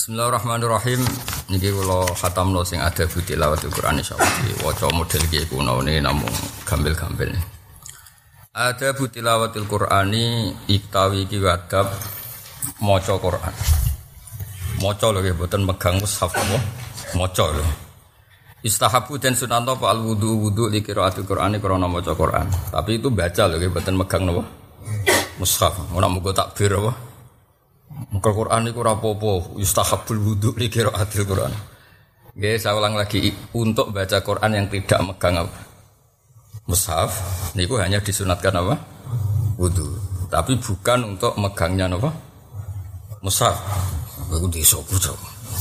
Bismillahirrahmanirrahim. Niki kula khatamno sing ada tilawatul Quran insyaallah. Waca model iki kuno ne namung gampil-gampil. Ada tilawatul Qurani itawi iki adab maca Quran. Maca lho nggih mboten megang mushaf apa. Maca lho. Istahabu dan sunanto fa al wudu li qiraatul Qurani krana maca Quran. Tapi itu baca lho nggih mboten megang napa. Mushaf. Ora mugo takbir apa. Muka Quran itu rapopo, yustahabul wudu li qiraatil Quran. Nggih, saya ulang lagi untuk baca Quran yang tidak megang apa? Mushaf, niku hanya disunatkan apa? Wudu. Tapi bukan untuk megangnya apa? Mushaf. Iku disopo to.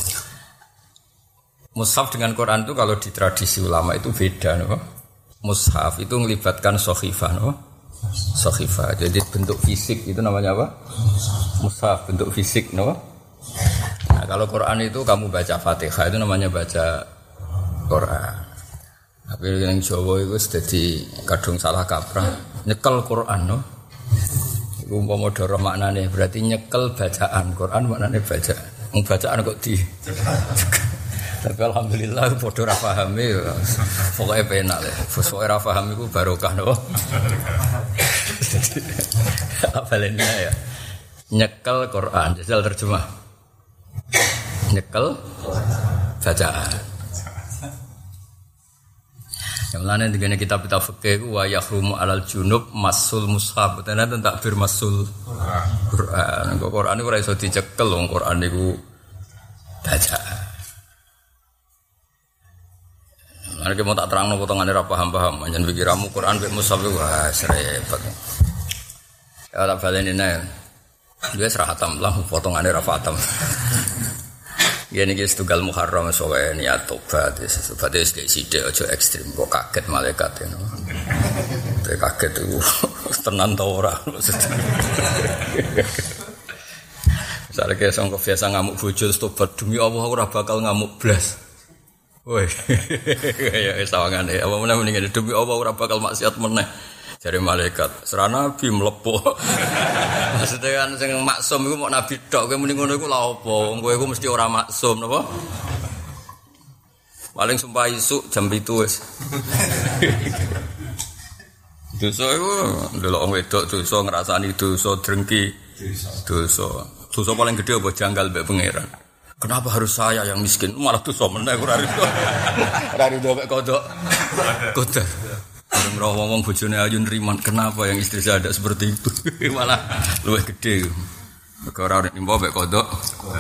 Mushaf dengan Quran itu kalau di tradisi ulama itu beda apa? Mushaf itu melibatkan shahifah apa? Shahifah. Jadi bentuk fisik itu namanya apa? Mushaf, bentuk fisik, no? Nah, kalau Quran itu kamu baca Fatihah itu namanya baca Quran. Tapi yang Jawa itu jadi kadung salah kaprah, nyekel Quran, no? Itu umpama doro maknane berarti nyekel bacaan Quran maknane bacaan. Bacaan kok di. Tapi alhamdulillah padha ra pahame pokoke penak le. Pokoke ra paham iku barokah, no? Apalnya ya. Nyekel Quran, jajal terjemah. Nyekel bacaan. Yang lain dengan kitab-kitab fikih wa yahrumu alal junub masul mushaf. Tenan takbir masul Quran. Kok Quran iku ora iso dicekel wong Quran niku bacaan. Lan iki mau tak terangno potongane ra paham-paham, panjen pikiramu Quran mek mushaf wah repot. Ya tak baleni nek dia serah hatam lah, potongannya rafatam. Gini guys, tunggal Muharram soalnya niat tobat, tobat itu kayak sidik aja ekstrim, kok kaget malaikat itu. Kaget itu tenan tau ora. Misalnya kayak sangka biasa ngamuk bojo tobat demi Allah ora bakal ngamuk blas. Woi, kayak sawangane, apa mendingan demi Allah ora bakal maksiat meneh. Jare malaikat, serana nabi mlebu. Maksudnya kan sing maksum iku mok nabi tok, kowe muni ngono iku lha apa? Wong kowe iku mesti ora maksum napa? Paling sumpah isuk jam 7 wis. Dosa iku ndelok wong wedok dosa ngrasani dosa drengki. Dosa paling gede apa janggal mbek pangeran. Kenapa harus saya yang miskin? Malah dosa meneh ora rido. Ora rido mek kodok. Kodok. Orang ngomong bojone ayu nriman, kenapa yang istri saya ada seperti itu? Malah luwih gede. Ora nek nimba mek kodok.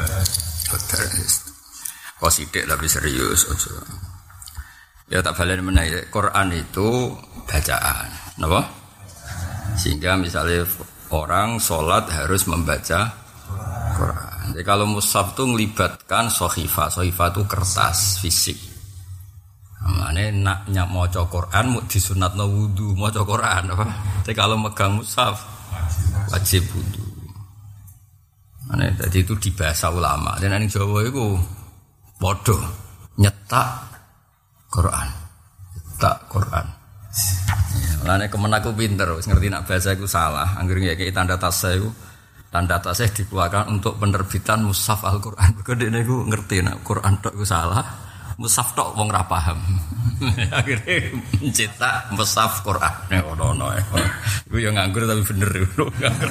Kok sithik tapi serius aja. Ya tak baleni meneh Quran itu bacaan, napa? Sehingga misalnya orang sholat harus membaca Quran. Jadi kalau mushaf itu melibatkan shahifah. Shahifah itu kertas fisik. Mane nak maca Quran mu disunatno wudu, maca Quran apa? Tapi kalau megang mushaf wajib wudu. Mane tadi itu di bahasa ulama. Dan ning Jawa iku padha nyetak Quran. Nyetak Quran. Mane kemenaku pinter wis ngerti nak bahasa iku salah. Anggere ngeki tanda tasih iku tanda tasih dikeluarkan untuk penerbitan mushaf Al-Qur'an. Kok dekne iku ngerti nak Quran tok iku salah. Mushaf tok wong ra paham. Akhire mencetak mushaf Quran ono. Iku yo nganggur tapi bener lho.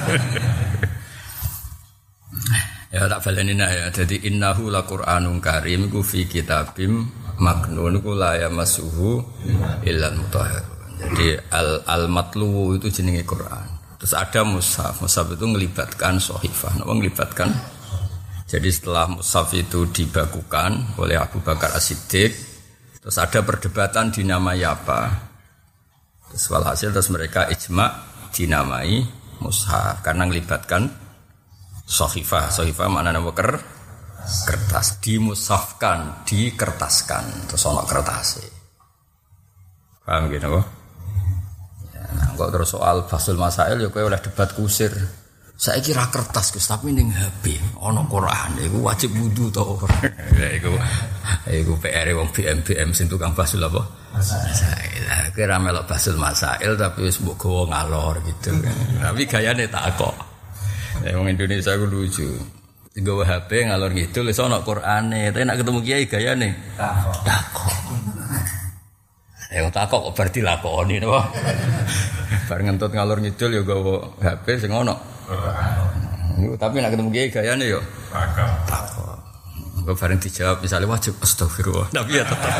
Ya tak baleni ya. Dadi innahu laqur'anun karim iku fi kitabim maknun iku la yamassuhu illal mutahhar. Jadi al-matlu itu jenenge Quran. Terus ada mushaf. Mushaf itu melibatkan shahifah. Napa melibatkan. Jadi setelah mushaf itu dibakukan oleh Abu Bakar As-Siddiq, terus ada perdebatan dinamai apa. Terus walhasil terus mereka ijma' dinamai mushaf karena melibatkan shahifah. Shahifah maknanya apa? Kertas. Dimushafkan, dikertaskan. Terus ono kertasnya. Paham gitu kok? Ya, nah, kok terus soal Basul Masail ya kowe oleh debat kusir. Saya kira kertas Gus, tapi ning HP ana Quran iku wajib wudu to ora. Ya iku PR wong BM sing tukang basul apa? Masail. Kira melok basul masail tapi wis mbok gawa ngalor gitu. Tapi gayane tak kok. Wong Indonesia ku lucu. nggawa HP ngalor ngidul iso ana Qur'ane, tapi nek ketemu kiai gayane takok. Ya takok kok bar dilakoni to. Bar ngentut ngalor ngidul ya nggawa HP sing ana. Tapi nek ketemu kiai gayane yo takok. Engko bareng dijawab misalnya wajib astagfirullah. Tapi ya tetep.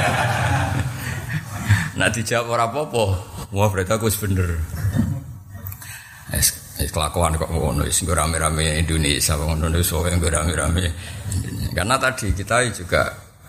Nek dijawab ora apa-apa, wah berarti aku wis bener. Kelakuan kok ngono wis rame-rame Indonesia ngono wis rame-rame. Karena tadi kita juga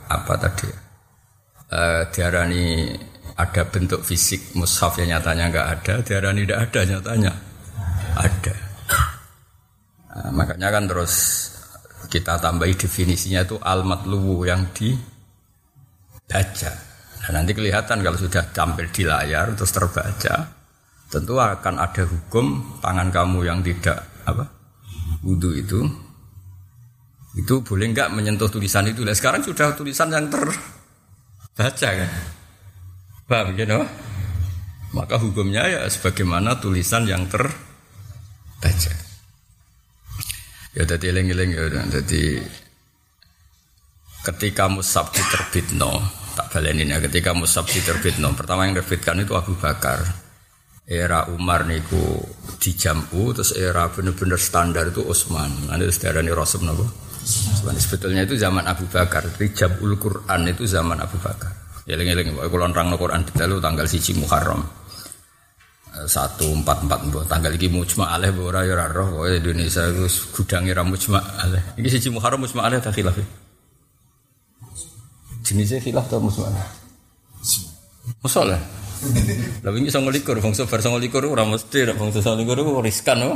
diarani ada bentuk fisik mushaf yang nyatanya enggak ada, diarani tidak ada nyatanya ada. Makanya kan terus kita tambahi definisinya itu al-matluwu yang dibaca. Nah, nanti kelihatan kalau sudah tampil di layar terus terbaca. Tentu akan ada hukum tangan kamu yang tidak wudu itu boleh enggak menyentuh tulisan itu. Nah, sekarang sudah tulisan yang terbaca kan, paham gitu? Maka hukumnya ya sebagaimana tulisan yang terbaca. Ya tadi eling-eling ya, jadi ketika mushaf diterbitno, tak baleni ya, ketika mushaf diterbitno, pertama yang terbitkan itu Abu Bakar. Era Umar niku dijamu, terus era bener-bener standar itu Utsman. Nanti sedarani Rasul napa? Sebetulnya itu zaman Abu Bakar. Rijabul Quran itu zaman Abu Bakar. Eling-eling kok kula nerangno Quran detail tanggal 1 Muharram. 1444 tanggal iki mujma' alaih ora ya ora roh kok Indonesia itu gudange ra mujma' alaih. Iki 1 Muharram mujma' alaih ta khilaf. Jenisnya khilaf ta mujma' alaih? Masalah. Lah wingi 29 bangsa bar 29 ora mesti nek bangsa 29 ku riskan kok.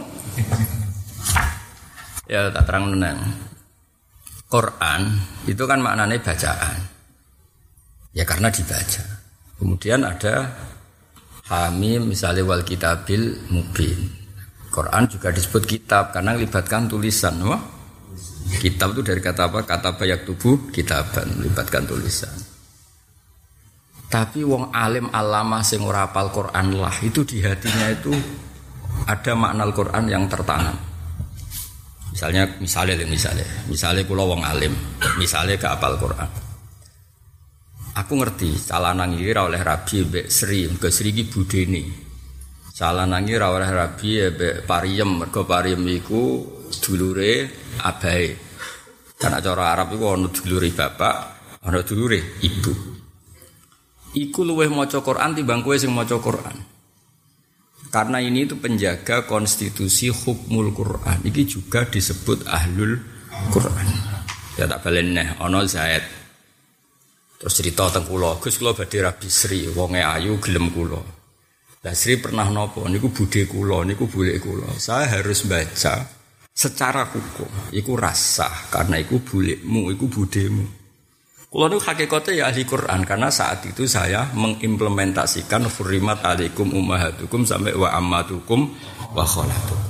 Ya tak terang meneng. Quran itu kan maknanya bacaan. Ya karena dibaca. Kemudian ada Hamim misalnya wal kitabil mubin. Quran juga disebut kitab karena melibatkan tulisan. Wah, kitab itu dari kata apa? Kata bayak tubuh kitaban melibatkan tulisan. Tapi wong alim alama sing ora hafal Quran lah itu di hatinya itu ada makna Al-Quran yang tertanam. Misalnya kula wong alim, misalnya gak hafal Quran. Aku ngerti calanang iki ora oleh rabi mbek Sri, ke Sri iki budene. Calanang iki ora oleh rabi mbek Pariem, mergo Pariem iku dulure abahe. Karena cara Arab iku ana dulure bapak, ana dulure ibu. Iku luweh maca Quran timbang kowe sing maca Quran. Karena ini itu penjaga konstitusi hukmul Quran. Iki juga disebut ahlul Quran. Ya tak balen neh ana Zaid. Terus cerita teng kula, Gus kula badhe rabi Sri, wonge ayu gelem kula. Lah Sri pernah napa niku budhe kula, niku boleh kula. Saya harus baca secara hukum. Iku rasah karena iku bolehmu, iku budhemu. Kalau itu hakikatnya ya ahli Quran karena saat itu saya mengimplementasikan hurrimat alaikum ummahatukum sampai wa ammatukum wa khalatukum.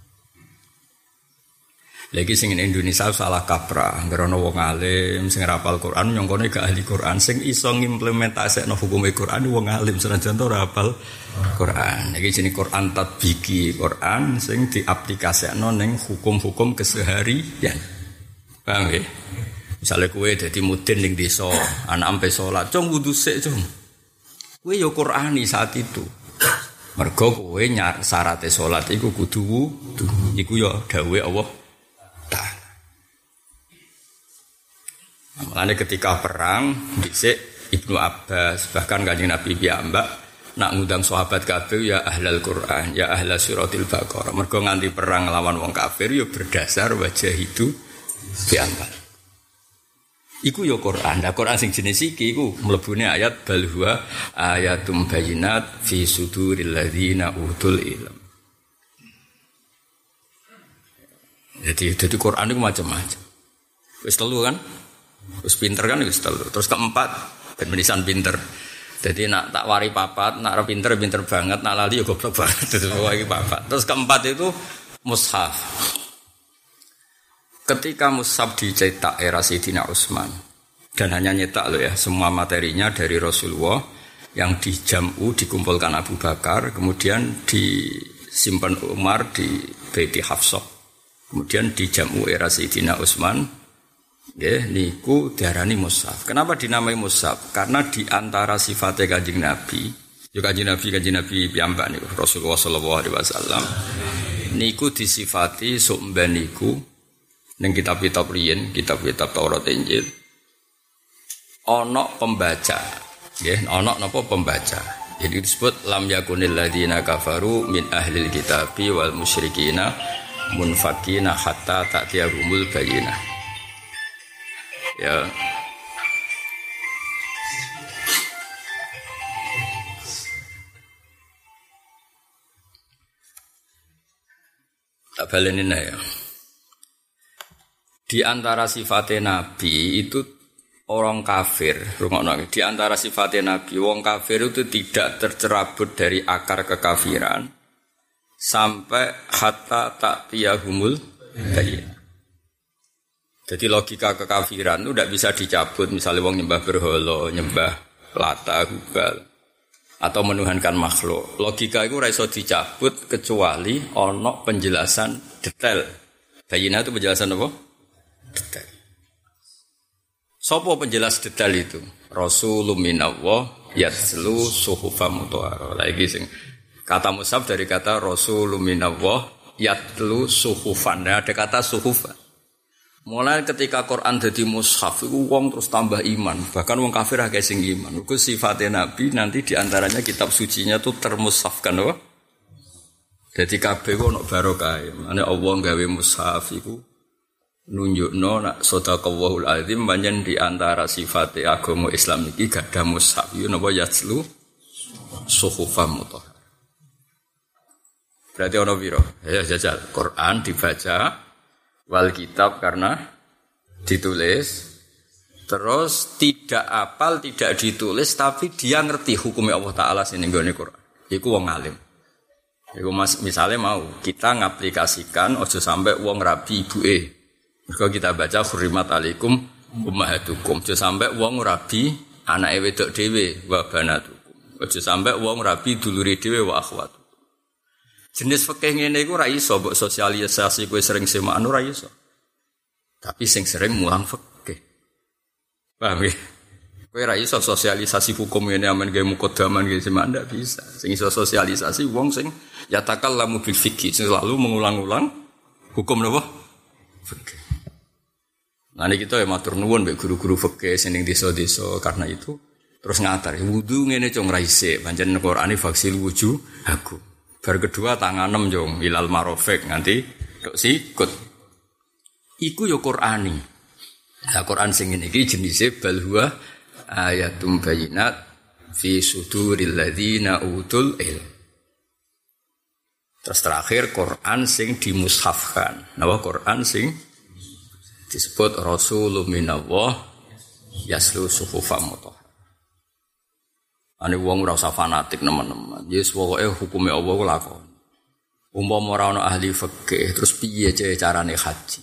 Lagi sing Indonesia salah kaprah, ngerono wong alim sing hafal Quran nyongkone gak ahli Quran sing iso ngimplementasekno hukum Quran wong alim senajan ora hafal Quran. Iki jenenge Quran tatbiki, Quran sing diaplikasekno ning hukum-hukum keseharian. Paham nggih? Misalnya kowe dadi mudin ning desa, anak ampe salat, cung wudu sik, cung. Kowe ya Qur'ani saat itu. Mergo kowe syaraté salat iku kudu wudu. Iku ya dawuhe Allah Ta'ala. Mulane ketika perang dhisik Ibnu Abbas bahkan Kanjeng Nabi piyambak nak ngundang sahabat kabeh ya ahlal Qur'an, ya ahla suratil Baqarah. Mergo nganti perang lawan wong kafir ya berdasar wajah itu piyambak. Iku ya Quran. Nah Quran sing jenis iki iku mlebune ayat bal huwa ayatum bayyinat fi suduril ladzina utul ilm. Jadi Quran itu macam-macam. Wis telu kan? Wis pinter kan wis telu. Terus keempat ben menisan pinter. Jadi nak tak wari papat, nak pinter banget, nak lali ya goblok banget. Itu iki papat. Terus keempat itu mushaf. Ketika mushaf dicetak era Sayyidina Utsman dan hanya nyetak loh ya, semua materinya dari Rasulullah yang dijamu dikumpulkan Abu Bakar, kemudian disimpan Umar di Baiti Hafsah. Kemudian di jamu era Sayyidina Utsman, nggih niku diarani mushaf. Kenapa dinamai mushaf? Karena di antara sifatnya Kanjeng Nabi, yo Kanjeng Nabi piyambak niku Rasulullah sallallahu alaihi wasallam niku disifati sumben niku ning kitab-kitab riyen, kitab-kitab Taurat Injil ana pembaca, nggih, ana napa pembaca. Jadi disebut lam yakunil ladzina kafaru min ahlil kitabi wal musyrikina munfakina hatta ta'tiyahumul bayyinah. Ya. Tak balenin ya. Di antara sifatnya Nabi itu orang kafir, rungokno. Di antara sifatnya Nabi, wong kafir itu tidak tercerabut dari akar kekafiran sampai hatta ta'tiyahumul bayyinah. Jadi logika kekafiran itu tidak bisa dicabut. Misalnya wong nyembah berhala, nyembah Lata, Hubal, atau menuhankan makhluk. Logika itu ora iso dicabut kecuali ono penjelasan detail. Bayyinah itu penjelasan apa? Detail. Sopo penjelas detail itu? Rasulun minallah yatslu suhufan mutahharah. Lagi sing kata mushaf dari kata Rasulun minallah yatlu suhufan. Ada kata suhufan. Mulai ketika Quran jadi mushaf, itu wong terus tambah iman. Bahkan wong kafir agak sing iman. Itu sifatnya Nabi nanti diantaranya kitab sucinya itu termushafkan, loh. Jadi kabeh kok ono barokah. Ane Allah gawe mushaf iku nunjukno nak sadaqallahul azim pancen diantara sifatnya agama Islam iki gak ada mushaf. Yo napa yatslu suhufan mutahharah. Berarti ono piro? Ya jajal Quran dibaca wal kitab karena ditulis, terus tidak apal, tidak ditulis, tapi dia ngerti hukumnya Allah Ta'ala sini nggone Quran. Iku wong alim. Iku misalnya mau kita ngaplikasikan ojo sampai wong rabi ibuke. Mergo kita baca hurrimat alaikum ummahatukum. Ojo sampai wong rabi anake wedok dhewe wa banatukum. Ojo sampai wong rabi dulure dhewe wa akhwat. Jenis fikih ngene iku ora iso mbok sosialisasi kowe sering semaan ora iso. Tapi sing sering mulang fikih. Paham ya? Kowe ora iso sosialisasi hukum ngene amen gawe mukaddaman gawe semaan ndak bisa. Sing iso sosialisasi wong sing yatakallamu bil fikih, selalu mengulang-ulang hukum napa? Fikih. Nah ini kita ya matur nuwun mbek guru-guru fikih sing ning desa-desa karena itu terus ngatar wudu ngene cung ra isik, pancen Qur'ane faksil wujuh aku. Bar kedua tanganem jong ilal marofek nganti tok sikut. Iku yo Qur'ani. Nah Qur'an sing ngene iki jenise bal huwa ayatum bayyinat fi suduril ladzina utul ilm. Terus terakhir Qur'an sing dimushafkan. Napa Qur'an sing disebut Rasulun minallah yaslu suhufan mutahharah. Ane wong ora usah fanatik nemen-nemen. Yes pokoke hukume Allah ku lakon. Umpama ora ana ahli fikih terus piye carane haji?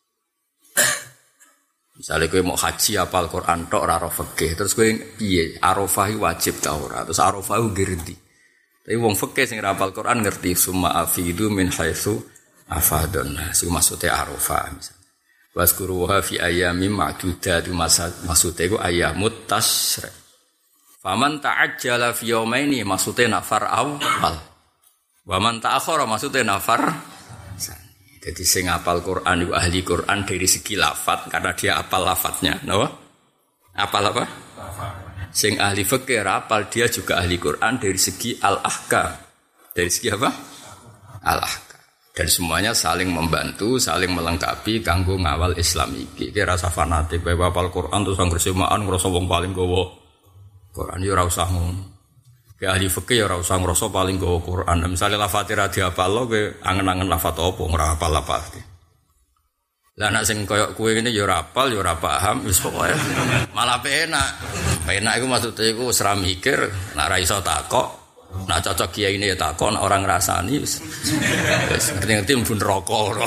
Misale kowe mau haji apal Quran tok ora ro fikih, terus kowe piye? Arafah wajib ta ora? Terus Arafah ngerti. Tapi wong fikih sing ora apal Quran ngerti summa afidu min haitsu afadun. Sing maksude Arafah misal. Waskuruha fi ayyamin ma'dudat maksude iku ayyamut tasyrik. Faman ta'ajjala fi yaumaini maksudnya nafar awal. Wa man ta'akhkhara maksudnya nafar. Jadi sing hafal Quran itu ahli Quran dari segi lafaz karena dia hafal lafaznya, napa? Hafal apa? Sing ahli fikih hafal dia juga ahli Quran dari segi al-ahkam. Dari segi apa? Al-ahkam. Dan semuanya saling membantu, saling melengkapi kanggo ngawal Islam iki. Iki rasa fanatik bae hafal Quran terus anggere semaan ngrasa wong paling gowo Quran yo ora usah ngono. Ke ahli fikih yo ora usah ngrasa paling gowo Quran. Misale lafate ra dihafal kowe angen-angen lafat apa ora hafal lafate. Lah nek sing koyo kowe ngene yo ora hafal yo ora paham wis pokoke malah penak. Penak iku maksude iku wis ra mikir, nek ra iso takok, nek cocok kiyaine ya takon orang ngrasani wis. Wis ngerti-ngerti mlebu neraka ora.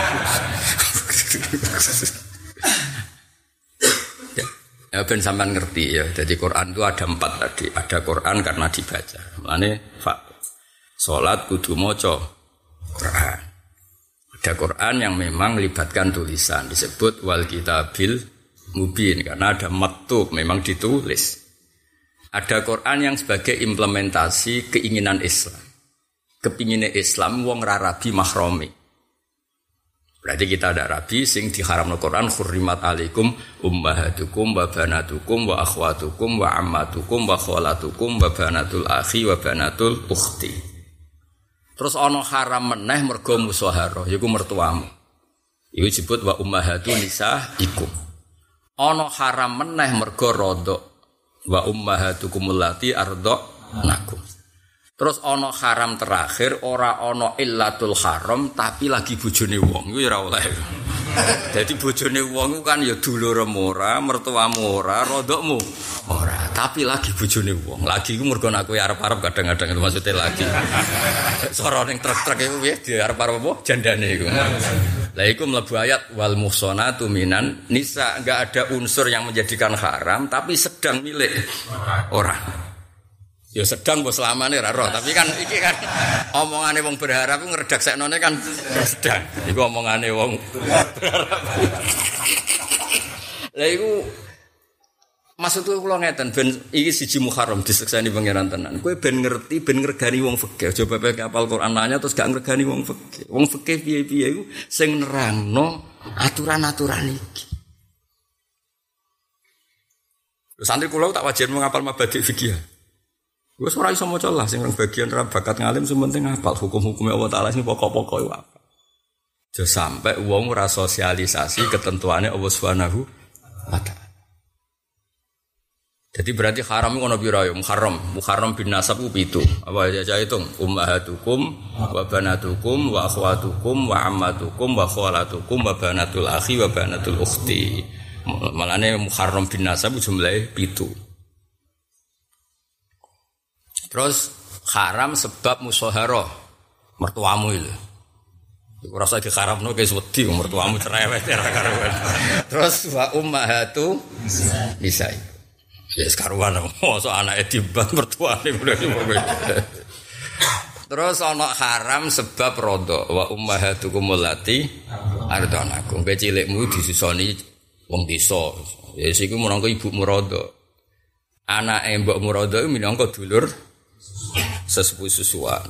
Ya ben sampean ngerti ya. Jadi Quran itu ada 4 tadi. Ada Quran karena dibaca. Mulane salat kudu maca Quran. Ada Quran yang memang melibatkan tulisan, disebut wal kitabil mubin karena ada maktub, memang ditulis. Ada Quran yang sebagai implementasi keinginan Islam. Kepinginnya Islam wong ra rabi mahromi. Berarti kita ada rabi sing diharamno Quran khurrimat alaikum ummahatukum wa banatukum wa akhwatukum wa ammatukum wa khalatukum wa banatul akhi wa banatul ukhti. Terus ana haram meneh mergo musyaharah yaiku mertuamu. Iku disebut wa ummahatu nisaikum. Ana haram meneh mergo rodok wa ummahatukum allati arda'nakum. Terus ana haram terakhir ora ana illatul haram tapi lagi bojone wong iku ora oleh. Dadi bojone wong kan ya dulurmu ora, mertuamu ora, rodokmu ora, tapi lagi bojone wong. Lagi iku mergo aku arep-arep kadang-kadang itu maksudnya lagi. Sora ning truk-truk iku piye di arep-arep apa jandane iku. Lah iku mlebu ayat wal muhsanatu minan nisa, enggak ada unsur yang menjadikan haram tapi sedang milik orang. Ya sedang bos selamane ra roh, tapi kan iki kan omongane wong berharap ku ngredakseknone kan sedang. Iku omongane wong berharap. Lah iku maksudku kula ngeten ben iki siji Muharram disekseni pangeran tenan. Kowe ben ngerti ben ngregani wong fikih. Coba pakai hafal Quran nanya terus gak ngregani wong fikih. Wong fikih piye-piye iku sing nerangno aturan-aturan iki. Santri kula tak wajar ngapal mabadi fikih. Wes ora iso maca lah sing bagian ra bakat ngalim sementing hafal hukum-hukume Allah Taala sing pokok-pokok iku apa. Aja sampai wong ora sosialisasi ketentuane Allah Subhanahu wa taala. Jadi berarti haram iku ono pira ya? Muharram bin nasab ku 7. Apa aja hitung? Ummahatukum wa banatukum wa akhwatukum wa ammatukum wa khalatukum wa banatul akhi wa banatul ukhti. Malane Muharram bin nasab jumlahe 7. Terus haram sebab musyaharah mertuamu itu. Iku rasa diharamno guys wedi mertuamu cerewet ora karuan. Terus wa ummahatu nisai. Ya karuan mosok anake dibat mertuane Terus ana haram sebab rodo wa ummahatukum allati ardanakum. Kowe cilikmu disusoni wong desa. Ya iku menangka ibumu rodo. Anake mbokmu rodo iku minangka dulur sesepuh susuan.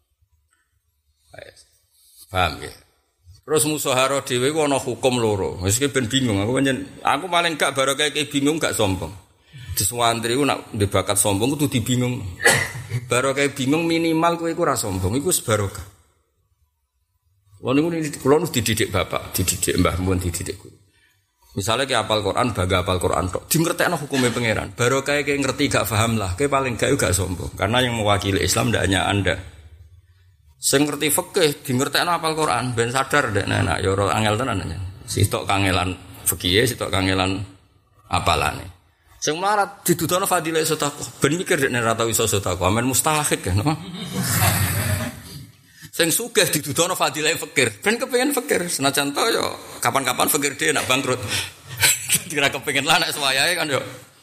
Paham ya? Terus musyawarah dhewe ku ana hukum loro. Wis ben bingung aku paling gak barokah iki bingung gak sombong. Diswantri ku nak ndek bakat sombong kudu dibingung. Barokah bingung minimal kowe iku ora sombong, iku wis barokah. Wong niku kula nu dididik bapak, dididik mbah mun dididik guru. Misalnya kayak hafal Quran, baga hafal Quran tok, dingertekno hukumnya pangeran. Baru kayak ngerti gak paham lah, kayak paling gak sombong. Karena yang mewakili Islam tidak hanya Anda. Sing ngerti fikih, dingertekno hafal Quran, ben sadar dek nenek, ya ora angel tenan aja. Sitok kangelan fikih, sitok kangelan apalane. Sing melarat didudono fadilah sedekah, ben mikir dek nenek ora tau iso sedekah, amen mustahik kan. Sing sugih didudono fadilah fakir, ben kepengin fakir. Senajan to yo kapan-kapan fakir dhewe nak bangkrut. Kira kepengin lah nek suwayahe kan yo.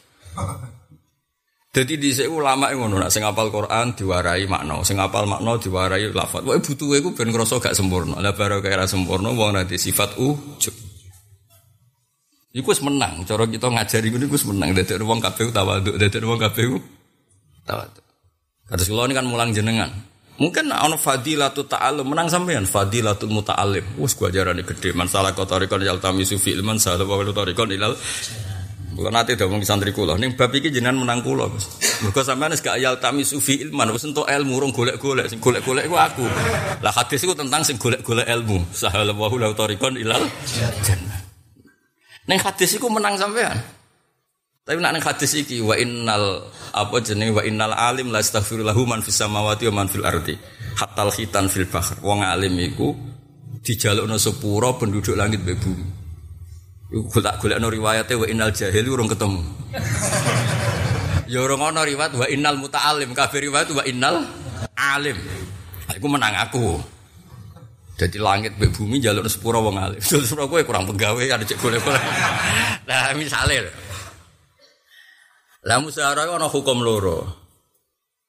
Dadi dhisik ulama ngono, nek sing hafal Quran diwarai makna, sing hafal makna diwarai lafaz. Pokoke butuhe iku ben ngrasa gak sempurna. Lah barokah ora sempurna wong ora di sifat ujub. Iku wis menang, cara kita ngajari ngono iku wis menang. Dadi wong kabeh tawaduk, dadi wong kabeh tawaduk. Kados kula ini kan mulang jenengan. Mungkin ana fadilatul ta'allum menang sampean fadilatul muta'allim. Wis gua ajarane gede masalah kotorikon yaltamisu fi ilman salah wa kotorikon ilal. Kula nate ngomong santri kula ning bab iki jenengan menang kula, Gus. Mergo sampean wis gak yaltamisu fi ilman wis entuk ilmu urung golek-golek, sing golek-golek iku aku. Lah hadis iku tentang sing golek-golek ilmu. Sahala wa kotorikon ilal jannah. Ning hadis iku menang sampean. Tapi nek hadis iki wa innal alim la astaghfirullahu man fis samawati wa man fil ardi hatal khitan fil bahr. Wong alim iku dijalukno sepura penduduk langit mbek bumi. Iku golek-golekno riwayate wa innal jahil urung ketemu. Ya ora ana riwayat wa innal muta'allim, kabeh riwayat wa innal alim. Iku menang aku. Jadi langit mbek bumi njalukno sepura wong alim. Sepura kowe kurang penggawe ada cek golek-golek. Lah misale lah musyawarah ana hukum loro.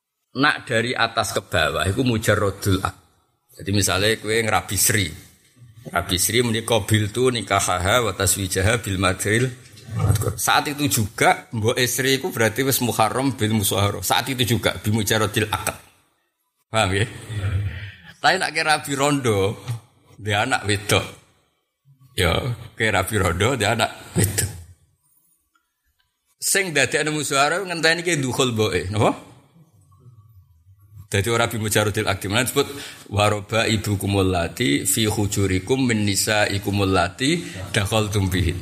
Nak dari atas ke bawah iku mujarradul aqd. Jadi misalnya kowe ngrabi Sri. Rabi Sri menika biltu nikahaha wa taswijaha bil madril. Saat itu juga mbok Sri iku berarti wis muharram bil musyaharah. Saat itu juga bi mujaradil akad. Paham ya? Tapi nak kira Rabi Rondo dia anak wedok. Ya, kira Rabi Rondo dia anak wedok. Sing dadekne musyawarah ngenteni ki dukhul boe, napa? Dadi ora bi mujaradil akdi menan disebut waroba ibukumul lati fi hujurikum min nisaikumul lati dakhaltum bihin.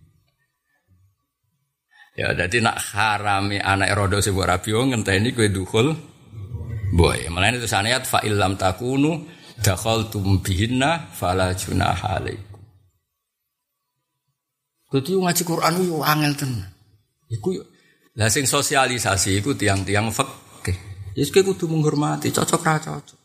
Ya dadi nak harami anak rondo sing ora rabi ngenteni kowe dukhul boe. Mulane itu sanayat fa illam takunu dakhaltum bihinna fala junaha alaikum. Dadi ngaji Quran yo angel tenan. Iku lah sing sosialisasi iku tiang-tiang fikih. Wis kudu menghormati, cocok ra cocok.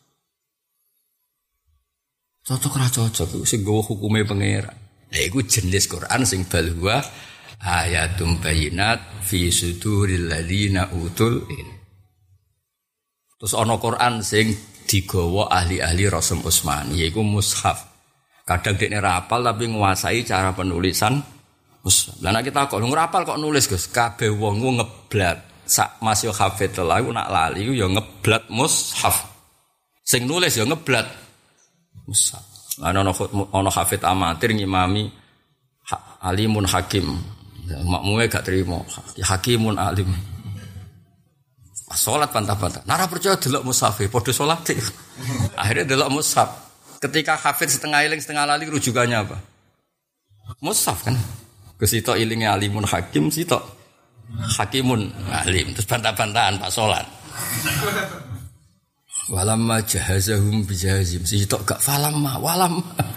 Cocok ra cocok iku sing nggawa hukume pangeran. Lah iku jenis Quran sing balwa ayatum bayyinat fi suduril ladzina utul ilm. Terus ana Quran sing digawa ahli-ahli Rasul Utsman, yaiku mushaf. Kadang dekne ra hafal tapi nguasai cara penulisan mushaf. Lah nek kita kok ora hafal kok nulis, Gus. Kabeh wong ngeblat. Sak Mas yo hafid lah iku nak lali iku yo ngeblat mushaf. Sing nulis yo ngeblat mushaf. Ana hafid amatir ngimami alimun hakim. Makmume gak trimo. Hakimun alim. Pas salat bantah-bantah. Nara percaya delok mushaf e padha salat. Akhirnya delok mushaf. Ketika hafid setengah eling setengah lali rujukannya apa? Mushaf kan. Kesitok ilinge alimun hakim sitok hakimun alim terus bantah-bantahan pas salat. Walamma jahazahum bijahazim sitok gak falamma walam.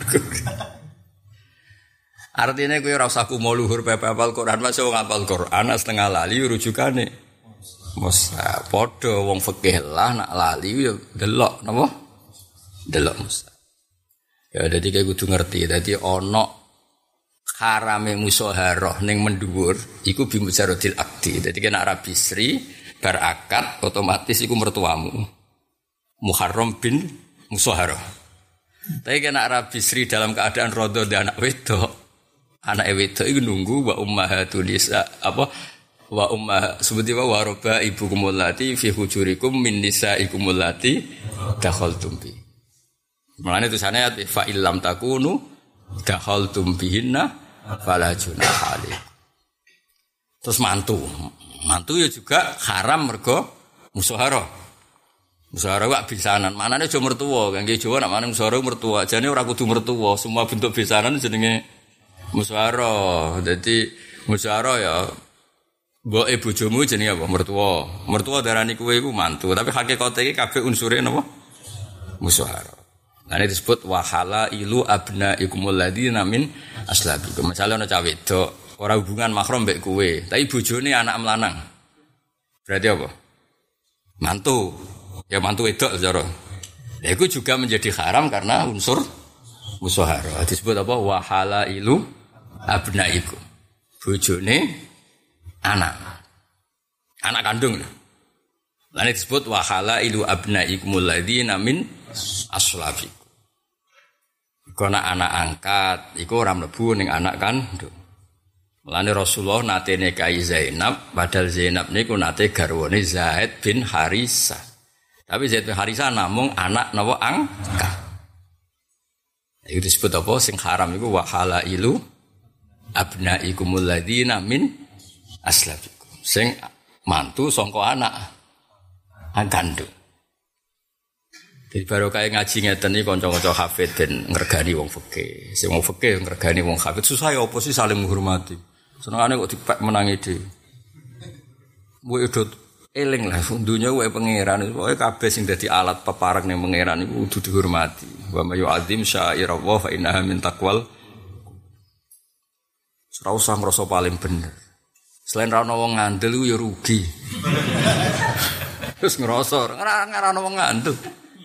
Artinya kowe ora usah kumo luhur pepe hafal Quran mas wong hafal Quran setengah lali rujukane. Musa padha wong fikih lah nak lali yo delok napa? Delok musa. Ya dadi kowe kudu ngerti dadi ana harame musyawarah ning mendhuwur iku bi mujaradil akdi. Dadi kena Rabi Sri bar akad otomatis iku mertuamu. Muharram bin musyawarah. Tapi kena Rabi Sri dalam keadaan rodho dan anak wedok. Anake wedok iku nunggu wa ummahatun nisa apa wa ummah sebuti wa roba ibukumul lati fi hujurikum min nisaikumul lati dakhaltum bi. Mulane tulisane fa illam takunu dakhaltum bihinna fala junaha alaikum. Terus mantu ya juga haram mergo musyawarah. Musyawarah wak bisanan. Manane aja mertua, kangge Jawa nek manane musyawarah mertua. Jane ora kudu mertua, semua bentuk bisanan jenenge musyawarah. Dadi musyawarah ya mboke bojomu jenenge apa? Mertua. Mertua darani kowe iku mantu, tapi hakikate iki kabeh unsure napa? Musyawarah. Nah ini disebut wahala ilu abna ikumul ladina min aslabikum. Misalnya ana cah wedok ora hubungan mahram mbek kowe, tapi bojone anak melanang. Berarti apa? Mantu. Ya mantu wedok cara. Lah iku juga menjadi haram karena unsur musyawarah. Disebut apa? Wahala ilu abna ikum. Bojone anak kandung. Lah ini disebut wahala ilu abna ikumul ladina min aslabikum. Kono anak angkat iku ora mlebu ning anak kandung. Mulane Rasulullah nate nikahi Zainab, padahal Zainab niku nate garwane Zaid bin Harisah. Tapi Zaid bin Harisah namung anak napa angkat. Iku disebut apa sing haram iku wa halailu abnaikumul ladzina min aslabikum. Sing mantu sangka anak kandung. Jadi baru kaya ngaji ngeten iki kanca-kanca hafid ben ngregani wong fikih. Sing wong fikih ngregani wong hafid susah ya apa sih saling menghormati. Senengane kok dipek menangi dhewe. Kuwi udah eling lah dunya wae pangeran. Pokoke kabeh sing dadi alat peparek ning pangeran iku kudu dihormati. Wa may yu'azzim sya'irallah fa innaha min taqwal. Ora usah ngrasa paling bener. Selain ra ono wong ngandel ku ya rugi. Terus ngrasa ora ono wong ngandel.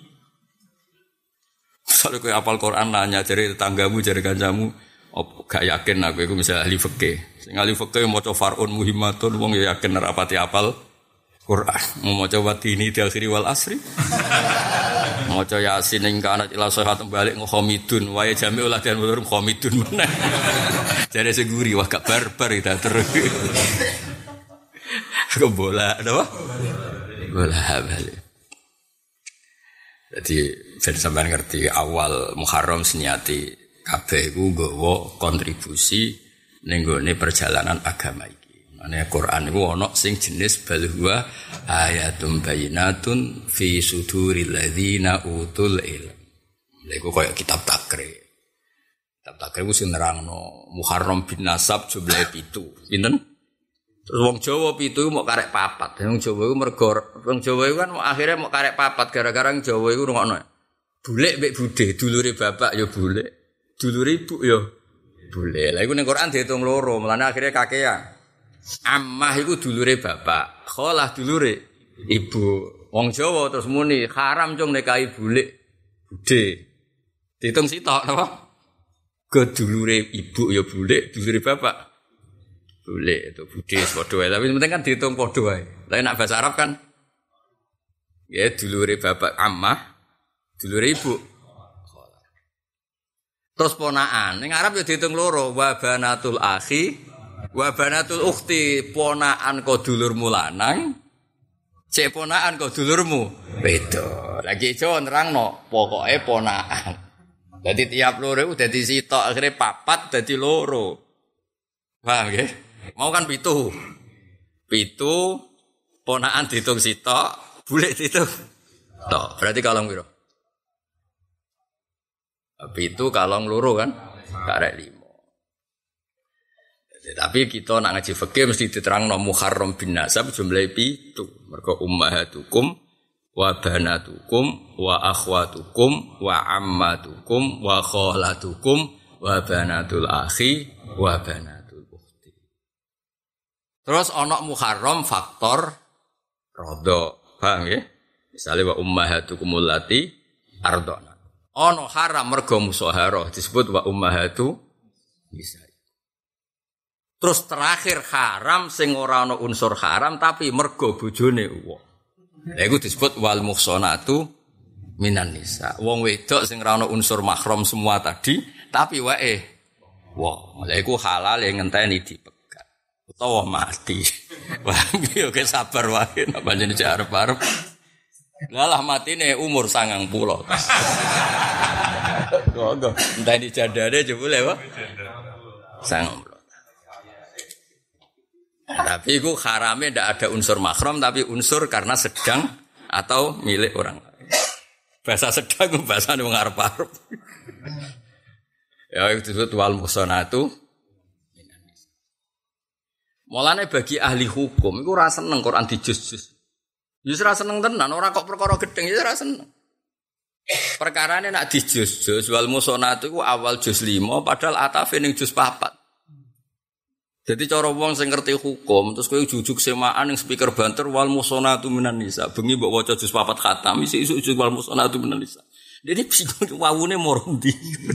Kalau kowe hafal Quran nanya jare tetanggamu jare kancamu gak yakin aku iku misal ahli fikih. Sing ahli fikih maca far'un muhimmatun wong ya yakin ora pati hafal Quran. Mau maca watini di akhiri wal asri. Maca Yasin ing kana ila sahat balik nghamidun wae jami ulah dan mulur khamidun meneh. Jare sing guri wah gak barbar kita terus. Bola apa? Bola balik. Jadi ben sampean ngerti awal Muharram seniati kabeh iku nggawa kontribusi ning gone perjalanan agama iki. Mane Quran iku ana sing jenis bal huwa ayatum bayyinatun fi suduril ladzina utul ilm. Lha iku koyo kitab takrib. Kitab takrib ku sing nerangno Muharram bin Nasab jumlahe 7. Pinten? Terus wong Jawa 7 mok karek 4. Wong Jawa iku mergo wong Jawa iku kan akhire mok karek 4 gara-gara wong Jawa iku rungokno. Bulek mbek budhe, dulure bapak ya bulek, dulure ibu ya bulek. Lah iku ning Quran diitung loro, mulane akhire kakean. Ammah iku dulure bapak, kholah dulure ibu. Wong Jawa terus muni haram cung nikahi bulek budhe. Diitung sitok napa? Ke dulure ibu ya bulek, dulure bapak bulek itu budhe padha wae. Tapi penting kan diitung padha wae. Lah nek bahasa Arab kan ya dulure bapak ammah, dulure ibu kholah. Terus ponaan, ning Arab ya diitung loro, wa banatul akhi wa banatul ukhti, ponaan kok dulurmu lanang, cek ponaan kok dulurmu beda. Lagi Jawa nerangno, pokoke ponaan. Dadi tiap loro iku dadi sitok, akhire 4 dadi loro. Paham nggih? Mau kan 7. 7 ponaan diitung sitok, bulek diitung tok. Berarti kalong piro? 7 kalong loro kan? Karek 5. Tapi kita nak ngaji fikih mesti diterangno Muharram bin Nasab jumlahe 7. Mergo ummahatukum wa banatukum wa akhwatukum wa ammatukum wa khalatukum wa banatul akhi wa banatul ukhti. Terus ana Muharram faktor radha. Paham nggih? Misale wa ummahatukumul lati ardana. Ana haram mergo musaharah disebut wa ummahatu nisa. Terus terakhir haram sing ora ana unsur haram tapi mergo bojone wong. Lha iku disebut wal muhsanatu minan nisa. Wong wedok sing ora ana unsur mahram semua tadi tapi wae wong. Lha iku halal yang ngenteni dipegat utawa mati. Wah, yo ke sabar wae nek panjenengan cek arep-arep. Lah matine umur 90. Kok enteni jandane jebule wae. 90. Tapi itu haramnya tidak ada unsur mahram tapi unsur karena sedang atau milik orang lain. Bahasa sedang itu bahasa yang mengarep-arep. Ya itu disebut wal muhsanatu. Mulane bagi ahli hukum itu ora seneng Quran dijus-jus. Ya ora seneng tenan, ora kok perkara gedeng ya ora seneng. Perkarane nak dijus-jus wal muhsanatu iku awal juz 5 padahal atafe ning juz 4. Jadi cara wong sing ngerti hukum terus kowe jujuk semaan ning speaker banter wal muhsanatu minan nisa. Bengi mbok waca juz 4 khatam isuk juz wal muhsanatu minan nisa. Dene bingung wawune moro ndi.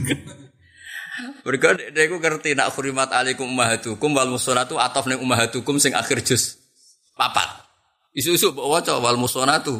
Mergo nek aku ngerti nak khurimat alaikum ummahatukum wal muhsanatu ataf ning ummahatukum sing akhir juz 4. Isuk-isuk mbok waca wal muhsanatu.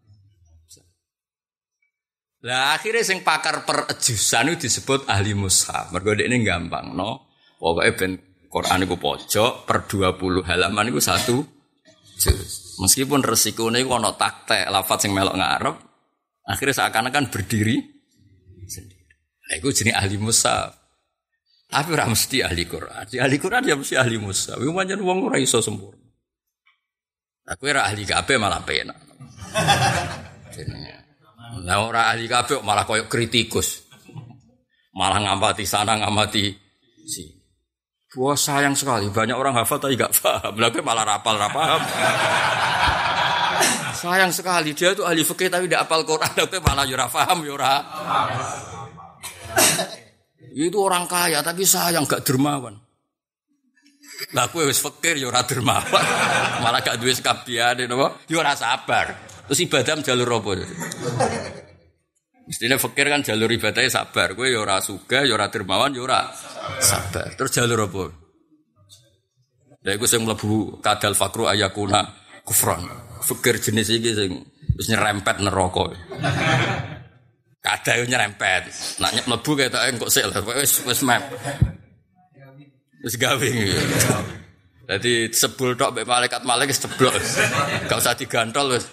Lah akhirnya sing pakar perejusan itu disebut ahli mushaf. Mergo dekne gampang no. Pokoke ben Quran iku pojok per 20 halaman iku 1 juz. Meskipun resikone iku ana taktek lafaz sing melok ngarep, akhirnya seakan-akan berdiri sendiri. Lah iku jenenge ahli mushaf. Tapi ora mesti ahli Quran. Si ahli Quran ya mesti ahli mushaf. Iku pancen wong ora iso sempurna. Aku ora ahli kabeh malah penak. Jenenge. Lah ora ahli kabeh malah koyo kritikus. Malah ngamati sana ngamati sini. Wah sayang sekali, banyak orang hafal tapi gak paham. Lalu malah rapal. Sayang sekali, dia itu ahli fikih tapi tidak hafal Quran. Lalu malah yura paham, yura. Itu orang kaya tapi sayang gak dermawan. Lalu wis fikir yura dermawan. Malah gak duwe sekabiane, yura sabar. Terus ibadah jalur apa? Mestinya fikir kan jalur ibadahnya sabar. Kowe ya ora sugih, ya ora dermawan, ya ora sabar. Terus jalur apa? Lha iku sing mlebu kadal fakru ayakuna kufran. Fikir jenis iki sing wis nyerempet neraka. kabeh nyerempet. Nak mlebu ketoke engko sik lho, wis map. Wis gawe. Dadi sebul tok mbek malaikat wis ceblok. Enggak usah digantol wis.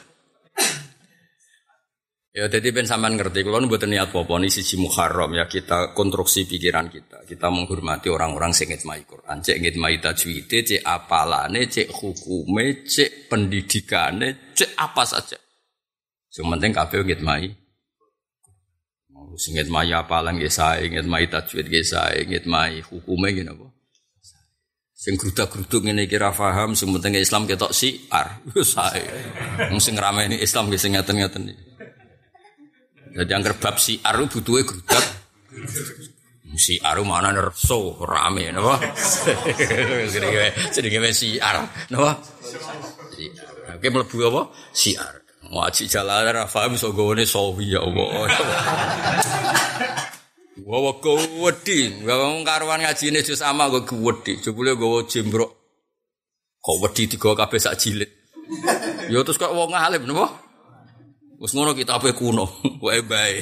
Ya dadi ben sampean ngerti kula mboten niat apa-apa niki siji Muharram ya kita konstruksi pikiran kita. Kita menghormati orang-orang sing ngitmai Quran, cek ngitmai tajwide, cek apalane, cek hukume, cek pendidikane, cek apa saja. Sing penting kabeh ngitmai. Mau sing ngitmai apalan nggih sae, ngitmai tajwid nggih sae, ngitmai hukume nggih napa. Sing grudak-gruduk ngene iki ra paham, sing penting Islam ketok siar. Wis sae. Wong sing ngrameni Islam nggih sing ngaten-ngaten iki. Jadi angker bab siar butuhe grudak. Siar mana nerso rame napa? Jenenge siar napa? Oke mlebu apa? Siar. Ngaji jalan ra paham iso gowone sawi ya Allah. Wa wedi, wong karuan ngajine jus ama kok wedi. Jebule nggawa jembrok. Kok wedi digawa kabeh sak jilid. Ya terus kok wong alim napa? Wes ngono kitabe kuno, wae bae.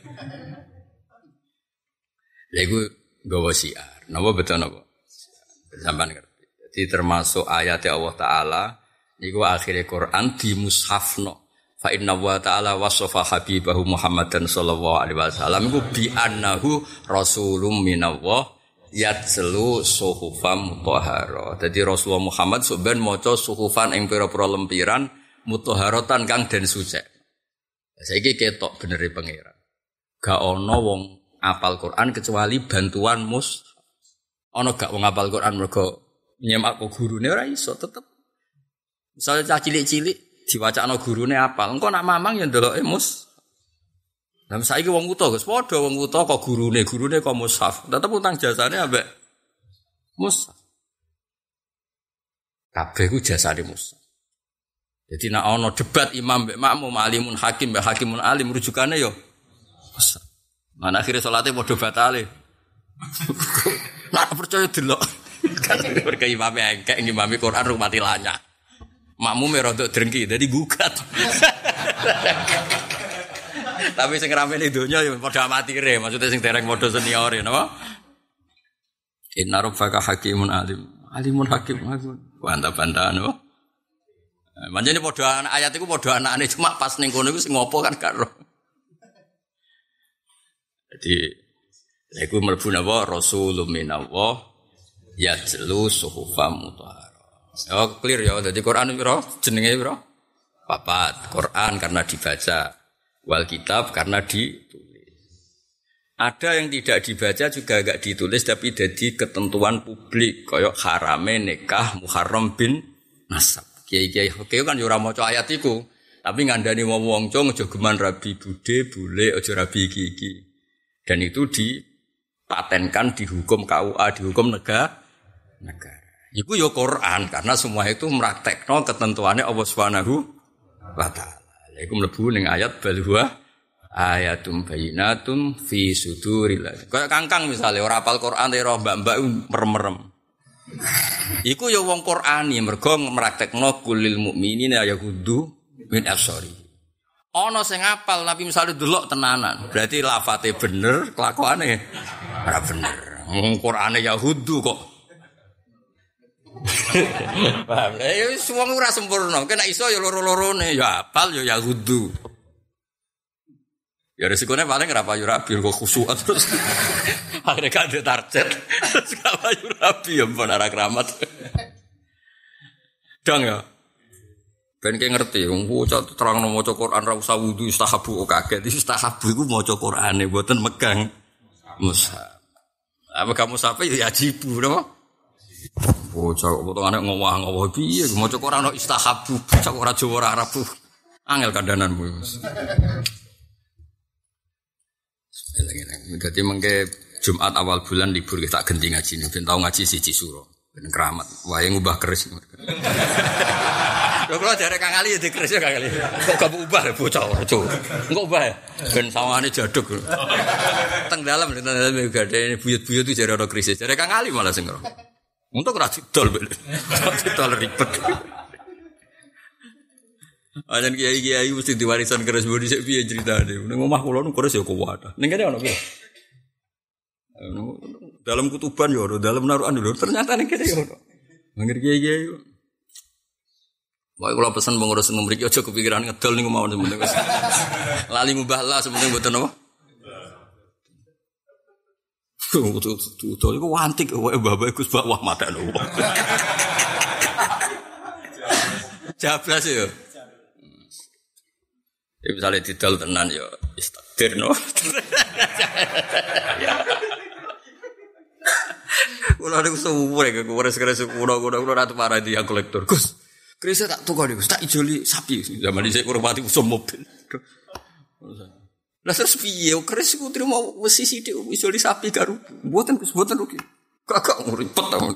Lha iku nggawa siar. Napa betul napa? Sampeyan ngerti. Jadi termasuk ayat Allah Taala niku akhire Quran di mushafno. Fa inna wa ta'ala wasafa habibahu Muhammadan sallallahu alaihi wasallam iku bi annahu rasulun minallah yatslu suhufam mutahhara. Dadi Rasulullah Muhammad sampeyan maca suhufan ing pira-pira lempiran mutahharatan kang den suci. Saiki ketok benere pangeran. Gak ana wong apal Quran kecuali bantuan ana gak wong apal Quran mergo nyemak kok gurune ora iso tetep. Misale cah cilik-cilik diwacakno gurune apal, engko nak mamang ya ndeloke Lah saiki wong wuta Gus, padha wong wuta kok gurune kok mushaf. Tetep utang jasane ambek mushaf. Kabeh ku jasane mushaf. Jadi nak ana debat imam mbek makmum alimun hakim mbek hakimun alim rujukane yo. Mana akhire salate padha batale. Nak percaya delok. Kan mergo imame engkek ngimami Quran rumati lanya. Makmume rodok drengki dadi gugat. Tapi sing ramene donya yo padha amatire, maksudnya sing dereng padha seniore napa? Inna rabbaka hakimun alim. Alimun hakim. Bantah-bantahan napa? Manjane padha ayat iku padha anakane cuma pas ning kono iku sing ngopo kan gak ro. Jadi iku mlebu napa rasulun minallah yatlu suhufam mutahhara. Oh clear ya dadi Quran pira jenenge pira? 4. Quran karena dibaca, wal kitab karena ditulis. Ada yang tidak dibaca juga enggak ditulis tapi jadi ketentuan publik kaya harame nikah Muharram bin nasab. Kiai-kiai oke kan yo ora maca ayat iku, tapi ngandani wong cung aja geman rabi bude, bule aja rabi iki. Dan itu dipatenkan dihukum KUA, dihukum negara. Iku yo Quran karena semua itu meraktekno ketentuannya Allah Subhanahu wa taala. Iku mlebu ning ayat balhuwa ayatum bayyinatum fi suduril. Kayak kangkang misale ora hafal Quran ora mbak-mbak merem-merem. Iku ya wong Qur'ani mergo meraktekno kulil mukminina yaghuddu min absari. Ana sing apal tapi misale delok tenanan, berarti lafate bener, kelakuane ora bener. Wong Qur'ane yaghuddu kok. Paham? Ya wis wong ora sempurna, kena iso ya loro-lorone, ya apal ya yaghuddu. Ya resikonya paling rapayu rabi kok khusyuk terus. Akhirnya gak ada target. Terus rapayu rabi ya mbon arah keramat. Dong ya. Ben ki ngerti wong terangno maca Quran ra usah wudu istahabu kaget. Istahabu iku maca Qurane mboten megang mushaf. Apa kamu sampai ya ajibu napa? Bocah potongane ngowah-ngowah piye maca Quran istahabu bocah ora Jawa ora Arab. Angel kandananmu. Jadi mengke Jumat awal bulan libur kita ganti ngaji nih. Ben tau ngaji siji suro. Ben keramat. Wae ngubah keris. Lho kula jare Kang Ali ya dikeris ya Kang Ali. Kok gak ubah bocah ojo. Engko ubah ya. Ben sawane jaduk. Teng dalem gadhe buyut-buyut itu jare ana krisis. Jare Kang Ali malah sing ora. Untung ora didol. Didol ribet. Ajan kiai-kiai mesti diwarisan keris bodi sik piye critane. Ning omah kula nu keris ya kuwat. Ning kene ono piye? Dalam kutuban ya ono, dalam narukan lho. Ternyata ning kene ya ono. Mangger kiai-kiai. Wae kula pesen pengurus mriki aja kepikiran ngedol niku mawon sementing wis. Lali ngubah lah sementing mboten apa. Tuh iku wantik wae bapak Gus Bak wah madakno. Jablas ya. Ya misalnya didol tenan ya istakdir no. Kula niku suwure ke keres kula ratu parah dia kolektor. Gus, kerisnya tak tukar niku, tak ijoli sapi. Zaman dhisik kurmati usum mobil. Lah terus piye keris iku trimo wesi sithik ijoli sapi karo mboten Gus, mboten rugi. Kakak ribet ta.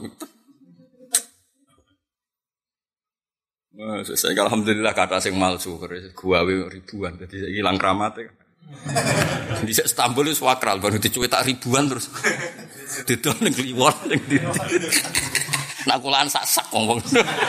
Wah, saya alhamdulillah kata sing malsu keris gawe ribuan dadi ilang kramate. Di Istanbul wis wakral baru dicuetak ribuan terus didol ning Kliwon ning ndi. Nak kulaan sak-sak wong.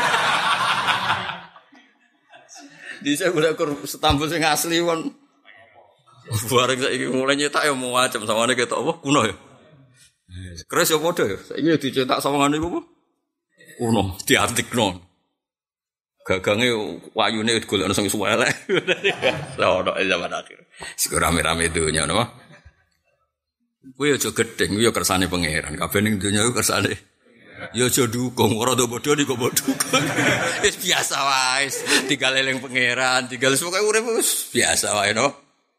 Di saya golek Istanbul sing asli won. Bareng saiki mulai nyetak ya mau macam sawane ketok apa kuno ya. Keris ya padha ya. Saiki dicetak sawangane iku apa? Kuno, diantikno. Gagange wayune golekno sing suwelek. Ono zaman akhir. Sik rame-rame donya napa? Kuwi aja gedeng, kuwi ya kersane pangeran. Kabeh ning donya iku kersane. Ya aja dukung, ora do bodho niku bodho. Wis biasa wae, tinggal eling pangeran, tinggal pokoke urip wis biasa wae no.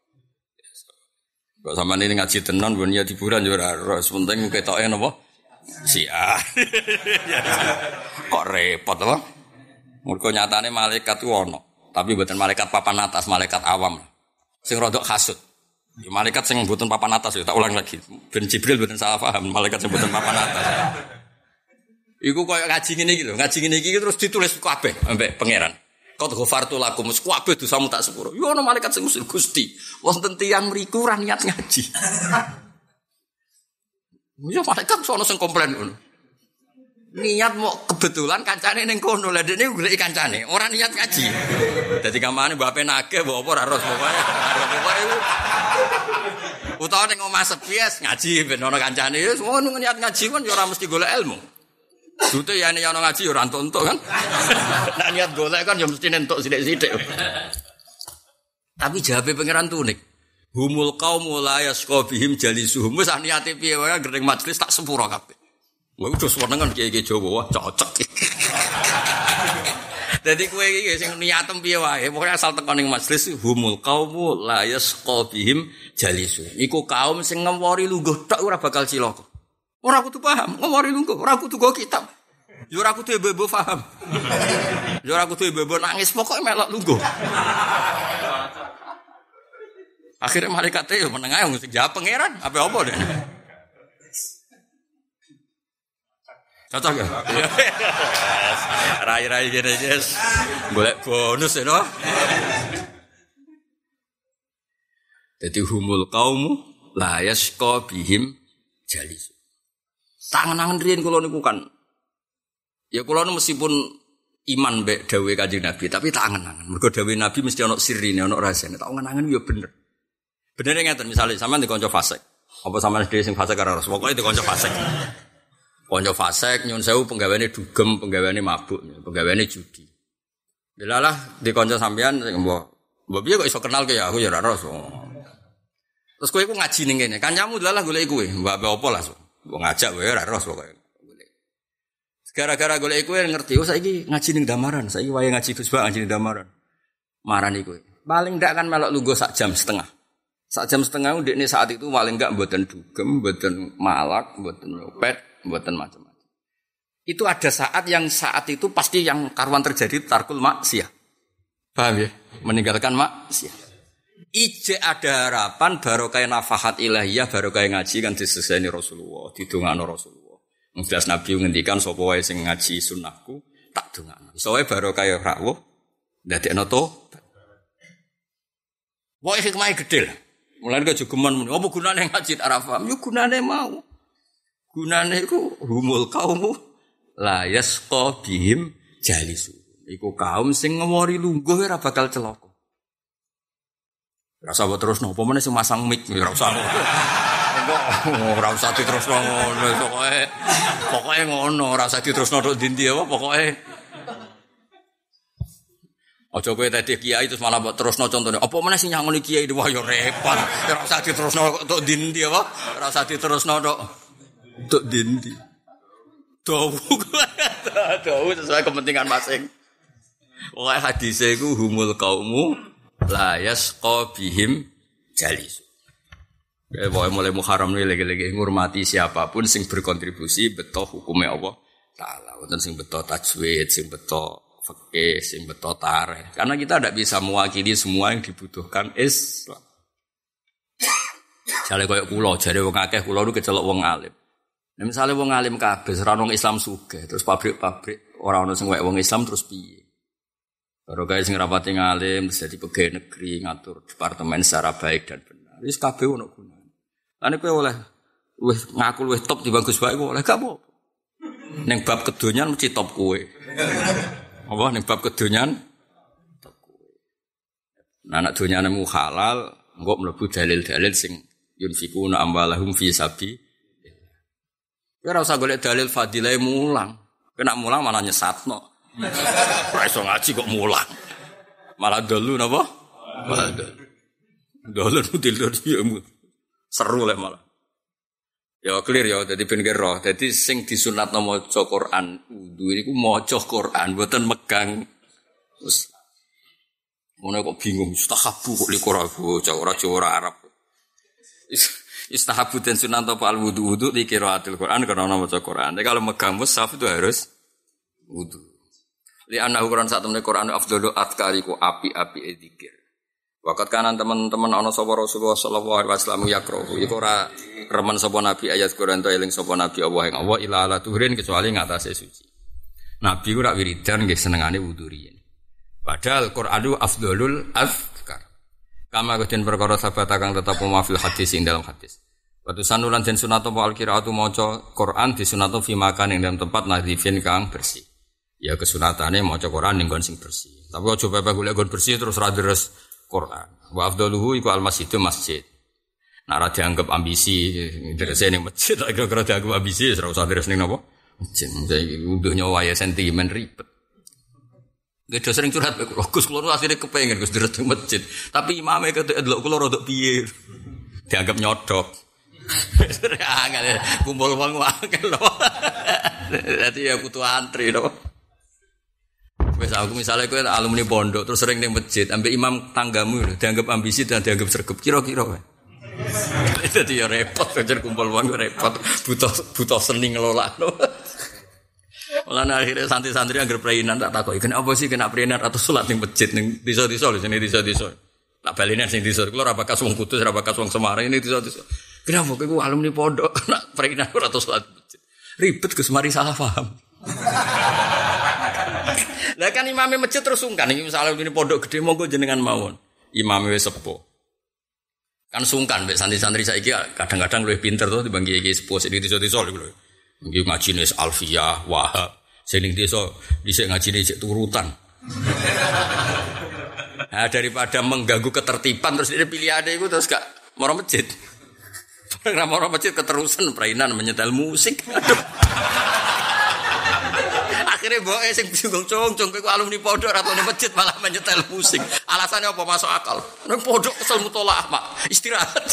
Kok sampeyan ini ngaji tenan ben ya hiburan yo ora penting ketoke napa? Siar. Kok repot apa? Mergo nyatane malaikat ku ono, tapi mboten malaikat papan atas, malaikat awam. Sing rodok hasud. Ya malaikat sing mboten papan atas ya tak ulang lagi. Ben Jibril mboten salah paham, malaikat sing mboten papan atas. Iku koyo ngaji ngene iki lho, ngaji ngene iki terus ditulis kabeh ambek pangeran. Qad ghafartu lakum, kabeh dosamu tak sepuro. Yo ono malaikat sing usul Gusti, wonten tiyang mriku ora niat ngaji. Ya malaikat sono sing komplain ngono. Niat mau kebetulan kancane ning kono lha dene goleki kancane ora niat ngaji. Dadi kamane mbape nake mbok apa ora ros pokoke. Utawa ning omah sepies ngaji ben ana kancane wis ngono niat ngaji kan ya ora mesti golek ilmu. Dute ya nek ana ngaji ya ora entuk kan. Nek niat golek kan ya mesti entuk sithik-sithik. Tapi jawabe pangeran tunik. Humul qaumul la yasqabihim jalisuhum. Wis niate piye wae gering majelis tak sepuro kabeh. Wah, udah senengan kiai-kiai Jawa, wah cocok. Jadi kowe iki sing niatem piye wae, pokoke asal teko ning majelis humul qaumu la yasqabihim jalisu. Iku kaum sing ngewori lungguh tok ora bakal cilaka. Ora kudu paham, ngewori lungguh, ora kudu go kitab. Ya ora kudu bebo paham. Ya ora kudu bebo nangis, pokoke melok lungguh. Akhirnya malaikat yo meneng ae sing jawab pangeran, apa deh. Cocok ya? Rai-rai gini guys. Golek bonus ya no? Jadi humul kaumu la yasqa bihim jalisu. Tangan-tangan riyen kula niku kan. Ya kula meskipun iman mbek dawuhe Kanjeng Nabi, tapi tak angen-angen. Mergo dawuhe Nabi mesti ana sirine, ana rahasiane. Tak angen-angen ya bener. Bener ngeten misale sampean dikonco fasik. Apa sampean dhewe sing fasik karo Rasul. Pokoke dikonco fasik. Konco fasek nyun sewu penggaweane dugem, penggaweane mabuk, penggaweane judi. Delalah di konco sampean sing mbok piye kok iso kenal ke ya aku ya ora ros. Terus kowe iku ngaji ning kene. Kancamu delalah golek kowe, mbak apa lah. Mbok ngajak kowe ora ros pokoke. Gara-gara golek kowe ngerti oh saiki ngaji ning Damaran, saiki wayahe ngaji Gus Bak ngaji ning Damaran. Marani kowe. Paling ndak kan melok lungguh sak jam setengah. Sak jam setengah ndekne saat itu paling ndak mboten dugem, mboten malak, mboten nyopet. Buatan macam-macam. Itu ada saat itu pasti yang karuan terjadi tarkul maksiyah. Paham ya? Meninggalkan maksiyah. Ije ada harapan barokah nafahat ilahiyah barokah ngaji kan diseseni Rasulullah, didongakno Rasulullah. Jelas Nabi ngendikan sapa wae sing ngaji sunnahku tak dongakno. Iso wae barokah rawuh ndadekno tobat. Wae hikmah gedhe. Mulane kok jogeman apa gunane ngaji Arafah? Yo gunane mau. Gunane iku humul kaumu la yasqa bihim jalisu. Iku kaum sing ngewori lungguh ora bakal celaka. Rasa mbok terusno, apa meneh sing masang mic ora usah. Ora usah diterusno ngono, pokoke ngono, ora usah diterusno tok ndi apa pokoke. Aja kowe tadi kiai terus malah mbok terusno contone. Apa meneh sing nyangoni kiai wah ya repot. Ora usah diterusno tok ndi apa? Ora usah diterusno tok ndi. Dawu sesuai kepentingan masing. Wae hadise iku humul qaumu la yasqa bihim jalis. Pokoke mulai Muharram iki lagi-lagi ngurmati siapapun sing berkontribusi beto hukume Allah taala. Wonten sing beto tajwid, sing beto fikih, sing beto tarikh. Karena kita tidak bisa mewakili semua yang dibutuhkan Islam. Jare koyo kula, jare wong akeh kula niku kecelok wong alim. Nek misale wong alim kabeh ora ono Islam sugih, terus pabrik-pabrik ora ono sing wek wong Islam terus piye? Baru guys sing rapati ngalim terus dadi pegawai negeri ngatur departemen secara baik dan benar. Wis kabeh ono gunane. Lan kowe oleh wis ngaku luwih top di bagus bae oleh gak apa. Ning bab kedonyan mesti top kowe. Apa ning bab kedonyan top kowe. Nah nek donyanemu halal, engko mlebu dalil-dalil sing yunfikuna amwalahum fi sabi. Kowe ora usah golek dalil fadilah mulang. Kena mulang malah nyesatno. Ora iso ngaji kok mulang. Malah dolu napa? Malah dolu dia seru lah malah. Ya clear ya dadi ben roh. Dadi sing disunatno maca Quran wudu niku maca Quran mboten megang. Terus ngono kok bingung istahabu kok liqrabu ora Jawa Arab. Istahabu dan sunat apa al-wudu di qiraatil Quran karena maca Quran. Tapi kalau megang mushaf itu harus wudu. Li ana ukuran sak temene Quran afdalu atkariku api-api dzikir. Waqat kanan teman-teman ana sapa Rasulullah sallallahu alaihi wasallam yakrohu. Iku ora remen sapa nabi ayat Quran to eling sapa nabi Allah ing Allah ila ala tuhrin kecuali ngatasé suci. Nabi ku rak wiridan nggih senengane wudu riyen. Padahal Qur'anu afdalul azkar. Kama keden perkara sahabat kang tetep mafil hadis ing dalam hadis. Watu sanulan den sunat apa al-qiraatu maca Quran disunat fi makan ing dalam tempat nadhifin kang bersih. Ya kesunatane maca Quran ning nggon sing bersih. Tapi aja pepe golek nggon bersih terus ra deres Quran. Wa afdaluhu iku al-masjidu masjid. Nek ora dianggap ambisi derese ning masjid, nek ora dianggap ambisi ora usah deres ning napa? Masjid. Saiki unduhnya wae sentimen ribet. Gede sering curhat Gus kula asline kepengin Gus deres ning masjid. Tapi imame ketok delok kula rada piye. Dianggap nyodok. Kumpul wong wae lho. Dadi ya kudu antri lho. Wes aku misalnya kowe alumni pondok terus sering ning masjid, ambek imam tanggamu lho, dianggap ambisi dan dianggap sregep kira-kira wae. Dadi ya repot kejar kumpul wong repot, butuh seni ngelolakno. Mulane akhirnya santri-santri anggere prainan tak takoki, kenapa sih kena prainan atau salat ning masjid ning desa-desa lho, sini desa-desa. Tak balene sing desa, kula ora bakas wong Kudus, ora bakas wong Semarang ini desa-desa. Kenapa kowe alumni pondok nak prainan ora atau salat masjid? Ribet Gus mari salah paham. Lah kan imame masjid terus sungkan iki misale ini pondok gede monggo jenengan mawon. Imame wis sepuh. Kan sungkan mek santri-santri saiki kadang-kadang luwih pinter to dibanding iki sepuh sing desa-desa lho. Iki ngajine Alfiyah, Wahab. Sing ning desa dhisik ngajine cek turutan. Nah, daripada mengganggu ketertiban terus dia pilihane iku terus gak moro masjid. Ora moro masjid keterusan prainan menyetel musik. Aduh. Akhirnya boke sing bingung cung-cung kowe alumni pondok atau ning masjid malah menyetel musik. Alasannya apa masuk akal? Ning pondok kesel mutolaah, Mak. Istirahat.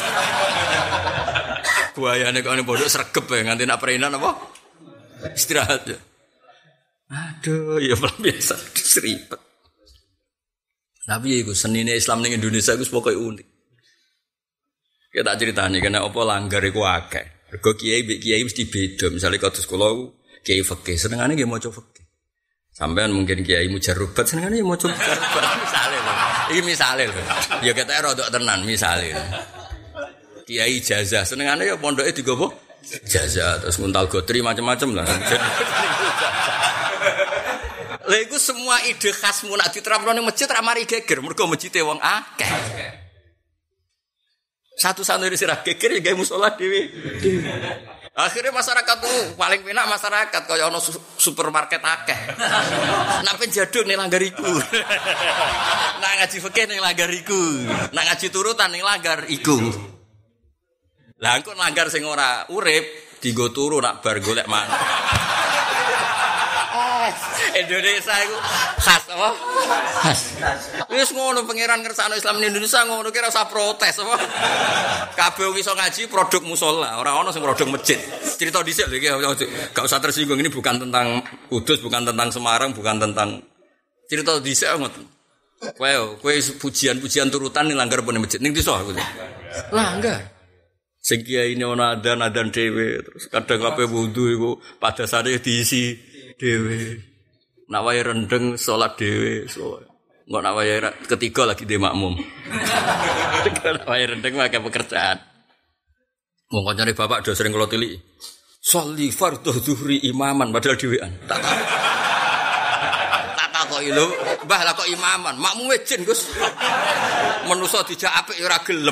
Buayane kok ning pondok sregep ya nganti nak prainan apa? Istirahat ya. Aduh, ya biasa ribet. Tapi ya iku senine Islam ning Indonesia iku pokoke unik. Kita tak ceritani kena apa langgar iku akeh. Mergo kiai mbek kiai mesti beda. Misale kados kula kiai fikih senengane nggih maca fikih. Sampeyan mungkin kiai mujarrubat senengane ya maca mujarrubat misale lho. Iki misale lho. Ya ketoke rodok tenan misale. Kiai ijazah senengane ya pondoke digowo ijazah terus nguntal godri macam-macam lah. Lha iku semua ide khasmu nak diterapno ning masjid ra mari geger mergo masjide wong akeh. Satu santri sira geger ya gawe musala dhewe. Akhirnya masyarakat tuh paling penak masyarakat kaya ono supermarket akeh. Nek penjaduk ning langgar iku. Nek ngaji fikih ning langgar iku. Nek ngaji turutan ning langgar iku. Lah engko langgar sing ora urip dienggo turu nak bar golek mangan. Indonesia itu khas apa? Khas. Wis ngono pangeran ngersakno Islam di Indonesia ngono kira usah protes apa? Kabeh wong iso ngaji produk musala, ora ono sing produk masjid. Cerita dhisik lho iki gak usah tersinggung, ini bukan tentang Kudus, bukan tentang Semarang, bukan tentang cerita dhisik ngoten. Kowe pujian-pujian turutan ning langgar pun masjid ning desa aku. Langgar. Sing kiai ini ono adan dhewe terus kadang kabeh wudu iku pada sare diisi dhewe. Nak wae rendeng salat dhewe, engko nak wae ketiga lagi dhe makmum. Nak wae rendeng wae pekerjaan. Wong kancane bapak do sering kula tiliki. Sholli fardhu zuhri imaman padahal dhewean. Tak takoki lho, Mbah lah kok imaman, makmume jin Gus. Menusa dijak apik ya ora gelem.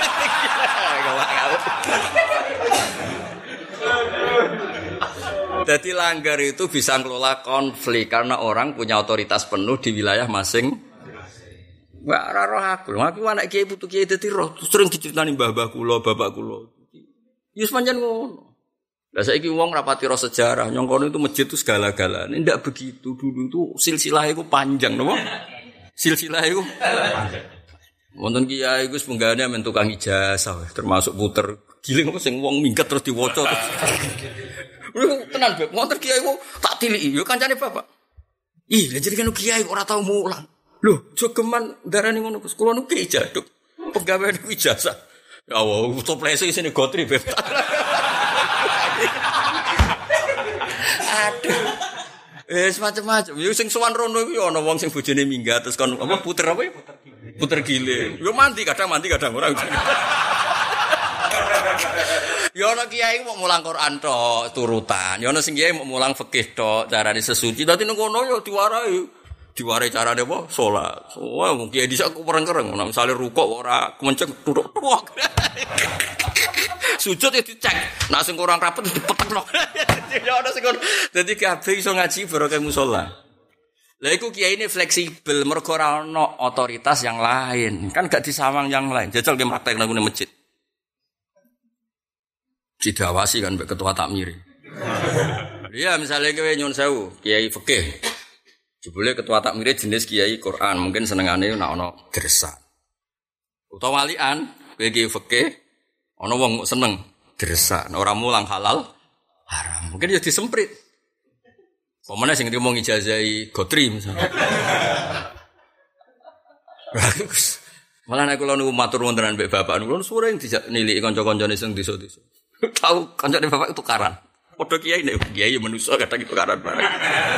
Jadi langgar itu bisa ngelola konflik karena orang punya otoritas penuh di wilayah masing. Wah, roh aku anak kiai putu kiai dadi roh sering diceritani mbah-mbah kula, bapak kula. Ya pancen ngono. Lah saiki wong rapati roh sejarah, nyong kono itu masjid itu segala-galane. Ndak begitu, dulu itu silsilah iku panjang, napa? Silsilah iku panjang. Wonten kiai iku sepunggane men tukang ijazah, termasuk puter giling apa sing wong minggat terus diwaca terus. Tenan beb, ngoten kiai ku tak tiliki, yo kancane bapak. Ih, lha jenengan kiai ora tau mulang. Lho, jogeman darani ngono Gus, kula nu kiai jaduk. Pegawe niku ijazah. Ya Allah, toplese isine gotri beb. Aduh. Semacam-macam. Yo sing sowan rono iku ana wong sing bojone minggat terus kon apa puter apa ya? Puter giling. Yo mandi kadang ora. Ya ana kiai mau mulang Quran tok turutan. Ya ana sing kiai mau mulang fikih tok carane sesuci. Dadi nang kono ya diwarai. Diwarai carane apa? Salat. Wah, wong kiai dhisik aku pereng-kereng. Nek misale rukuk ora kemenceng duduk tuwak. Sujud ya dicek. Nek sing kurang rapet dipetekno. Ya ana sing ngono. Dadi kabeh iso ngaji barokah musala. Lah iku kiai ini fleksibel mergo ora ana otoritas yang lain. Kan gak disawang yang lain. Jajal ki praktek nang masjid. Didawasi kan mbek ketua takmir. Iya misalnya kowe nyun sewu, kiai fikih. Jebule ketua takmir jenis kiai Quran, mungkin senengane nek ana gersak. Utawa walian, kowe kiai fikih, ana wong seneng gersak, ora mulang halal haram. Mungkin ya disemprit. Pemene sing ngomong ijazahi gotri misalnya. Bagus. Malah nek kula niku matur wontenan mbek bapak niku sering dijak niliki kanca-kancane sing desa-desa. Tahu kancane bapak itu tukaran. Padha kiai nek kiai manusa kadang tukaran bareng.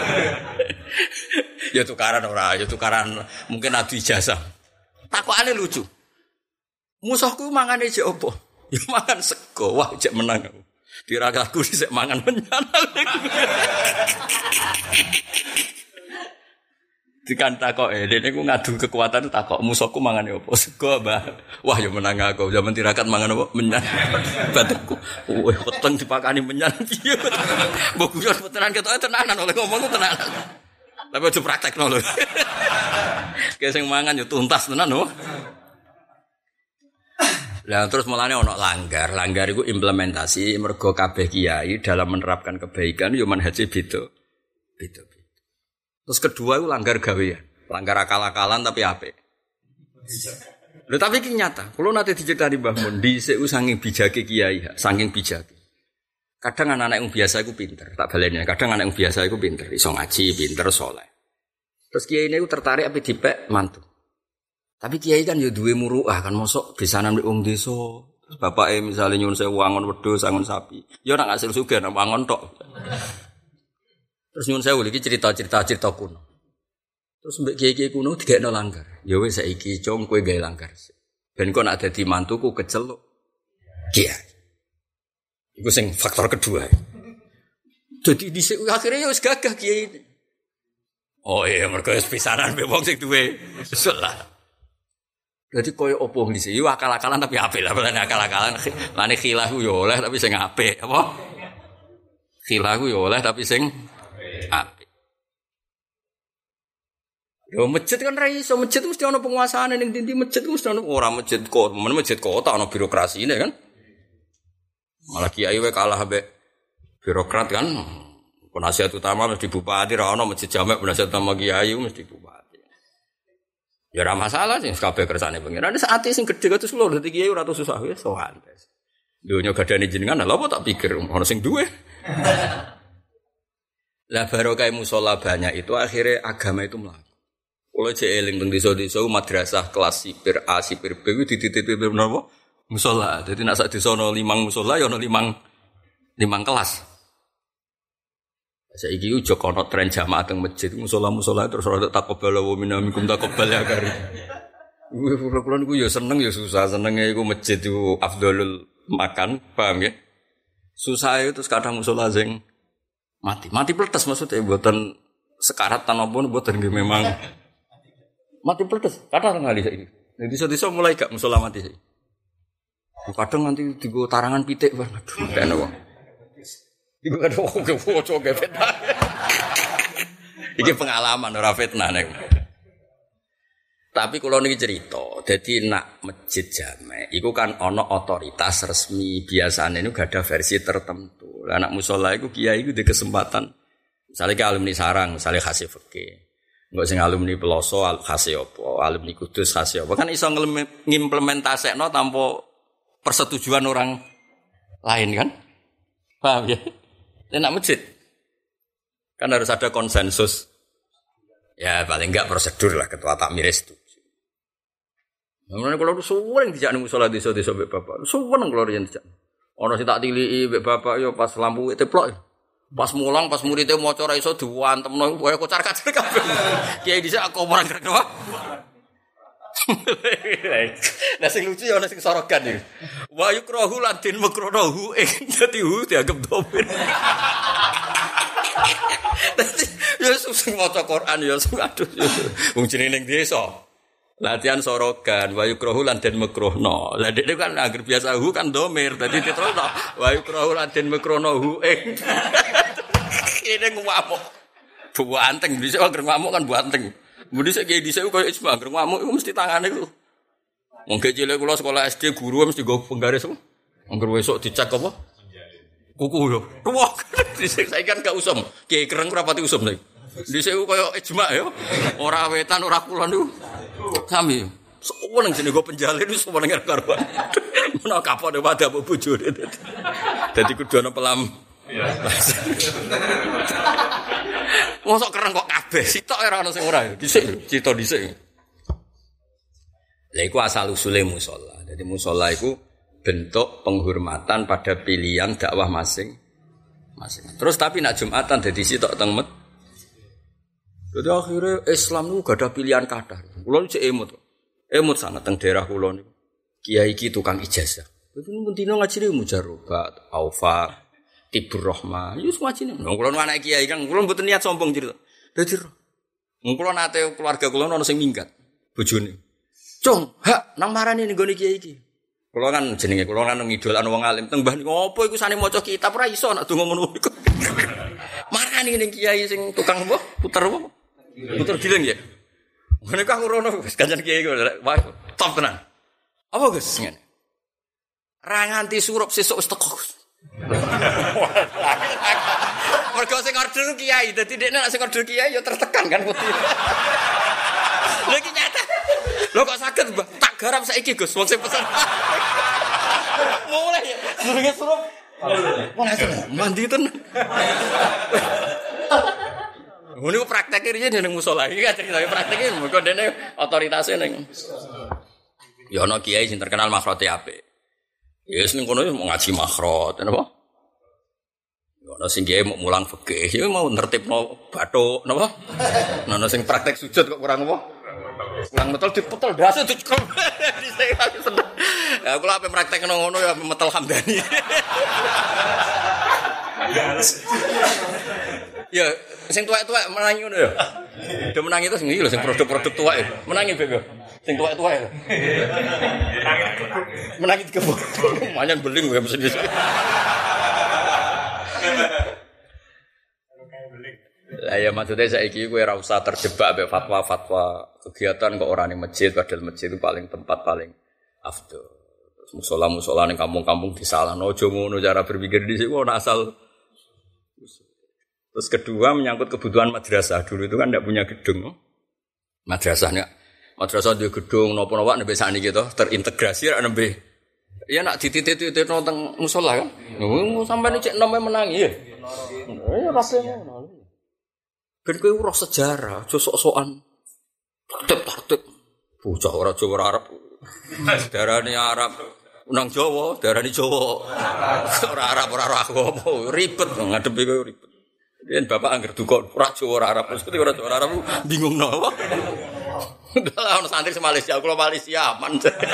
Ya tukaran ora, ya tukaran mungkin adu ijazah. Takokane lucu. Musuhku mangane jek opo? Ya mangan sego. Wah, jek menang aku. Diragaku sik mangan menyan. Dikan takok dene ku ngadu kekuatan takok musuhku mangane opo? Sego, Mbah. Wah, ya menang aku. Zaman tirakat mangan opo? Menyan. Batekku. Wah, weteng dipakani menyan piye. Mbok guyon tenan ketoke tenanan oleh ngomong tenanan. Tapi aja praktekno lho. Kayak sing mangan yo tuntas tenan lho. Lah terus mulane ana langgar. Langgar iku implementasi mergo kabeh kiai dalam menerapkan kebaikan yo manhaje beda. Terus kedua itu langgar gawean, langgar akal-akalan tapi apik. Lho tapi iki nyata. Kulo nate diceritani Mbah Mun dhisik saking bijake kiai, saking bijake. Kadang anak-anak yang biasa iku pinter, tak baleni. Kadang anak yang biasa iku pinter, iso ngaji, pinter, saleh. Terus kiai niku tertarik ape dipek mantu. Tapi kiai kan yo duwe muruah kan mosok besanan wong desa. Terus bapake misale nyuwun sewu wangon wedhus, angon sapi. Yo nak ngasil sugih nak wangon tok. Terus nyuwun sewu iki cerita kuno. Terus mbek kiai-kiai kuno digekno langgar. Ya wis saiki cung kowe gawe langgar. Ben kok nak dadi mantuku keceluk. Kiai. Iku sing faktor kedua. Jadi dhisik akhire ya wis gagah kiai. Oh iya mergo wis pisanan mbek wong sing duwe. Salah. Dadi koyo opo ngisi yo akal-akalan tapi apik lah, balane akal-akalan. Lane khilahu yo oleh tapi sing apik, apa? Khilahu yo oleh tapi sing apik. Yo masjid kan ra iso, masjid mesti ana penguasaane ning ndi masjid mesti ana ora masjid kok, masjid kota ana birokrasine kan. Malah kiai wae kalah ambek birokrat kan. Penasihat utama mesti bupati, ra ono masjid jamek penasihat utama kiai mesti bupati. Ya ora masalah sing kabeh kersane pengiran. Ada saate sing gedhe kados kula dadi kiai ora tau susah wis sowan. Dunya gadane jenengan lha apa tak pikir ono sing duwe. Lah barokah musala banyak itu akhirnya agama itu mlaku. Kula cek eling teng desa-desa madrasah kelas sipir A sipir B kuwi dititipi menapa? Musala. Dadi nek sak desa ana 5 musala ya ana 5 kelas. Saiki ujo kono tren jamaah teng masjid musala-musala terus ora takobal wa minamikum takobal ya kari. Kula niku ya seneng ya susah, senenge iku masjid iku afdhalul makan, paham ya? Susah itu terus kadang musala sing mati pletes maksudnya mboten sekarat tanapa mboten nggih memang mati pletes. Kadang ngali saiki. Desa-desa mulai gak musala mati saiki. Kadang nanti digo tarangan pitik waduh kene wong. Iku ada wong kefoco fitnah. Iki pengalaman ora fitnah nek. Tapi kula niki cerita, dadi nak masjid jamek iku kan ana otoritas resmi, biasane niku gak ada versi tertentu. Lah anak musala iku kiai iku di kesempatan misale ke alumni Sarang, misale khase fikih. Engko sing alumni Peloso khase apa, alumni Kudus khase apa. Kan iso ngimplementasekno tanpa persetujuan orang lain kan? Paham ya? Enak masjid. Kan harus ada konsensus. Ya paling enggak prosedur lah ketua takmir setuju. Mulane kula suweng dijak ning musala desa-desa mbek bapak. Suweng kula riyen dijak. Ana sing tak tiliki mbek bapak yo pas lampu teplok. Pas mulang pas muridé maca ora iso diwantemno koyo kocar-kacir kabeh. Kiai dhisik aku ora ngerti. Lah sing lucu ya ana sing sorogan iki. Wa yukrahu ladin makruhu dadi hu dianggap domir. Dadi ya sing maca Quran ya aduh. Wong jenenge ning desa. Latihan sorogan wa yukrahu ladin makruhno. Lah dekne kan anggere biasa hu kan domir dadi diterusno wa yukrahu ladin makruhu Ini ngamuk. Bu anteng dhisik anggere ngamuk kan bu anteng. Mudi sik kiai dhisik koyo ijma anggere ngamuk iku mesti tangane iku. Wong cilik kula sekolah SD guru mesti nggo penggaris. Anggere wesuk dicek apa? Kuku yo. Tuwak. Dhisik saiki kan gak usum. Kiai kereng ora pati usum saiki. Dhisik koyo ijma yo. Ora wetan ora kulon niku. Sami. Seneng jenenge go penjalin wis seneng karo. Menawa kapok wadah bojone. Dadi kudu ana pelam. Mosok kereng kok kabeh sitok ora ono sing ora dhisik cita dhisik. Lha iku asal usule musala. Jadi musala iku bentuk penghormatan pada pilihan dakwah masing-masing. Terus tapi nak Jumatan dadi sitok teng masjid. Jadi akhirnya Islam niku gak ada pilihan kathah. Kula cek emut. Emut sangat teng daerah kula niku. Kiai iki tukang ijazah. Dadi mun dino ngajine mujarobat, aufa Tibur Rahmah, yus ngajine. Wong kula anak kiai kan, kula mboten niat sombong cerita. Dadi wong kula nate keluarga kula ana sing minggat bojone. Cung, hak nang marani ning gone kiai iki. Kula kan jenenge kula kan ngidolan wong alim. Teng mbah niku opo iku sane maca kitab ora iso nek donga ngono iku. Marani ning kiai sing tukang apa? Puter apa? Puter giling ya. Ngene kok ngono wis kancan kiai kok top tenan. Apa Gus ngene? Ra nganti surup sesuk wis teko. Mergo sing order kiai, dadi dekne nek sing order kiai ya tertekan kan putih. Lha iki nyata. Lho kok saged, Mbah? Tak garap saiki, Gus, wong sing pesen. Mulai ya, durunge surup. Mulai mandi tenan. Ngono prakteke riyen ning musala iki kan cerita prakteke mergo dene otoritasé ning. Ya ana kiai sing terkenal makhrote apik. Ya wis ning kono mau ngaji makhrot, napa? Ya ana sing kiai mau mulang fikih, ya mau nertibno bathuk, napa? Ana sing praktek sujud kok kurang apa? Kurang metel dipetel dase dicekel. Ya kula ape praktekno ngono ya metel Hamdani. Ya Sing tuwek-tuwek menangi ngono ya. Udah menangi terus iki lho sing produk-produk tuwek. Menangi bego. Sing tuwek-tuwek. Menangi dikebuk. Manyan beling gue mesti. Lah ya maksudnya saiki kowe ora usah terjebak mek fatwa-fatwa kegiatan kok ora ning masjid padahal masjid itu paling tempat paling afdol. Musola-musola ning kampung-kampung disalahno aja ngono cara berpikir di sini ono asal. Terus kedua menyangkut kebutuhan madrasah. Dulu itu kan tidak punya gedung. Madrasahnya. Madrasah di gedung napa-napa nembe sakniki to terintegrasi ra nembe. Ya nak dititik-titik nang musola kan. Sampai cek nome menangi ya. Ya pasti ngono. Ben kowe ora sejarah, aja sok-sokan. Tartib. Bocah ora Jawa ora Arab. Darane Arab. Nang Jawa, darane Jawa. Ora Arab ora aku apa, ribet ngadepi kowe ribet. Yen bapak angger duka ora Jawa ora Arab, mesti ora Jawa ora Arab bingung napa. Lah ono santri se Malaysia, kula Malaysia aman.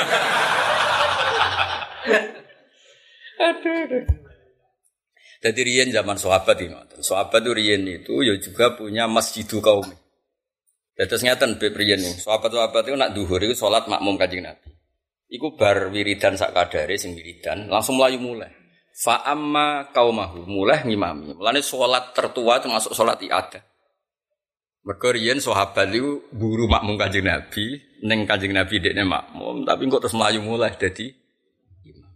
Aduh. Jadi riyen zaman sahabat itu, sahabat itu riyen itu ya juga punya masjidu kaum. Terus ngeten beb riyen nih, sahabat-sahabat itu nak duhur itu salat makmum Kanjeng Nabi. Iku bar wiridan sak kadare sing wiridan, langsung mlayu mulai. Fa amma qaumahu mulai ngimami. Mulane salat tertua termasuk salat ibadah. Mergo riyen sahabat itu buru makmum Kanjeng Nabi, ning Kanjeng Nabi dekne makmum, tapi kok terus mlayu mulai dadi imam.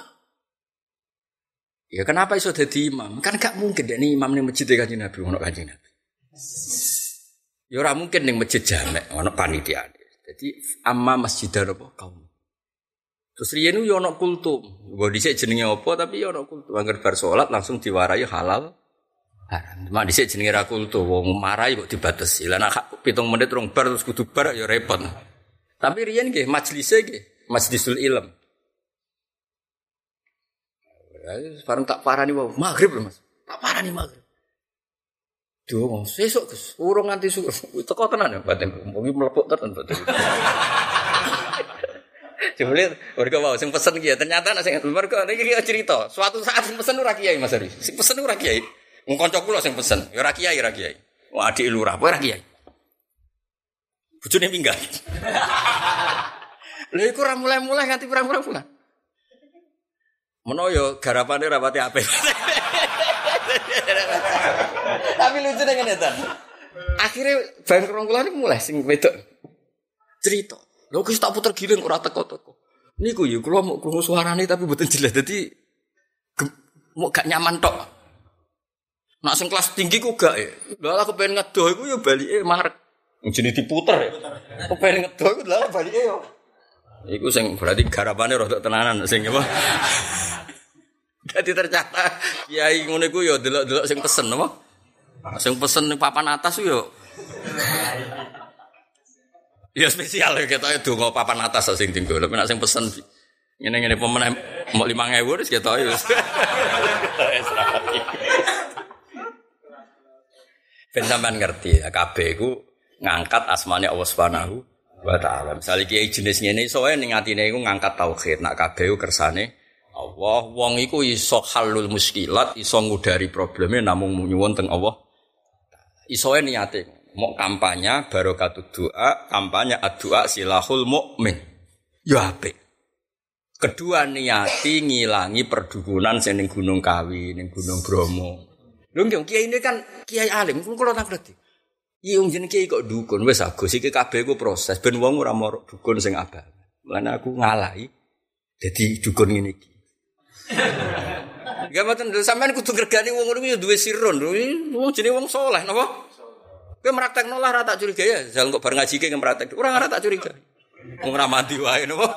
Ya kenapa iso dadi imam? Kan gak mungkin dekne imam ning masjid Kanjeng Nabi ono Kanjeng Nabi. Ya ora mungkin ning masjid jamek ono panitia. Jadi amma masjidan apa kaum. Terus riyen yo ana kultum. Mbok dhisik jenenge apa tapi yo ana kultum. Angger bar salat langsung diwarai halal haram. Mak dhisik jenenge ra kultum, wong marai kok dibatesi. Lah nek 7 menit rong bar terus kudu bar yo repot. Tapi riyen nggih majlise nggih, majlisul ilm. Bareng tak parani wae, magrib lho Mas. Tak parani magrib. Duh, sesuk Gus, urung nganti teko tenan ya batin. Mungkin mlepuk tenan batin. Jebule mergo wae sing pesen ki ternyata nek sing mergo iki cerita. Suatu saat sing pesen ora kiai Mas Ari. Sing pesen ora kiai. Wong kanca kula sing pesen, ya ora kiai. Wah adik lurah, ora kiai. Bojone minggat. Lha iku ora mulai-mulai nganti pirang-pirang bulan. Menawa yo garapane rapati apik. Tapi lucu nek ngene ta. Akhire bang rongkulan iku mulai sing wedok cerita. Lho Gus tak puter giling ora teko-teko. Niku ya kula mau krungu suarane tapi mboten jelas. Dadi mau gak nyaman tok. Nak sing kelas tinggi ku gak ya. Lah aku pengen ngedoh iku ya balike marek. Jenenge diputer ya. Aku pengen ngedoh iku lha balike yo. Iku sing berarti garapane rada tenanan sing apa. Dadi ternyata kiai ngono iku ya delok-delok sing pesen apa? Sing pesen ning papan atas ku yo. Ya spesial ya ketoke donga papan atas sing tinggal. Tapi nek sing pesen ngene-ngene pemenang mok 5.000 wis ketoke wis. Ben sampean ngerti ya kabeh iku ngangkat asmane Allah Subhanahu wa taala. Misale kiai jenis ngene iso wae ning atine iku ngangkat tauhid. Nak kabeh iku kersane Allah, wong iku iso halul muskilat, iso ngudari probleme namung nyuwun teng Allah. Iso wae niate mau kampanye barokatut doa, kampanye doa silahul mukmin. Ya apik. Kedua niati ngilangi perdukunan sing ning Gunung Kawi, ning Gunung Bromo. Lho nggih kiai ini kan kiai alim, kula tak ngerti. Iya wong jenenge kiai kok dukun wis Agus iki kabeh ku proses ben wong ora marok dukun sing abal. Mulane aku ngalahi dadi dukun ngene iki. Gak mboten sampean kudu ngregani wong ngono kuwi duwe sirun. Wong jenenge wong saleh napa? Kowe mraktekno lah ra tak curiga ya. Jal kok bar ngaji ki ngempraktek. Ora ora tak curiga. Wong ra mandi wae napa?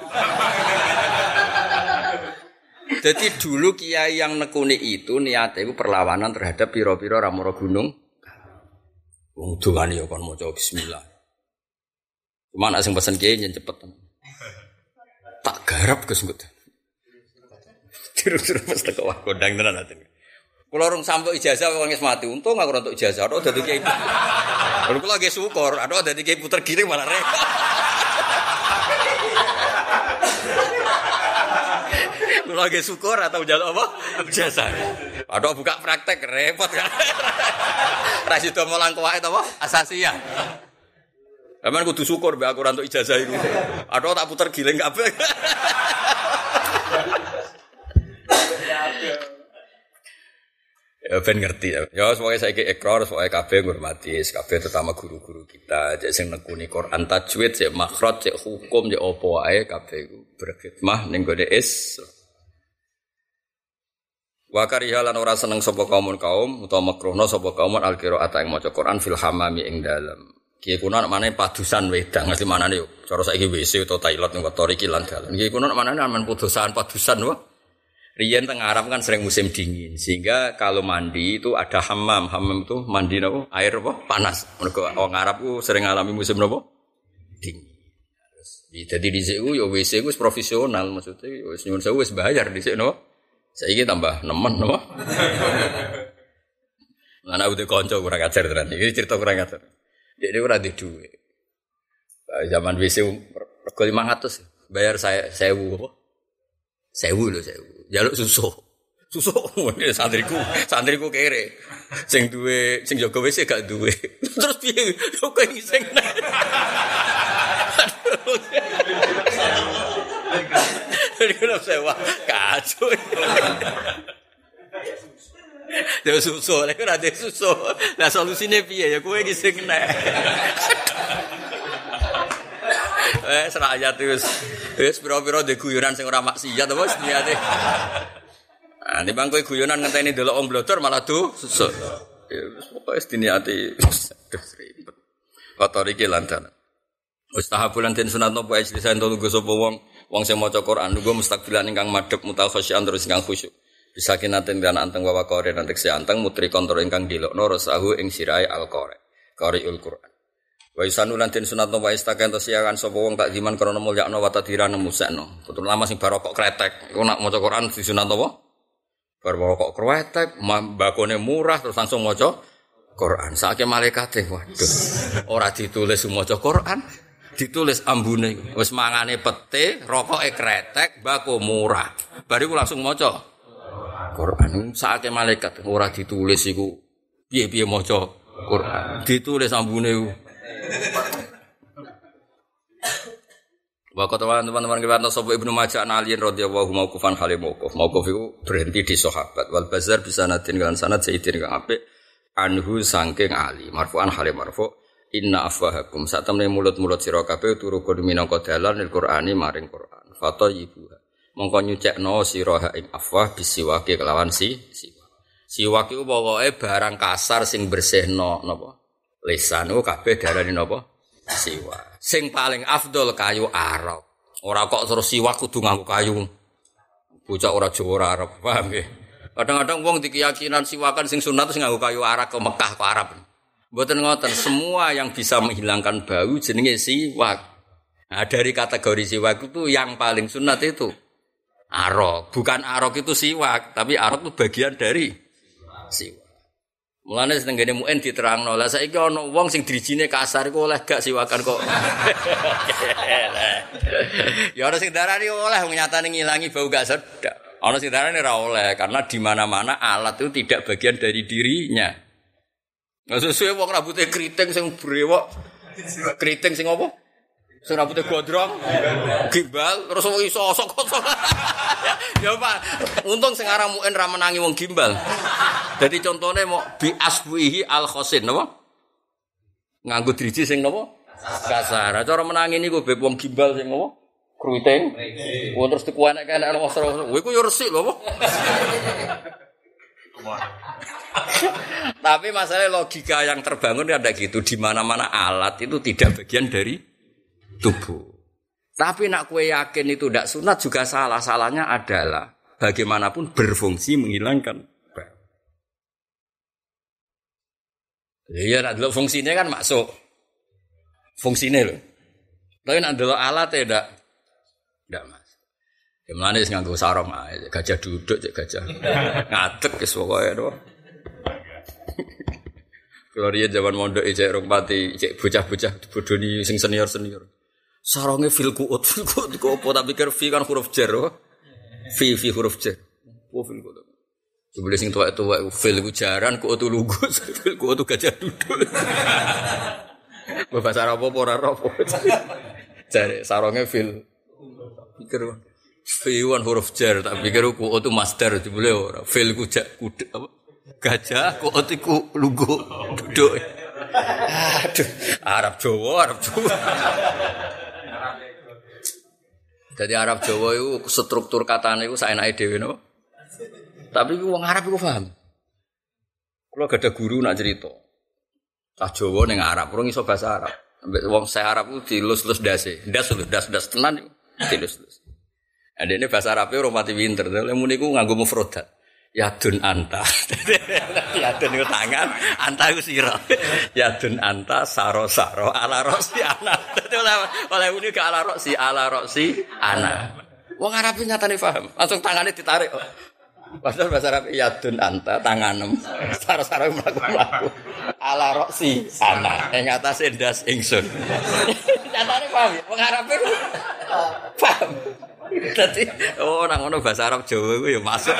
Jadi dulu kiai yang nekuni itu niatnya itu perlawanan terhadap piro-piro ramoro gunung. Wong dongane ya kon maca bismillah. Cuma nek sing pesen kiai yen cepet. Tak garap Gus Ngut. Terus mesti kok wah kondang tenan ati. Kula urung sampe ijazah wong wis mati. Untung aku ora entuk ijazah, ora dadi kiai. Kula lagi syukur, ada dadi kiai puter giring malah repot. Lagi syukur atau njaluk apa? Ijazah. Aduh buka praktek repot kan. Ra sido mulang kuwae to apa? Asasiah. Aman kudu syukur mbek aku ora entuk ijazah iku. Aduh tak puter giling kabeh. Ya ben ngerti ya. Ya semoga saiki ikrar semoga kabeh ngurmati kabeh terutama guru-guru kita cek sing nekuni Quran tajwid cek makhraj cek hukum cek apa wae kabeh iku berkhidmah ning gone Wa kariha lan ora seneng sapa kaum utawa makruhna sapa kaum al-qiraat ing maca Quran fil hamami ing dalem. Ki kuno manane padusan wedang mesti manane yo cara saiki WC utawa toilet ning kotor iki lan dalan. Ki kuno manane aman padusan wae. Riyen teng Arab kan sering musim dingin sehingga kalau mandi itu ada hammam. Hammam itu mandi napa? Air apa? Panas. Mergo wong Arab ku sering ngalami musim napa? Dingin. Jadi dhisik ku ya WC ku wis profesional maksudnya wis nyuwun sewu wis bayar dhisik napa? Saiki tambah nemen napa? Ana udah kanca kurang ajar tenan. Iki cerita kurang ajar. Dek ora duwe dhuwit. Zaman WC rego 500 bayar saya 1000 apa? 1000 lho 1000. Jaluk susu santriku kere sing duwe sing jaga WC gak duwe terus piye kok ngising Kalau sewa kacau. Dia susu, lek ora ada susu. Lah solusine piye ya kowe iki sing nek. Serayat wis pira-pira de guyonan sing ora maksiat apa wis niate. Ah timbang kowe guyonan ngenteni delok wong blodor malah susu. Ya wis pokoke diniati ribet. Kotor iki lantan. Mustahabulan den sunat napa ijlisan to lungguh sapa wong sing maca Quran lungguh mustaqbilan ingkang madhep mutakhasyian terus ingkang khusyuk. Bisa kinaten dan anteng wawa kore nanti seanteng mutri kontrol ingkang dilokno rosahu ing sirai al kore qariul Quran. Wa isanulan den sunat napa istaken to siakan sapa wong tak diman krana mulyakno wa tadirane musekno. Putu lama sing barokok kretek. Iku nak maca Quran disunat apa? Barokok kretek, mbakone murah terus langsung maca Quran. Saking malaikate waduh. Ora ditulis maca Quran, ditulis ambune. Wis mangane pete, rokoke kretek, mbako murah. Bariku langsung maca Quran. Saking malaikat ora ditulis iku piye-piye maca Quran. Ditulis ambune iku. Waktu teman-teman kita sapa Ibnu Majah Ali radhiyallahu mauqufan halim mauquf. Mauquf iku berhenti di sahabat. Wal Bazar bisa natin kan sanad sayyidin kang apik anhu saking Ali. Marfu'an halim marfu' inna afwahakum satamne mulut-mulut sira kabeh turukun minangka dalan Al-Qur'ani maring Qur'an. Fatayibu. Mongko nyucekno sira ing afwah bisiwake kelawan siwak. Siwak iku pokoke barang kasar sing bersihno napa? Lisan ku kabeh darani napa? Siwak. Sing paling afdol kayu arok. Ora kok terus siwak kudu nganggo kayu. Bocah ora Jawa ora Arab, paham nggih? Kadang-kadang wong dikeyakinan siwakan sing sunat terus nganggo kayu arak ke Mekah ke Arab. Mboten ngoten, semua yang bisa menghilangkan bau jenenge siwak. Nah, dari kategori siwak itu yang paling sunat itu arok. Bukan arok itu siwak, tapi arok itu bagian dari siwak. Mulane senengane muen diterangno. Lah saiki ana wong sing drijine kasar iku oleh gak siwakan kok. Ya ana sing darani oleh nyatane ngilangi bau gak sedap. Ana sing darani ora oleh karena di mana-mana alat itu tidak bagian dari dirinya. Nah sesuai wong rambutnya keriting sing brewok. Keriting sing apa? Sing rambutnya gondrong, gimbal, terus wong iso sok-sok. Ya Pak, untung sing aran muen ra menangi wong gimbal. Dadi contone mau bi asbuhi al khosin napa? Nganggo driji sing napa? Kasar. Cara menangi niku beb wong gimbal sing napa? Kruiting. Wong terus dikuenek-enek nang wasra. Kowe iku yo resik lho apa? Tapi masalah logika yang terbangun ada gitu, di mana-mana alat itu tidak bagian dari tubuh. Tapi nak kue yakin itu tidak sunat juga salah. Salahnya adalah bagaimanapun berfungsi menghilangkan bau. Iya, nak dulu fungsinya kan masuk. Fungsinya loh. Tapi nak dulu alat tidak masuk. Gimana sih nganggo sarung aja, gajah duduk cek gajah ngadeg wis pokoke to. Kalau dia zaman mondok cek rong pati, cek bocah-bocah bodoni sing senior-senior. Sarunge fil kuut kok apa tak pikir fi kan huruf jar. Fi huruf jar. Oh fil kuut. Jebule sing tuwek-tuwek fil ku jaran kok otu lugu, fil kok otu gajah duduk. Bahasa Arab apa ora roh. Jare sarunge fil. Pikir fiwan huruf jar tak pikir ku otu masdar jebule ora. Fil ku kudu apa? Gajah kok otu ku lugu duduk. Aduh, Arab Jawa. Jadi Arab Jawa itu struktur katanya itu saenake dhewe napa? Tapi wong Arab iku paham. Kalau gak ada guru nak cerita. Cah Jawa ning Arab, ora iso bahasa Arab. Ambek wong saya Arab ku dilus-lus dase. Das tenan dilus-lus. Adene bahasa Arabe ora mati pinter. Lha muni ku nganggo mufradat. Yadun anta. Yadun itu tangan, anta itu sira. Yadun anta saro-saro ala roksi anak. Dadi oleh muni ke ala roksi anak. Wong Arab nyatane paham. Langsung tangane ditarik. Padahal bahasa Arab yadun anta tanganem saro-saro mlaku-mlaku ala roksi ana ing atase ndas ingsun. Nyatane paham ya wong Arab itu paham. Dadi nang ngono bahasa Arab Jawa iku ya masuk.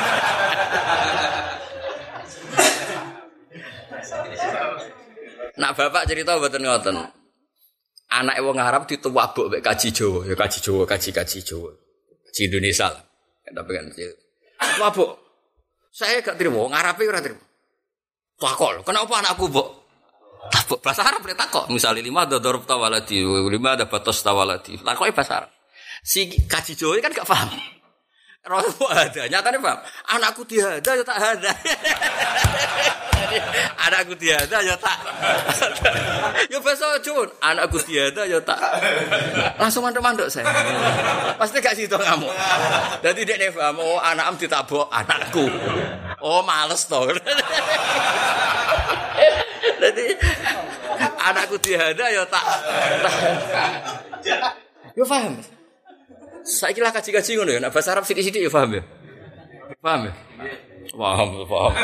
Nak bapak cerita mboten ngoten. Anake wong Arab dituwabuk mek kaji Jawa, ya kaji Jawa. Kaji Indonesia lah. Tapi kan mabuk. Saya gak terima, wong Arabe ora terima. Takok, kenapa anakku, Mbok? Takok bahasa Arab nek takok, misale 5 ada dzarf tawalati, 5 ada batas tawalati. Takoke bahasa Arab. Si kaji Jawa kan gak paham. Rasul ada, nyatane paham. Anakku dihada ya tak hada. Anakku dihada ya tak. Ya bahasa Jawa, anakku dihada ya tak. Langsung mandek-mandek saya. Pasti gak sido ngamuk. Dadi dekne paham, oh anakam ditabok anakku. Oh males to. Dadi anakku dihada ya tak. Yo paham. Saiki lah kaji-kaji ngono ya, nek bahasa Arab sithik-sithik ya paham ya. Paham ya? Paham.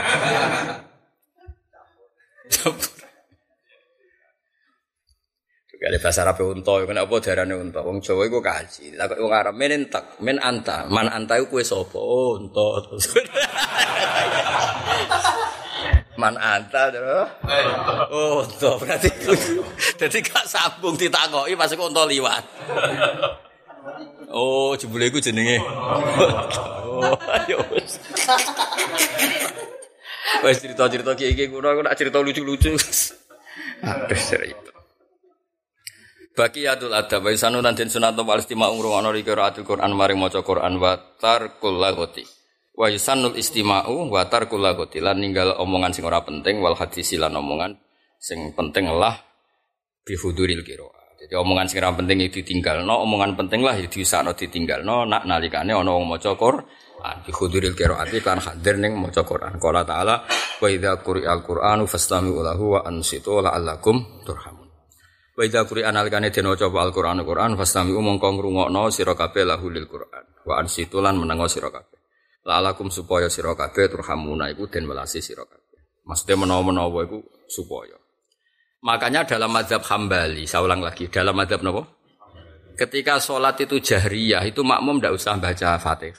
Kali bahasa Arab unta, kena apa darane unta? Wong Jawa iku kaji. Lah kok wong Arab men entek, men anta. Man anta iku kowe sapa? Oh, unta. Man anta terus. Oh, unta berarti. Dadi gak sambung ditakoki pas kok unta liwat. Oh, jebule iku jenenge. Oh, ayo wis. Wis cerita-cerita iki kuno aku nak cerita lucu-lucu. Aduh, serius. Baqiyatul adab wa sanunan den sunat wal istima'u ngrungokno qiraatul Quran maring maca Quran wa tarkul lagoti. Wa yusannul istima'u wa tarkul lagoti lan ninggal omongan sing ora penting wal hadis lan omongan sing penting lah bi huduril qiraah. Jadi omongan sing ora penting itu ditinggalno, omongan penting lah ya diusahno ditinggalno nak nalikane ana wong maca Quran. Bi huduril qiraati kan hadir ning maca Quran. Qala ta'ala wa idza quri'al Qur'anu fastami'u lahu wa ansitu la'allakum turhamun. Wa idza quri'an alikane den waca Al-Qur'an fastami'u mongko ngrungokno sira kabeh lahu lil Qur'an wa ansitu lan menengo sira kabeh. La'allakum supaya sira kabeh turhamuna iku den welasi sira kabeh. Maksude menawa-menawa iku supaya. Makanya dalam mazhab Hambali, saya ulang lagi, dalam mazhab napa? Ketika sholat itu jahriyah, itu makmum tidak usah baca Fatihah.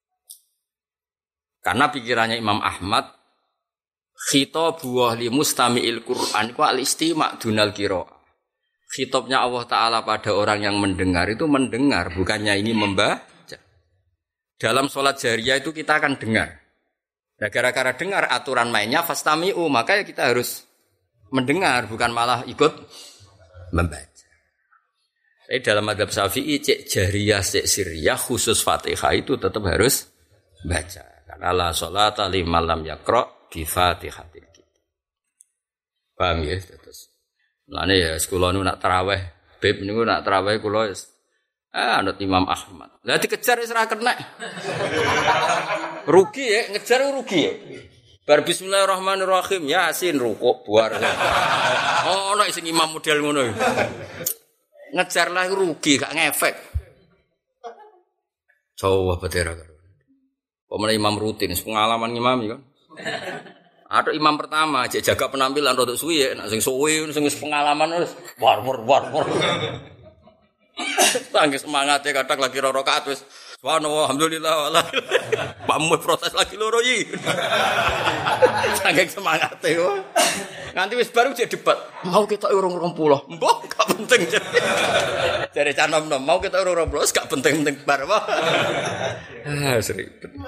Karena pikirannya Imam Ahmad, khitabu li mustami'il Qur'an itu al-istima' dunal qira'ah. Khitabnya Allah Ta'ala pada orang yang mendengar itu mendengar, bukannya ini membaca. Dalam sholat jahriyah itu kita akan dengar. Nah, gara-gara dengar aturan mainnya fastami'u, maka ya kita harus mendengar, bukan malah ikut membaca. Tapi dalam mazhab Syafi'i cek jahriyah, cek sirriyah khusus Fatihah itu tetap harus baca. Karena la sholata liman lam yaqra bi Fatihatil kitab. Paham ya? Terus. Lane ya sekolah nu nak tarawih, beb niku nak tarawih kula anut Imam Ahmad. Lah dikejar wis ora kena. Rugi ya, ngejar rugi ya. Bar bismillahirrahmanirrahim Yasin rukuk buar. Oh ana sing imam model ngono. Ngejar lah rugi gak ngefek. Coba betera karo. Pemene imam rutin pengalaman ngimami kan. Ada imam pertama jaga penampilan rodok suwi ya, nek sing suwi sing pengalaman wis war. Tangis semangate kadang lagi rakaat wis Subhanallah, alhamdulillah, wala. Pak Mu protes lagi loro iki. Saking semangate kok. Nganti wis baru jadi debat. Mau kita urung 20. Mbok gak penting. Jare canom-nom, mau kita urung 20 gak penting-penting bar apa. Seribet.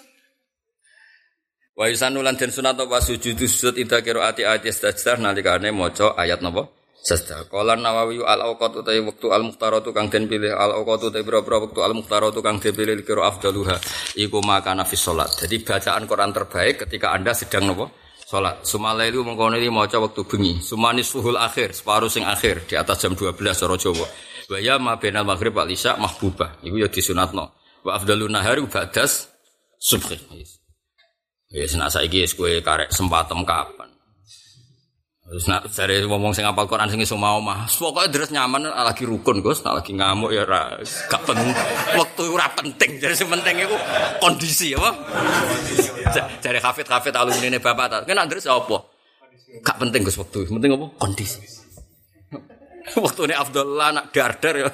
Wa yusanulan den sunat apa sujud ida qiraati ayat istajdah nalikane maca ayat napa? Sajdah. Qala Nawawi al-awqat utawi wektu al-mukhtaratu kang den pilih al-awqat utawi boro-boro wektu al-mukhtaratu kang dipilih kira afdaluha iku makana fi salat. Jadi bacaan Quran terbaik ketika Anda sedang napa? Salat. Sumalailu mengkono iki maca wektu bengi. Sumanis fuhul akhir, separuh sing akhir di atas jam 12 cara Jawa. Wa ya ma bainal maghrib wal isya mahbubah. Iku ya disunatno. Wa afdalun nahari ba'das subhi. Wis nek saiki wis kowe karek sempatem kapan. Terus nak cari ngomong sing apal Quran sing iso mau mah. Pokoke deres nyaman lagi rukun, Gus. Nak lagi ngamuk ya ora gak penting. Wektu ora penting. Jadi sing penting iku kondisi apa? Cari hafid alumnine bapak ta. Kena deres apa? Gak penting Gus wektu. Penting apa? Kondisi. Wektune Abdullah nak dar ya.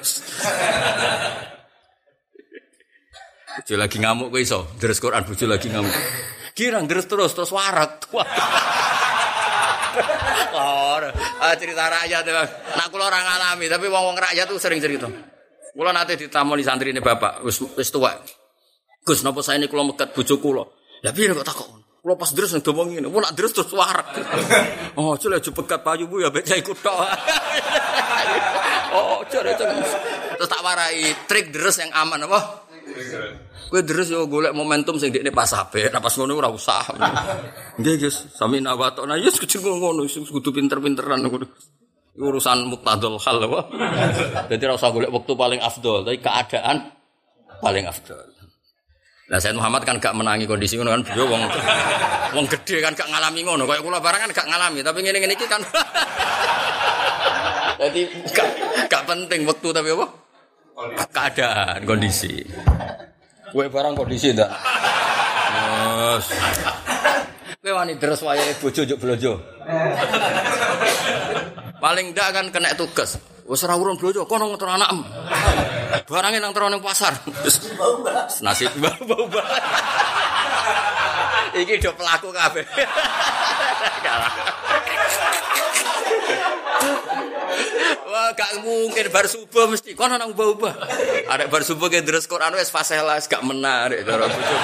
Bojo lagi ngamuk kowe iso. Deres Quran bojo lagi ngamuk. Kirang deres terus warak. Cerita rakyat ya. Nak kula ora ngalami, tapi wong-wong rakyat tuh sering cerita. Kula nate ditamoni santrine bapak, wis tuwa. Gus, napa saene kula megat bojo kula? Lah piye kok takok? Kula pas deres nang domong ngene, nak deres terus warak. Oh, jule aja pegat payu bu ya becak iku tok. Oh, jare terus tak warai trik deres yang aman apa? Kowe deres yo golek momentum sing dekne pas apik, nek pas ngono ora usah. Nggih, Gus, sami nawatona yo kudu ngono, kudu pinter-pinteran ngono. Urusan muqtadul hal apa? Dadi ora usah golek wektu paling afdol, tapi keadaan paling afdol. Lah Said Muhammad kan gak menangi kondisi ngono kan, beliau wong gede kan gak ngalami ngono, kaya kula barang kan gak ngalami, tapi ngene-ngene iki kan. Dadi gak penting wektu tapi apa? Keadaan, kondisi. Kowe barang kondisi ndak? Yes. Kowe wani deres wayahe bojo njuk blojo. Paling ndak kan kena tugas. Wis ora urun blojo, kono ngeter anakmu. Barange nang terone pasar. Nasib bau. Iki do pelaku kabeh. Wah, gak mungkin bar subuh mesti kono nang ubah-ubah. Arek bar subuh ke deres Quran wis fasela wis gak menarik cara bojo.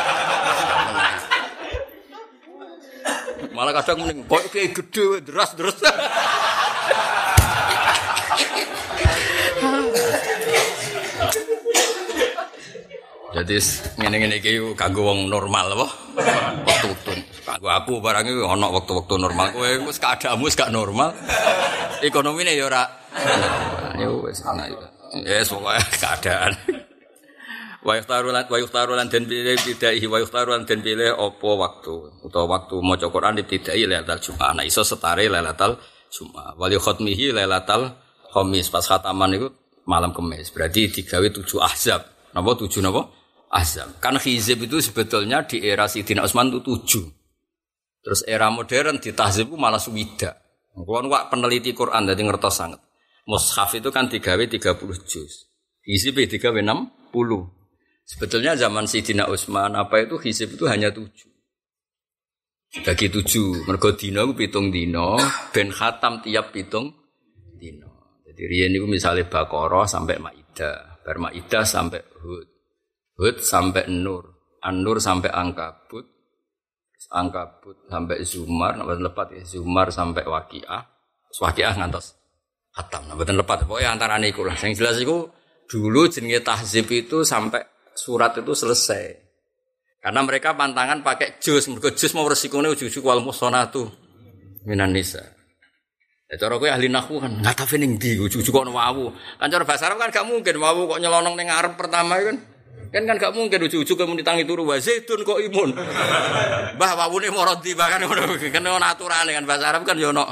Malah kadang mending kok iki gedhe deras-deras. Jadi ngene-ngene iki kanggo wong normal apa? Waktu-waktu kanggo aku barang iki ana waktu-waktu normal. Kowe wis keadaanmu wis gak normal. Ekonomine ya ora. Ya wis ana iki. Ya pokoke keadaan. Wa yukhtaru lan den pilih bidai wa yukhtaru lan den pilih apa waktu utawa waktu maca Quran dibidai lailatul Jumat. Nah iso setare lailatul Jumat. Wal khatmihi lailatul Khamis pas khataman iku malam Kamis. Berarti digawe 7 ahzab. Napa 7 napa? Ahzab. Kan hizib itu sebetulnya di era Sidina Utsman itu 7. Terus era modern di tahzib itu malah swidak. Kulo wak peneliti Quran dadi ngertos sanget. Mushaf itu kan digawe 30 juz. Hizib digawe 60. Sebetulnya zaman Sidina Utsman apa itu hizib itu hanya 7. Bagi 7, mergo dina ku 7 dina, ben khatam tiap 7 dina. Jadi riyen niku misale Baqarah sampai Maidah, bar Maidah sampai Hud. Hud sampai Nur, An-Nur sampai Ankabut, Ankabut sampai Zumar, mboten lepat ya, Zumar sampai Waqiah, Waqiah ngantos khatam, mboten lepat. Pokoke antarane iku lah. Sing jelas iku dulu jenenge tahzib itu sampai surat itu selesai. Karena mereka pantangan pakai juz, mergo juz mau resikone ujug-ujug wal musonatu minan nisa. Ya cara kowe ahli nahwu kan ngatafe ning ndi ujug-ujug kok wawu. Kan cara bahasa Arab kan gak mungkin wawu kok nyelonong ning ngarep pertama kan. Kan gak mungkin ujug-ujug muni tangi turu wa zaitun kok imun. Mbah wawune maradi bahkan ngono kan ono aturane kan bahasa Arab kan yo ono.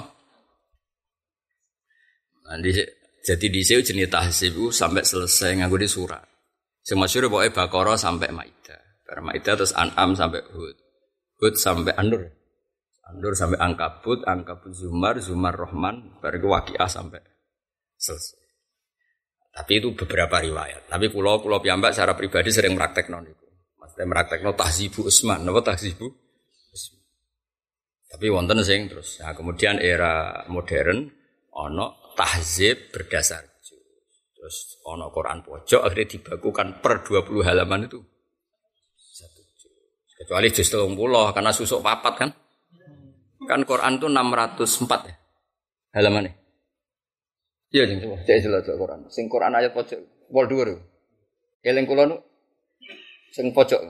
Jadi dhisik jenenge tahzib sampai selesai nganggo di surat. Sing masyhur pokoke Baqarah sampai Maidah. Bar Maidah terus An'am sampai Hud. Hud sampai An-Nur. An-Nur sampai Ankabut, Ankabut Zumar, Zumar Rahman, bar Waqiah sampai selesai. Tapi itu beberapa riwayat. Tapi kula piyambak secara pribadi sering praktekno niku. Maksudnya praktekno tahzibu Utsman, napa tahzibu Utsman. Tapi wonten sing terus. Nah, kemudian era modern ana tahzib berdasar juz. Terus ana Quran pojok akhirnya dibakukan per 20 halaman itu satu juz. Kecuali juz 30 karena susuk papat kan. Kan Quran itu 604 ya halamannya. Iya jeng coba cek jelas Quran. Sing Quran ayat pojok pol dhuwur. Eling kula nu sing pojok.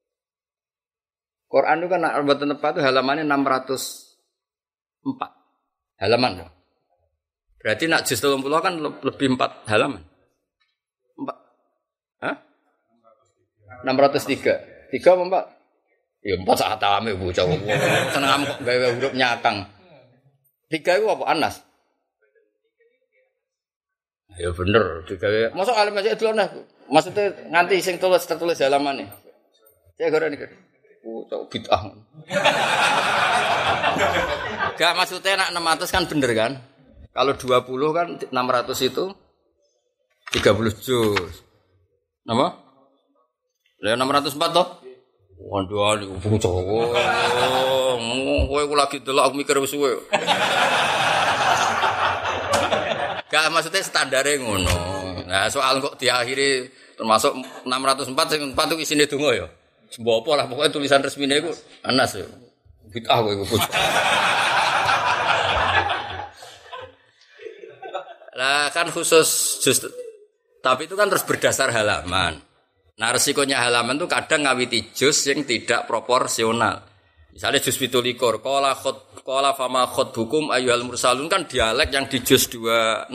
Quran itu kan nek mboten tepat itu halamannya 604 halaman. Berarti nak juz 30 kan lebih 4 halaman. 4. Hah? 603. 3 apa 4? Ya 4 saat ame bocah wong. Seneng kok gawe huruf nyakang. 3 itu apa Anas? Ya bener, digawe. Mosok alim aja delon nah. Maksudnya nganti sing tertulis halamane. Saya goreng iki. Cok bid'ah. Gak maksudnya nak 600 kan bener kan? Kalau 20 kan 600 itu 30 juz. Napa? Lah 604 toh? Waduh, bocah. Kowe ku lagi delok aku mikir wis suwe. Gak maksudnya standarnya ngono. Nah soal kok diakhiri termasuk 604 sing 4 itu isine donga ya. Sembo apa lah pokoknya tulisan resmine iku Anas ya. Bid'ah kowe iku. Lah kan khusus just tapi itu kan terus berdasar halaman. Nah resikonya halaman itu kadang ngawiti juz yang tidak proporsional. Misalnya juz 17 qala fama khutbukum ayyuhal mursalun kan dialek yang di juz 26.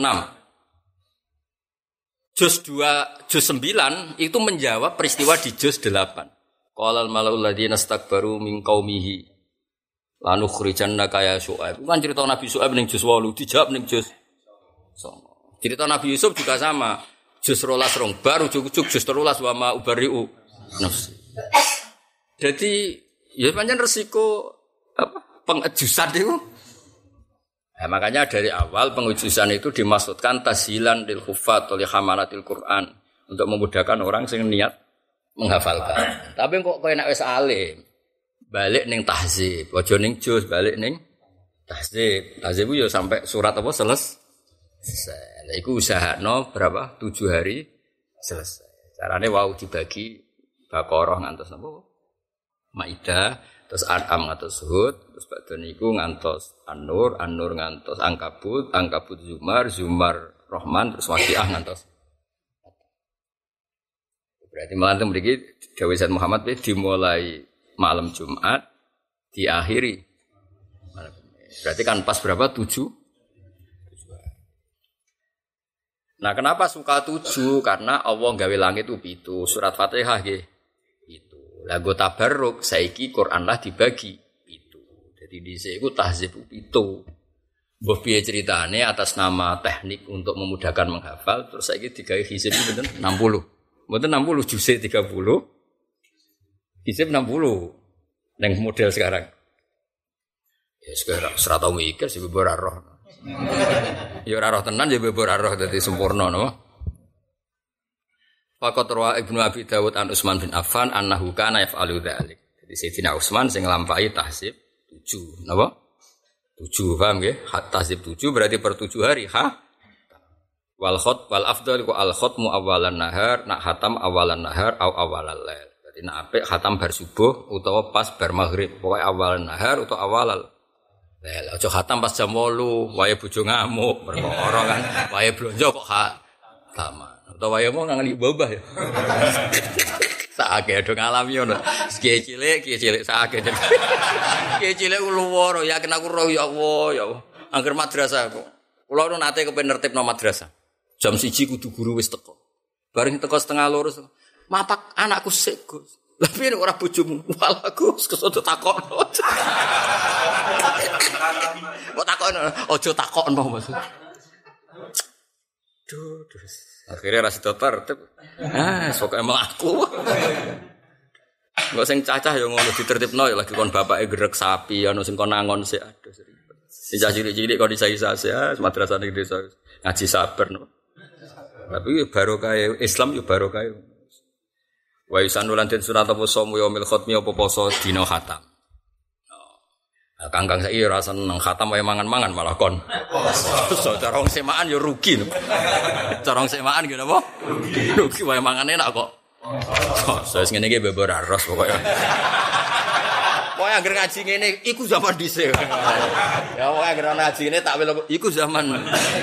Juz 9 itu menjawab peristiwa di juz 8. Qala al malaul ladzina istakbaru min qaumihi lanukhrijannaka ya Syuaib. Kan cerita Nabi Syuaib ning juz 8 dijawab ning juz 9. Cerita Nabi Yusuf juga sama. Juz 12 baru ujug-ujug juz 13 wa ma ubari'u nafsi. Jadi ya pancen resiko apa pengejusan itu. Nah, makanya dari awal pengejusan itu dimaksudkan tashilan lil huffaz li hamalatil Quran untuk memudahkan orang sing niat menghafalkan. Tapi kok kowe nek wis alim balik ning tahzib, aja ning juz balik ning tahzib. Tahzib yo sampai surat apa selesai. Lah iku usahano berapa? 7 hari selesai. Carane wau dibagi Baqarah ngantos napa? Maidah, terus An'am ngantos Hud, terus badhe niku ngantos An-Nur, An-Nur ngantos Ankabut, Ankabut Zumar, Zumar Rahman, terus Waqiah ngantos. Berarti malah mriki dawuh Sayyid Muhammad dimulai malam Jumat, diakhiri malam. Berarti kan pas berapa? 7. Nah, kenapa suka 7? Karena Allah gawe langit itu 7, surat Fatihah nggih. Lagu tabarruk saiki Quran lah dibagi itu. Jadi dhisik iku tahzib itu. Mbah piye ceritane atas nama teknik untuk memudahkan menghafal terus saiki digawe hizib pinten 60. Mboten 60 juz 30. Hizib 60. Nang model sekarang. Ya sekarang serata mikir sing ora roh. Ya ora roh tenan ya ora roh dadi sempurna napa. Faqat rawa Ibnu Abi Dawud an Utsman bin Affan annahu kana yaf'alu dzalik. Jadi Sayyidina Utsman sing nglampahi tahzib 7. Napa? 7 paham nggih? Tahzib 7 berarti per 7 hari, ha? Wal afdal ku al khatmu awalan nahar, nak khatam awalan nahar au awalal lail. Berarti nak apik khatam bar subuh utawa pas bar maghrib, pokoke awalan nahar utawa awalal lail. Aja khatam pas jam 8, wae bojo ngamuk, perkara kan, wae blonjo kok sama. Atau wae mau ngangen babah ya. Sakake do ngalami ngono. Kiye cilik sakake. Kiye cilik luwara ya kena aku roh ya Allah ya Allah. Angger madrasah kok. Kula nu nate kepen nertibno madrasah. Jam 1 kudu guru wis teko. Bareng teko setengah 2. Mapak anakku sik, Gus. Lah piye ora bojomu? Walah Gus kesodo takokno. Kok takokno? Aja takokno maksud. Duh. Akhirnya rasa tertib. Sok emang aku. Enggak sing cacah ya ngono ditertibno ya lagi kon bapake gerek sapi ana sing kon nangon sik aduh sering. Sing cilik-cilik kon isa-isa madrasah ning desa ngaji sabar no. Tapi barokah Islam yo barokah. Wa yusannulan den sunat apa somo yaumil khatmi apa poso dina khatam. Kangkang saiki ora seneng khatam wae mangan-mangan malah kon. So cara wong semaan yo rugi. Cara wong semaan ki napa? Rugi wae mangan enak kok. So wis ngene iki bebor aros pokoke. Pokoke anggere ngaji ngene iku zaman dhisik. Ya pokoke anggere ngaji ngene tak welo iku zaman.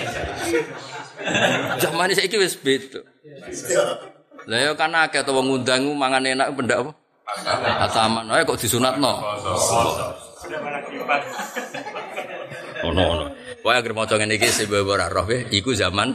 Zaman saiki wis beda. Lah ya kan akeh to wong ngundang mangan enak pendak apa? Khataman wae kok disunatno. Ono. Wae agar maca ngene iki sing ora roh iku zaman.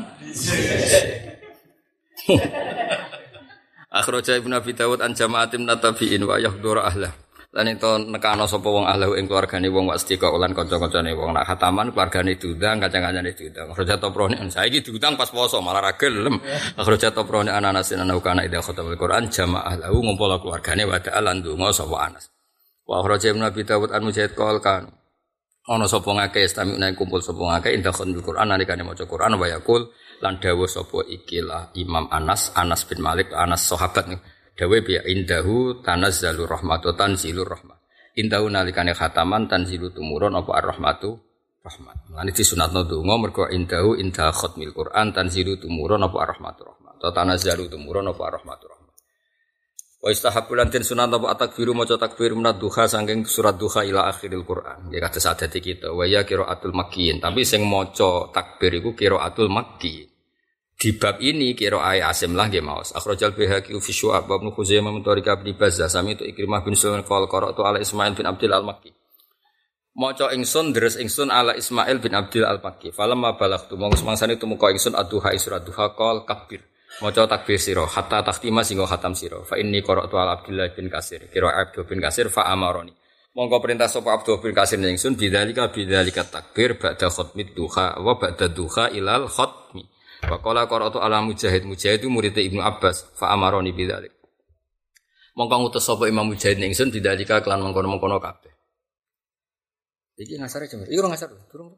Akhraja Ibnu Abi Dawud an jama'atin natabiin wa yahduru ahlah. Lan ento nekano sapa wong ahlahu ing keluargane wong wastika lan kanca-kancane wong nak khataman keluargane diundang kanca-kancane diundang. Akhraja Toprone saiki diundang pas poso malah ra gelem. Akhraja Toprone Anasin ana ida khatamul Quran jama'ah lahu ngumpul keluargane wa ta'alan donga sapa Anas. Wa akhraja Ibnu Abi Dawud an Mujahid qol kan ana sapa ngake istami'na kumpul sapa ngake inda khatamul Quran nalikane maca Quran wa yaqul lan dawuh sapa ikilah Imam Anas bin Malik Anas sahabat dawe bi indahu tanazzalur rahmatu tanzilur rahmah. Indahu nalikane khataman tanzilu tumurun apa ar-rahmatu rahmat. Lan disunatno donga mergo indahu inda khatmil Quran tanzilu tumurun apa ar-rahmatu rahmat. Ta tanazzalu tumurun apa ar-rahmatu rahmat. Wa istahabbu lan den sunat apa takbiru maca takbir menat duha saking surat duha ila akhiril Quran. Ya kados adate kita wa ya qiraatul makkiyin. Tapi sing maca takbir iku qiraatul makki. Di bab ini qiraah Asim lah nggih maos. Akhrajal Baihaqi fi Syu'ab Ibnu Khuzaimah min tariq Ibnu Bazzah sami tu Ikrimah bin Sulaiman qala qara'tu ala Ismail bin Abdul Al-Makki. Maca ingsun deres ingsun ala Ismail bin Abdul Al-Makki. Falamma balaghtu monggo semangsane tumeka ingsun ad-duha surat duha qol kabir. Maca takbir sira hatta takhtima singgo khatam sira. Fa inni qara'tu ala Abdullah bin Kasir. Qiraah Abdul bin Kasir fa amaroni. Monggo perintah sapa Abdul bin Kasir ingsun bidzalika takbir ba'da khatmid duha wa ba'da duha ilal khatmi. Wa qala qara'tu ala Mujahid itu murid Ibnu Abbas fa amaroni bidzalik. Mongko ngutus sapa Imam Mujahid ingsun bidzalika kelan mengkono-mengkono kabeh. Iki ngasare jemur. Iki ora ngasar durung.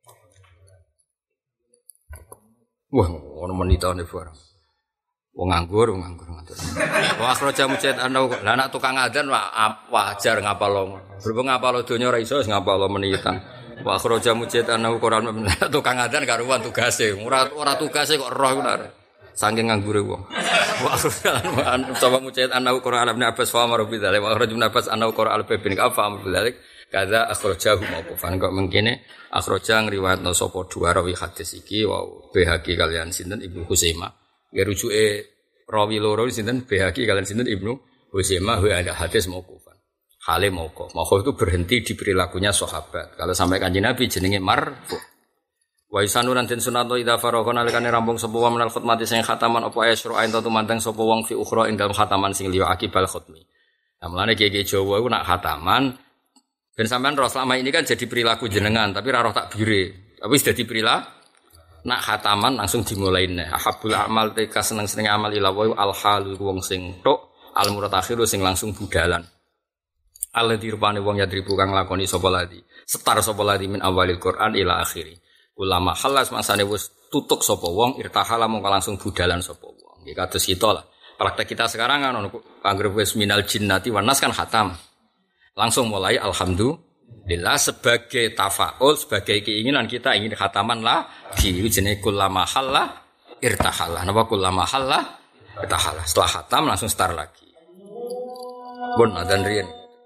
Wah, ono menitane barang. Wong nganggur. Wah, akhraja Mujahid ana lah anak tukang adzan wajar ngapalo. Berhubung ngapalo donya ora iso wis ngapalo menitan. Wa akhraja Mujahid ana Quran tukang adzan karuan tugase. Ora tugase kok roh ngono. Saking nganggure wong. Wa akhraja sapa Mujahid ana Quran Ibnu Abbas fa amara bi dzalik. Wa akhraja Ibnu Abbas ana Quran al-Bin Ka'fa amara bi dzalik. Kaza akhrajahu mauqufan kok mengkene akhraja ngriwayatno sapa dua rawi hadis iki wa Baihaqi kalian sinten Ibnu Khuzaimah. Ya rujuke rawi loro sinten Baihaqi kalian sinten Ibnu Khuzaimah wa ada hadis mauqufan. Hale mauquf. Mauquf itu berhenti di perilakunya sahabat. Kalau sampai Kanjeng Nabi jenenge marfu. Wa isanuran den sunnato idza faragha nalikane rampung sapa wa menal khutmati sing khataman apa asyru ain tu mandang sapa wong fi ukhra ing dalem khataman sing liya akibal khutmi. Lah mulane kiye Jawa iku nak khataman ben sampean roh selama ini kan jadi perilaku jenengan tapi ra roh takbire. Tapi wis dadi perilaku nak khataman langsung dimulaine. Ahabul amal teka seneng-seneng amal ila wa al halu wong sing tok al muradakhiru sing langsung budalan. Alladzi rupane wong yadribu kang lakoni sapa ladi. Setar sapa ladi min awalil Quran ila akhiri. Ulama halas masane wis tutuk sapa wong irtahala mongko langsung budalan sapa wong. Nggih kados kita lah. Praktek kita sekarang kan anggere wis minal jinnati wan nas kan khatam. Langsung mulai alhamdulillah sebagai tafaul, sebagai keinginan kita ingin khataman lah di jenenge kullama halla irtahala. Napa kullama halla irtahala. Setelah khatam langsung start lagi. Pun adzan riyen.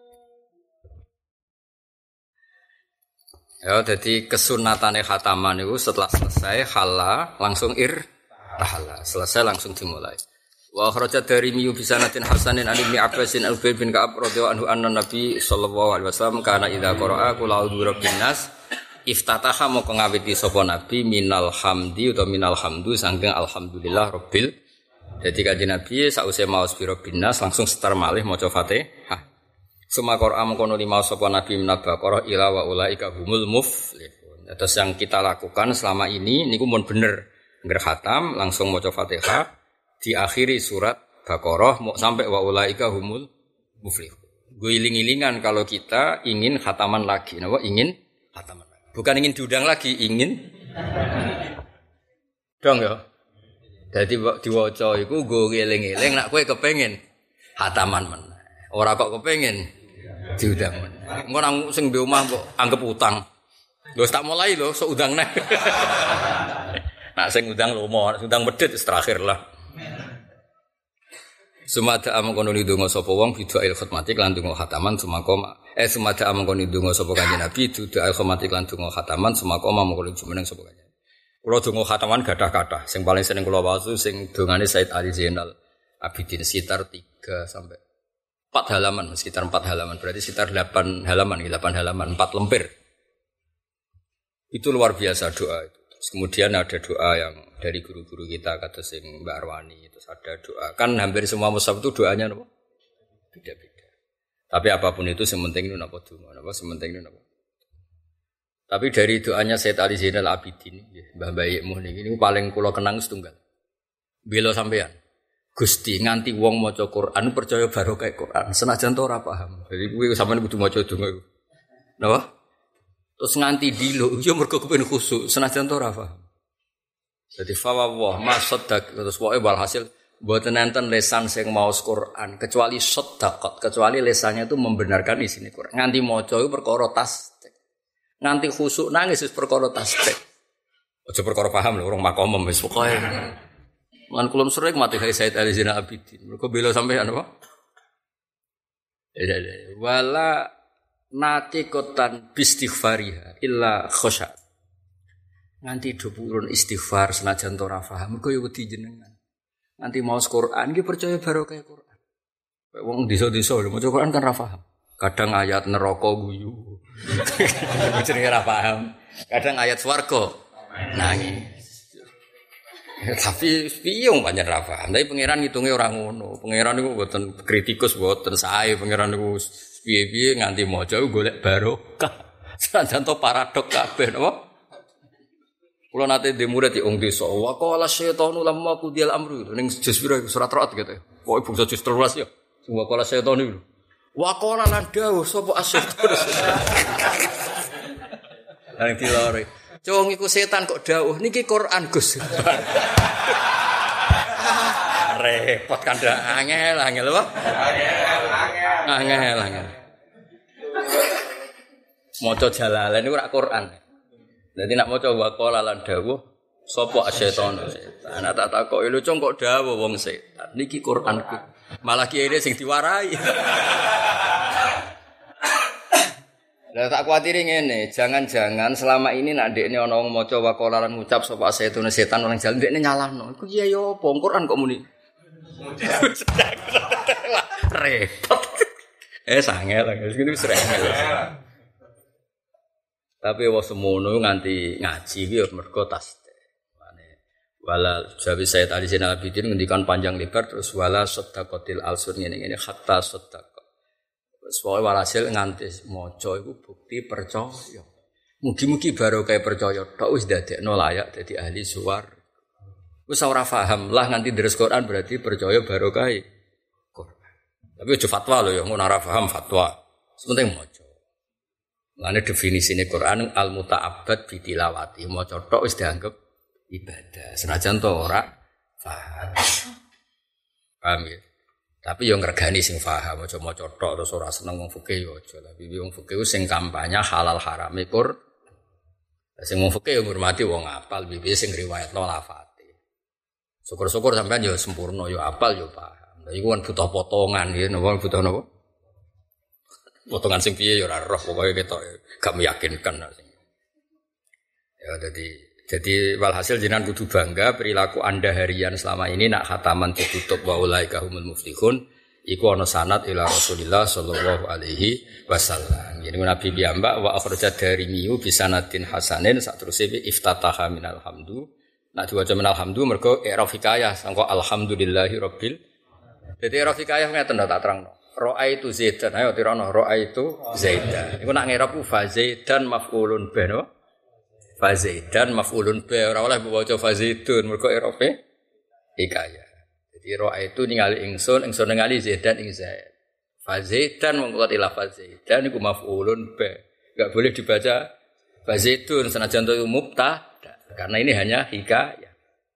Ya, jadi kesunatane khataman itu setelah selesai halla langsung irtahala. Selesai langsung dimulai. Wa akhraja Darimi bi sanatin hasanin an Ibnu Abbasin al-Ubay bin Ka'ab radhiyallahu anhu anna Nabi sallallahu alaihi wasallam kana idza qara'a qul a'udzu birabbin nas iftataha moko ngawiti sapa Nabi minal hamdi utawa minal hamdu saking alhamdulillah rabbil. Jadi kanjeng Nabi sause maos birabbin nas langsung setar malih maca Fatihah. Suma Qur'an mengkono lima sapa Nabi minal baqarah ila wa ulaika humul muflihun. Terus yang kita lakukan selama ini niku mun bener ngger khatam langsung maca Fatihah. Diakhiri surat Baqarah mau sampai wa ulaika humul muflihun. Guling-gilingan kalau kita ingin khataman lagi, napa ingin khataman lagi. Bukan ingin diundang lagi, ingin dong ya. Dadi diwaca iku nggo ngeling-eling nek kowe kepengin khataman meneh. Ora kok kepengin diundang meneh. Engko nang sing di omah kok anggap utang. Lho tak mulai lho sok undang neh. Nak sing undang lomo, undang medhit wis terakhir lah. Sumada amangkono ndonga sapa wong bidu'il khutmati lan ndonga khataman sumakoma. Sumada amangkono ndonga sapa kanjeng Nabi bidu'il khutmati lan ndonga khataman sumakoma mongko jumeneng sapa kanjeng. Kula donga khataman gadah-gadah. Sing paling seneng kula wasu sing dongane Said Ali Zainal Abidin sekitar 3 sampai 4 halaman, sekitar 4 halaman. Berarti sekitar 8 halaman, 4 lembar. Itu luar biasa doa itu. Terus kemudian ada doa yang dari guru-guru kita kata sing Mbak Arwani, terus ada doa. Kan hampir semua mushaf itu doanya apa? Beda-beda. Tapi apapun itu sementing itu napa donga, napa sementing itu napa. Tapi dari doanya Said Ali Zainal Abidin, Mbah Bayekmu niki niku paling kula kenang setunggal. Bela sampean. Gusti nganti wong maca Quran percaya barokah Quran, senajan to ora paham. Jadi kuwi sampean kudu maca donga iku. Napa? Terus nganti dilo, yo mergo kepen khusuk, senajan to ora paham. Jadi fawwah masaddak terus pokoke walhasil mboten enten lesan sing maos Quran kecuali saddaqat, kecuali lesannya itu membenarkan isine Quran. Nganti maca iku perkara tasdik. Nganti khusuk nangis wis perkara tasdik. Aja perkara paham lho, urung makomem wis pokoke. Lan kula sering mati kali Said Ali Zainal Abidin. Mergo bela sampean apa? Wala natiqatan bistighfariha illa khosya. Nganti do purun istighfar senajan ora paham mergo yo wedi jenengan. Nganti maos Quran iki percaya barokah Quran. Wong desa-desa lho maca Quran kan ra paham. Kadang ayat neraka guyu. Jenenge ra paham. Kadang ayat swarga nangis. Tapi piye wong pancen ra paham. Tapi pangeran ngitunge ora ngono. Pangeran niku mboten kritikus, mboten sae. Pangeran niku piye-piye nganti maca golek barokah. Senajan to paradok kabeh napa? Kula nate ndek murid di wong desa. Wa qala syaitanu lamma qudiyal amru. Ning juz pira surat Ra'd gitu. Pokoke bangsa juz 13 ya. Wa qala syaitanu iku. Wa qala lan dawuh sapa asyaitan. Nang dilore. Cung iku setan kok dawuh niki Quran Gus. Repot kan angel apa? Angel. Maca Jalalain niku ora Quran. Dadi nak maca waqala lan dawuh sapa asyaiton setan. Ana tak takoki lho cung kok dawuh wong setan. Niki Quranku. Malah kiye sing diwarai. Lah tak kuwatiri ngene, jangan-jangan selama ini nak ndekne ana wong maca waqala lan ngucap sapa asyaiton setan orang jalan ndekne nyalahno. Iku iya yo apa Quran kok muni. Repot. Sangel gitu serengel. Tapi wong semono nganti ngaji iki yo mergo tasdih. Wala jawi Said Ali Zainal Abidin ngendikan panjang lebar terus wala saddaqatil alsun ngene-ngene hatta saddaq. Soale walhasil nganti maca iku bukti percaya. Mugi-mugi barokah percaya tok wis dadekno layak dadi ahli suwarga. Wis ora paham lah nganti deres Quran berarti percaya barokah Quran. Tapi aja fatwa lho ya ngono ora paham fatwa. Penting maca. Lane definisine Quran al-muta'abbad bi tilawati. Maca tok wis dianggap ibadah. Senajan to ora paham. Paham ya? Tapi yo ngregani sing paham aja maca tok terus ora seneng wong fikih yo aja. Tapi wong fikih sing kampanye halal harame Quran. Sing wong fikih yo ngurmati wong apal piye sing riwayatno lafate. Syukur-syukur sampean yo sempurna yo apal yo paham. Lha iku kan butuh potongan ya, napa butuh napa? Potongan sing piye yo ora roh pokoke ketok gak meyakinkan sing. Ya jadi walhasil jenengan kudu bangga perilaku Anda harian selama ini nak khataman ditutup wa ulaika humul muflihun iku ana sanad ila Rasulillah sallallahu alaihi wasallam. Jadi Nabi piyambak wa akhrajat darimi bi sanadin hasanin sateruse iftataha minal hamdu. Nak diwaca minal hamdu mergo i'raf hikayah sangko alhamdulillahi rabbil. Jadi i'raf hikayah ngeten tak terangno. Ra'aitu Zaidan ayo tirano ra'aitu Zaidan. Iku nak ngirap fa Zaidan maf'ulun bi no. Fazaidan maf'ulun bi ora oleh maca fazaidun mergo i'rafe hikayah. Jadi roa itu ningali ingsun ningali Zaidan ing Zaid. Fazaidan mongko ila fazaidan iku maf'ulun bi. Enggak boleh dibaca fazaidun senajan itu mubtada karena ini hanya hikayah.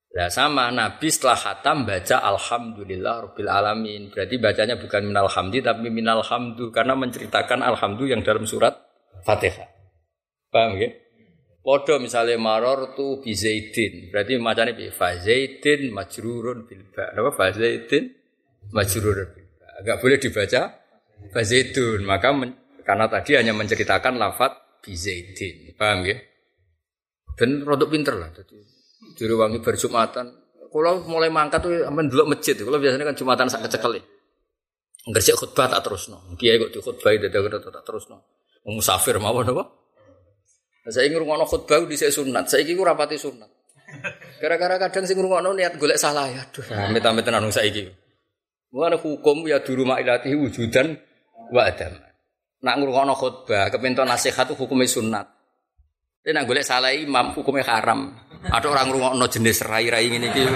Lah sama Nabi setelah khatam baca alhamdulillah rabbil alamin. Berarti bacanya bukan minal hamdi tapi minal hamdu karena menceritakan alhamdu yang dalam surat Fatihah. Paham ya? Padha misale marartu bi Zaidin. Berarti macane piye? Fa Zaidin majrurun bil ba. Napa fa Zaidin majrurun bil ba. Enggak boleh dibaca fa Zaidun. Maka karena tadi hanya menceritakan lafaz bi Zaidin. Paham ya? Ben rodok pinter lah dadi direwangi bar Jumatan. Kula mulai mangkat tuh amen delok masjid. Kula biasanya kan Jumatan sak kecekel. Ngresik khutbah tak terusno. Kiai kok di khutbah dadak tak terusno. Musafir mawon apa? Saiki ngrungokno khutbah dhisik sunat. Saiki ku rapati sunat. Gara-gara kadang sing ngrungokno niat golek salah ya. Aduh, amit-amit tenan saiki. Mulane hukum ya di rumah ilati wujudan wa adam. Nak ngrungokno khutbah kepento nasihat hukume sunat. Tapi nak golek salah imam hukumnya haram. Ada orang ngrungokno jenis rai-rai ngene iki.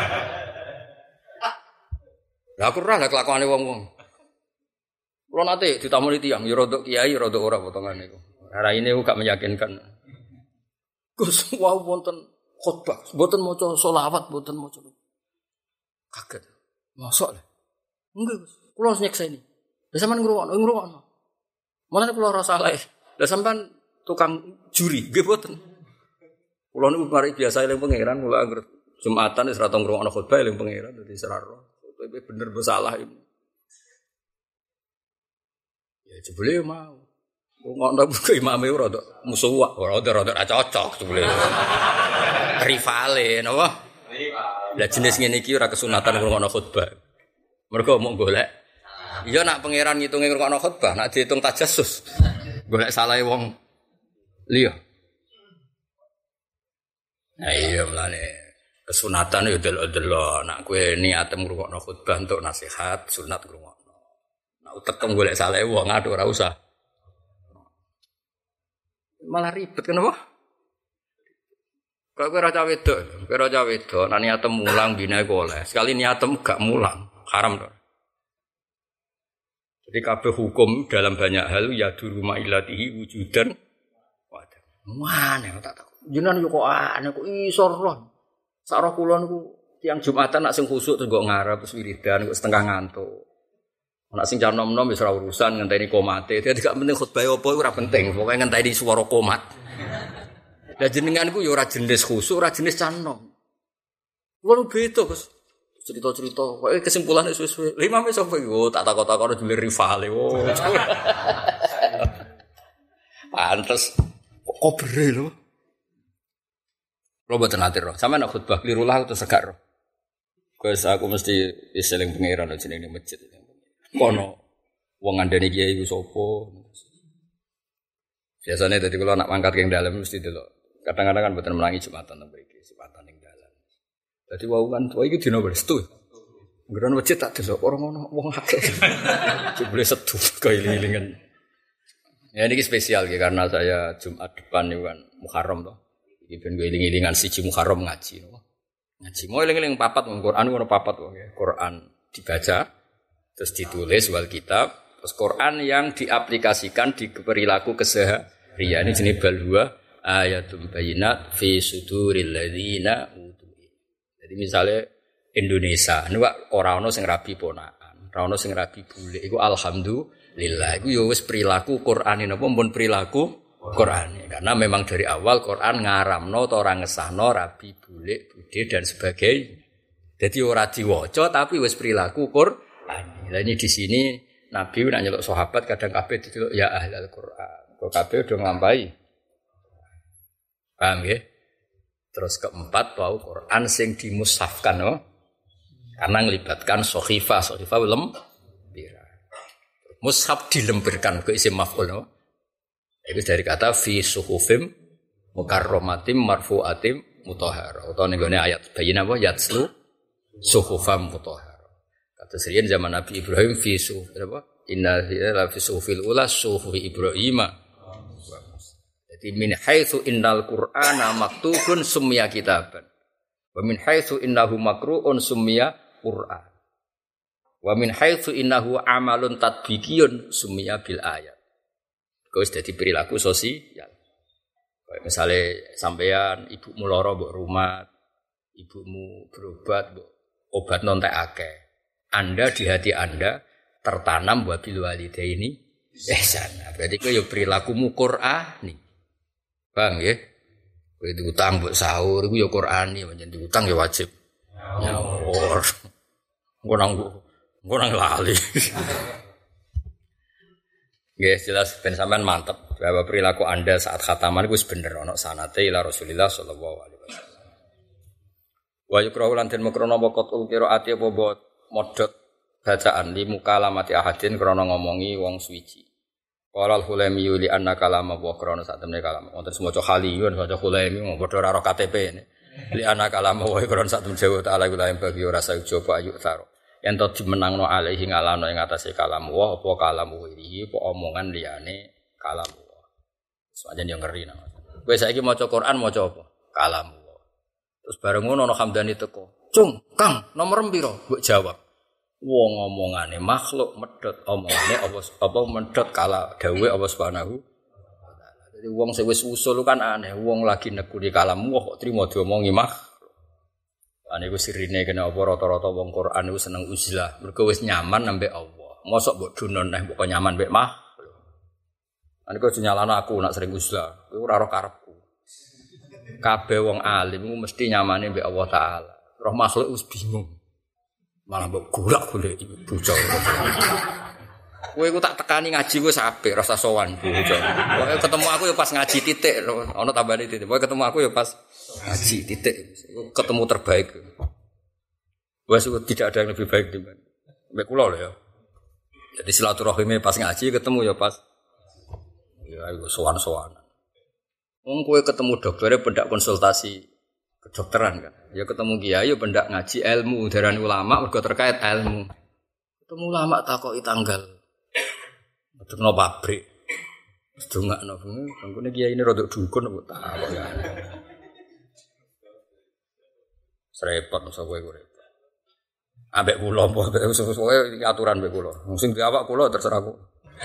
Lah aku ora kelakuane wong-wong. Kulo nate ditamoni tiyang ya rodok kiai rodok ora potongane iku. Rai ini gak meyakinkan. Gus wau wonten khutbah, mboten maca selawat, mboten maca. Kaget. Mosok lho. Enggak Gus, kulo nyekseni. Lah sampean ngrungokno. Mulane kulo ora salah. Lah sampean tukang juri, nggih mboten. Kulo niku mari biasa eling pangeran, kula anggere Jumatan wis ora tau ngrungokno khutbah eling pangeran dadi seraro. Kowe bener bersalah iki. Ya jebule mau. Ngrungokno buku imame ora tok musuh ora rada cocok jebule. Rivale napa? Rival. Lah jenis ngene iki ora kesunatan ngrungokno khutbah. Mergo mau golek. Iya nak pangeran ngitunge ngrungokno khutbah, nak diitung tajassus. Golek salahe wong liya. Nah iya mlane kesunatan ya delok-delok nak kowe niat ngrungokno khutbah untuk nasihat sunat ngrungokno. Nak utekem golek salahe wong aduh ora usah. Malah ribet kenapa? Kalau kowe ora cah wedok, nak niatem mulang bina iku oleh. Sekali niatem gak mulang, haram to. Jadi kabeh hukum dalam banyak hal ya di rumah ilatihi wujudan wadah. Mana tak takut. Jenengan yo kok aneh kok iso roh. Sak roh kula niku tiyang Jumatan nak sing khusuk terus kok ngarep terus wiridan kok setengah ngantuk. Nak sing nom-nom wis ora urusan ngenteni komate. Dadi gak penting khutbah apa iku ora penting, pokoke ngenteni swara komat. Lah jenenganku yo ora jenis khusuk, ora jenis canom. Kulo beda, Gus. Cerita-cerita, kowe kesimpulan wis-wis. Lima wis apa iku? Tak takok-takok dhewe rivale. Oh. Pantes kok bere lho. Lo mboten ati roh. Sampeyan khutbah kliru lah terus gak roh. Gus aku mesti iseling pangeran jenenge masjid. Kono wong ngandani kiai iku sapa. Biasane dadi kula nak mangkat king dalem mesti delok. Kadang-kadang kan mboten melangi Jumatan to mriki, Jumatan ning dalan. Dadi wau kan iki dina Restu. Nggon masjid tak delok ora ngono wong akeh. Jebule sedu kailing-ilingan. Ya niki spesial ya karena saya Jumat depan niku kan Muharram to. Iki ben kailing-ilingan siji Muharram ngaji no. Ngaji mau eling-eling papat Quran ngono papat wong ya. Quran dibaca terus ditulis wal kitab, terus Quran yang diaplikasikan di perilaku keseharian. Ini jenis balwa ayatul bayinat fi suduril ladzina utul. Jadi misalnya Indonesia, ini Pak ora ono sing rabi ponakan, ora ono sing rabi bule. Iku alhamdulillah, iku ya wis perilaku Quran napa pun perilaku Quran. Karena memang dari awal Quran ngaramno ta ora ngesahno rabi bule, bude dan sebagainya. Jadi ora diwaca tapi wis perilaku Quran. Lah ini di sini Nabi nak nyeluk sahabat kadang kabeh diceluk ya ahlul Quran. Kok kabeh udah nglampahi. Paham nggih? Terus keempat bau Quran sing dimushafkan no? Karena ngelibatkan sohifah lempir. Mushaf dilempirkan ke isim maf'ul no? Itu dari kata fi suhufim mukarramatim marfu'atim mutahhar. Atau ning ayat bayin apa yatslu suhufam mutahhar. Kata serian zaman Nabi Ibrahim fi suhuf apa? Inna la fi suhufil ula suhufi Ibrahim. Jadi min haitsu innal Qur'ana maktubun summiya kitaban. Wa min haitsu innahu makru'un summiya Qur'an. Wa min haitsu innahu amalun tatbiqiyun summiya bil ayat. Kau dadi perilaku sosial. Kayak misalnya sampean ibu muloro mbok rumah ibumu berobat, obat nontek akeh. Anda di hati Anda tertanam wabil walidaini ihsan. Berarti kowe yo perilakumu Qur'ani. Bang nggih. Kowe diutang mbok sahur iku yo Qur'ani, pancen diutang yo wajib. Nyaur. Engko nang lali. Nggih jelas ben sampean mantep bahwa perilaku Anda saat khataman iku wis bener ana sanate ila Rasulillah sallallahu alaihi wasallam. Wa yukrahu lan den makrono waqtul qiraati apa modot bacaan li mukalamati ahadin krana ngomongi wong suwiji. Qala al-Hulaimi li anna kalama wa krana sak temne kalam. Wonten semaca Khaliyun maca Hulaimi padha karo KTP ne. Li anna kalama wa krana sak temne Jawa taala iku lain bagi ora saujoba ayu taro. Yen to dimenangno alaihi ngalano ing atase kalam wa apa kalam wirihi apa omongan liyane kalam wa. Sajen yo ngeri nang. Kowe saiki maca Quran maca apa? Kalam wa. Terus bareng ngono ana Hamdani teko. Cung, Kang, nomor piro? Mbok jawab. Wong omongane makhluk medhot omongane apa medhot kala dawuhe Allah Subhanahu wa taala. Dadi wong sing wis usul kan aneh, wong lagi nekuni kalam wa kok trimo diomongi makhluk. Ane ku sirine kena apa rata-rata wong Quran iku seneng uzlah. Mergo wis nyaman ambek Allah. Mosok mbok dunon neh mbok nyaman mbek makhluk. Ane ku nyalano aku nak sering uzlah. Iku ora roh karepku. Kabeh wong alim iku mesti nyamane mbek Allah taala. Roh makhluk wis bingung. Malah mbok golek-golek bocah. Kowe iku tak tekani ngaji wis apik rasa sowan bocah. Pokoke ketemu aku ya pas ngaji titik. Ono tambane titik. Pokoke ketemu aku ya pas ngaji titik. Ketemu terbaik. Wes tidak ada yang lebih baik dibanding mbek kula lho ya. Jadi silaturahime pas ngaji ketemu ya pas ya iku sowan-sowan. Wong kowe ketemu doktere pendak konsultasi kedokteran kan. Ya ketemu kiai ya pendak ngaji ilmu darani ulama mergo terkait ilmu. Ketemu ulama takoki tanggal. Medekno pabrik. Wis dongakno bangkune kiai ini rodok dukun kok takok ya. Serepot masa kowe urip. Ambek kula apa sesuai aturan mbek kula. Sing diawak kula terserah aku.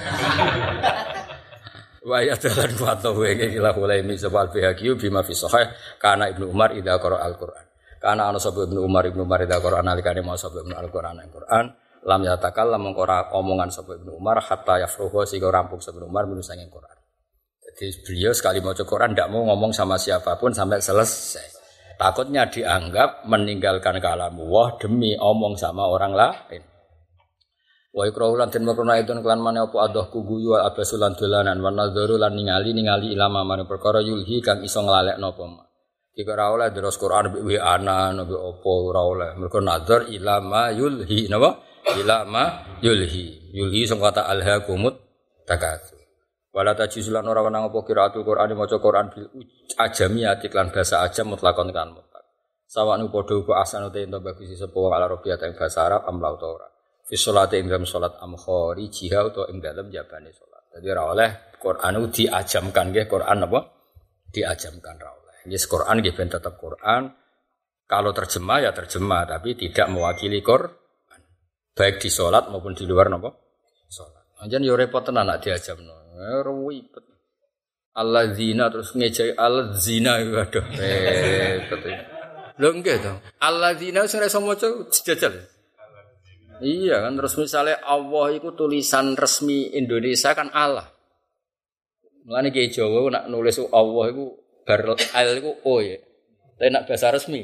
Wa ya dalan wato wege kila Hulaimi sebal bihaqiyu bima fi sahih kana Ibnu Umar idza qara al-Qur'an. Kana ana sapa Ibnu Umar idza qara nalikane mau sapa Ibnu al-Qur'an al-Qur'an lam yatakal lam ora omongan sapa Ibnu Umar hatta yafruha sing rampung sapa Ibnu Umar menusa ing Qur'an. Jadi beliau sekali maca Qur'an ndak mau ngomong sama siapapun sampai selesai. Takutnya dianggap meninggalkan kalam Allah demi omong sama orang lain. Wa ikrahu lan den makrona itu kelan maneh apa adahku guyu abasulan dolanan wa nadzaru lan ningali ilama mane perkara yulhi kang iso nglalekno apa. Jika ora oleh terus Quran mbek ana mbek apa ora oleh. Mergo nadzar ilama yulhi napa? Ilama yulhi. Yulhi sing kata alhaqumut takatsur. Wala tajisulan ora wenang apa qiraatul Qur'an maca Qur'an bil ajamiyati lan bahasa ajam mutlakon kan mutlak. Sawanu padha uga asane te ento bagus sapa wong ala rupiah ing bahasa Arab amlau ta ora. Fi sholati ing dalam salat amkhari jihad utawa ing dalam jabane salat. Dadi ora oleh Qur'an diajamkan nggih Qur'an apa? Diajamkan ra oleh. Nggih Qur'an nggih ben tetep Qur'an. Kalau terjemah ya terjemah tapi tidak mewakili Qur'an. Baik di salat maupun di luar napa? Salat. Anjen yo repot tenan nek diajamno. Ribet. Alladzina terus ngejai alladzina waduh repot. Lho nggih to. Alladzina sing iso maca jajal. Iya kan terus misalnya Allah itu tulisan resmi Indonesia kan Allah. Mulane ki Jawa nak nulis Allah iku bar al iku o ya. Tapi nak bahasa resmi.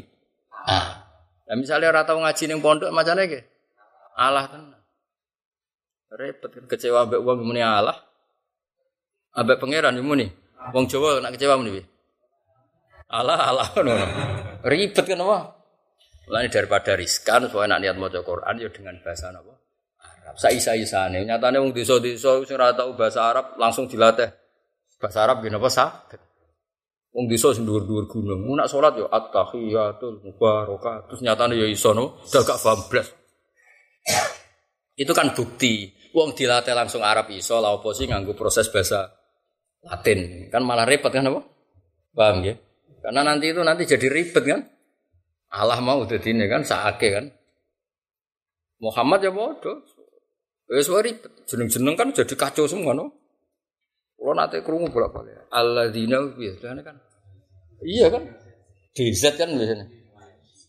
Lah misalnya ora tau ngaji ning pondok macane nggih. Allah tenan. Repot kecewa mbek wong muni Allah. Ambek pangeran muni. Wong Jawa nak kecewa muni piye? Allah ngono. Ribet kan apa? Mulane daripada riskan supaya nak niat maca Quran ya dengan bahasa napa? Arab. Saisa-isane. Nyatane wong desa-desa sing ora tau bahasa Arab langsung dilatih bahasa Arab nggih napa saged. Wong desa sing dhuwur-dhuwur gunung, nak salat ya at-tahiyatul mubarakatuh. Terus nyatane ya iso no, gak paham blas. Itu kan bukti. Wong dilatih langsung Arab iso, lha opo sih nganggo proses bahasa Latin. Kan malah repot kan apa? Paham ya? Karena nanti jadi ribet kan? Allah mau dadine kan saake kan. Muhammad ya bodoh. Wis ribet. Jeneng-jeneng kan jadi kacau semua no. Kulo nate krungu bolak-balik. Alladzina biasane kan. Iya kan? DZ kan biasanya.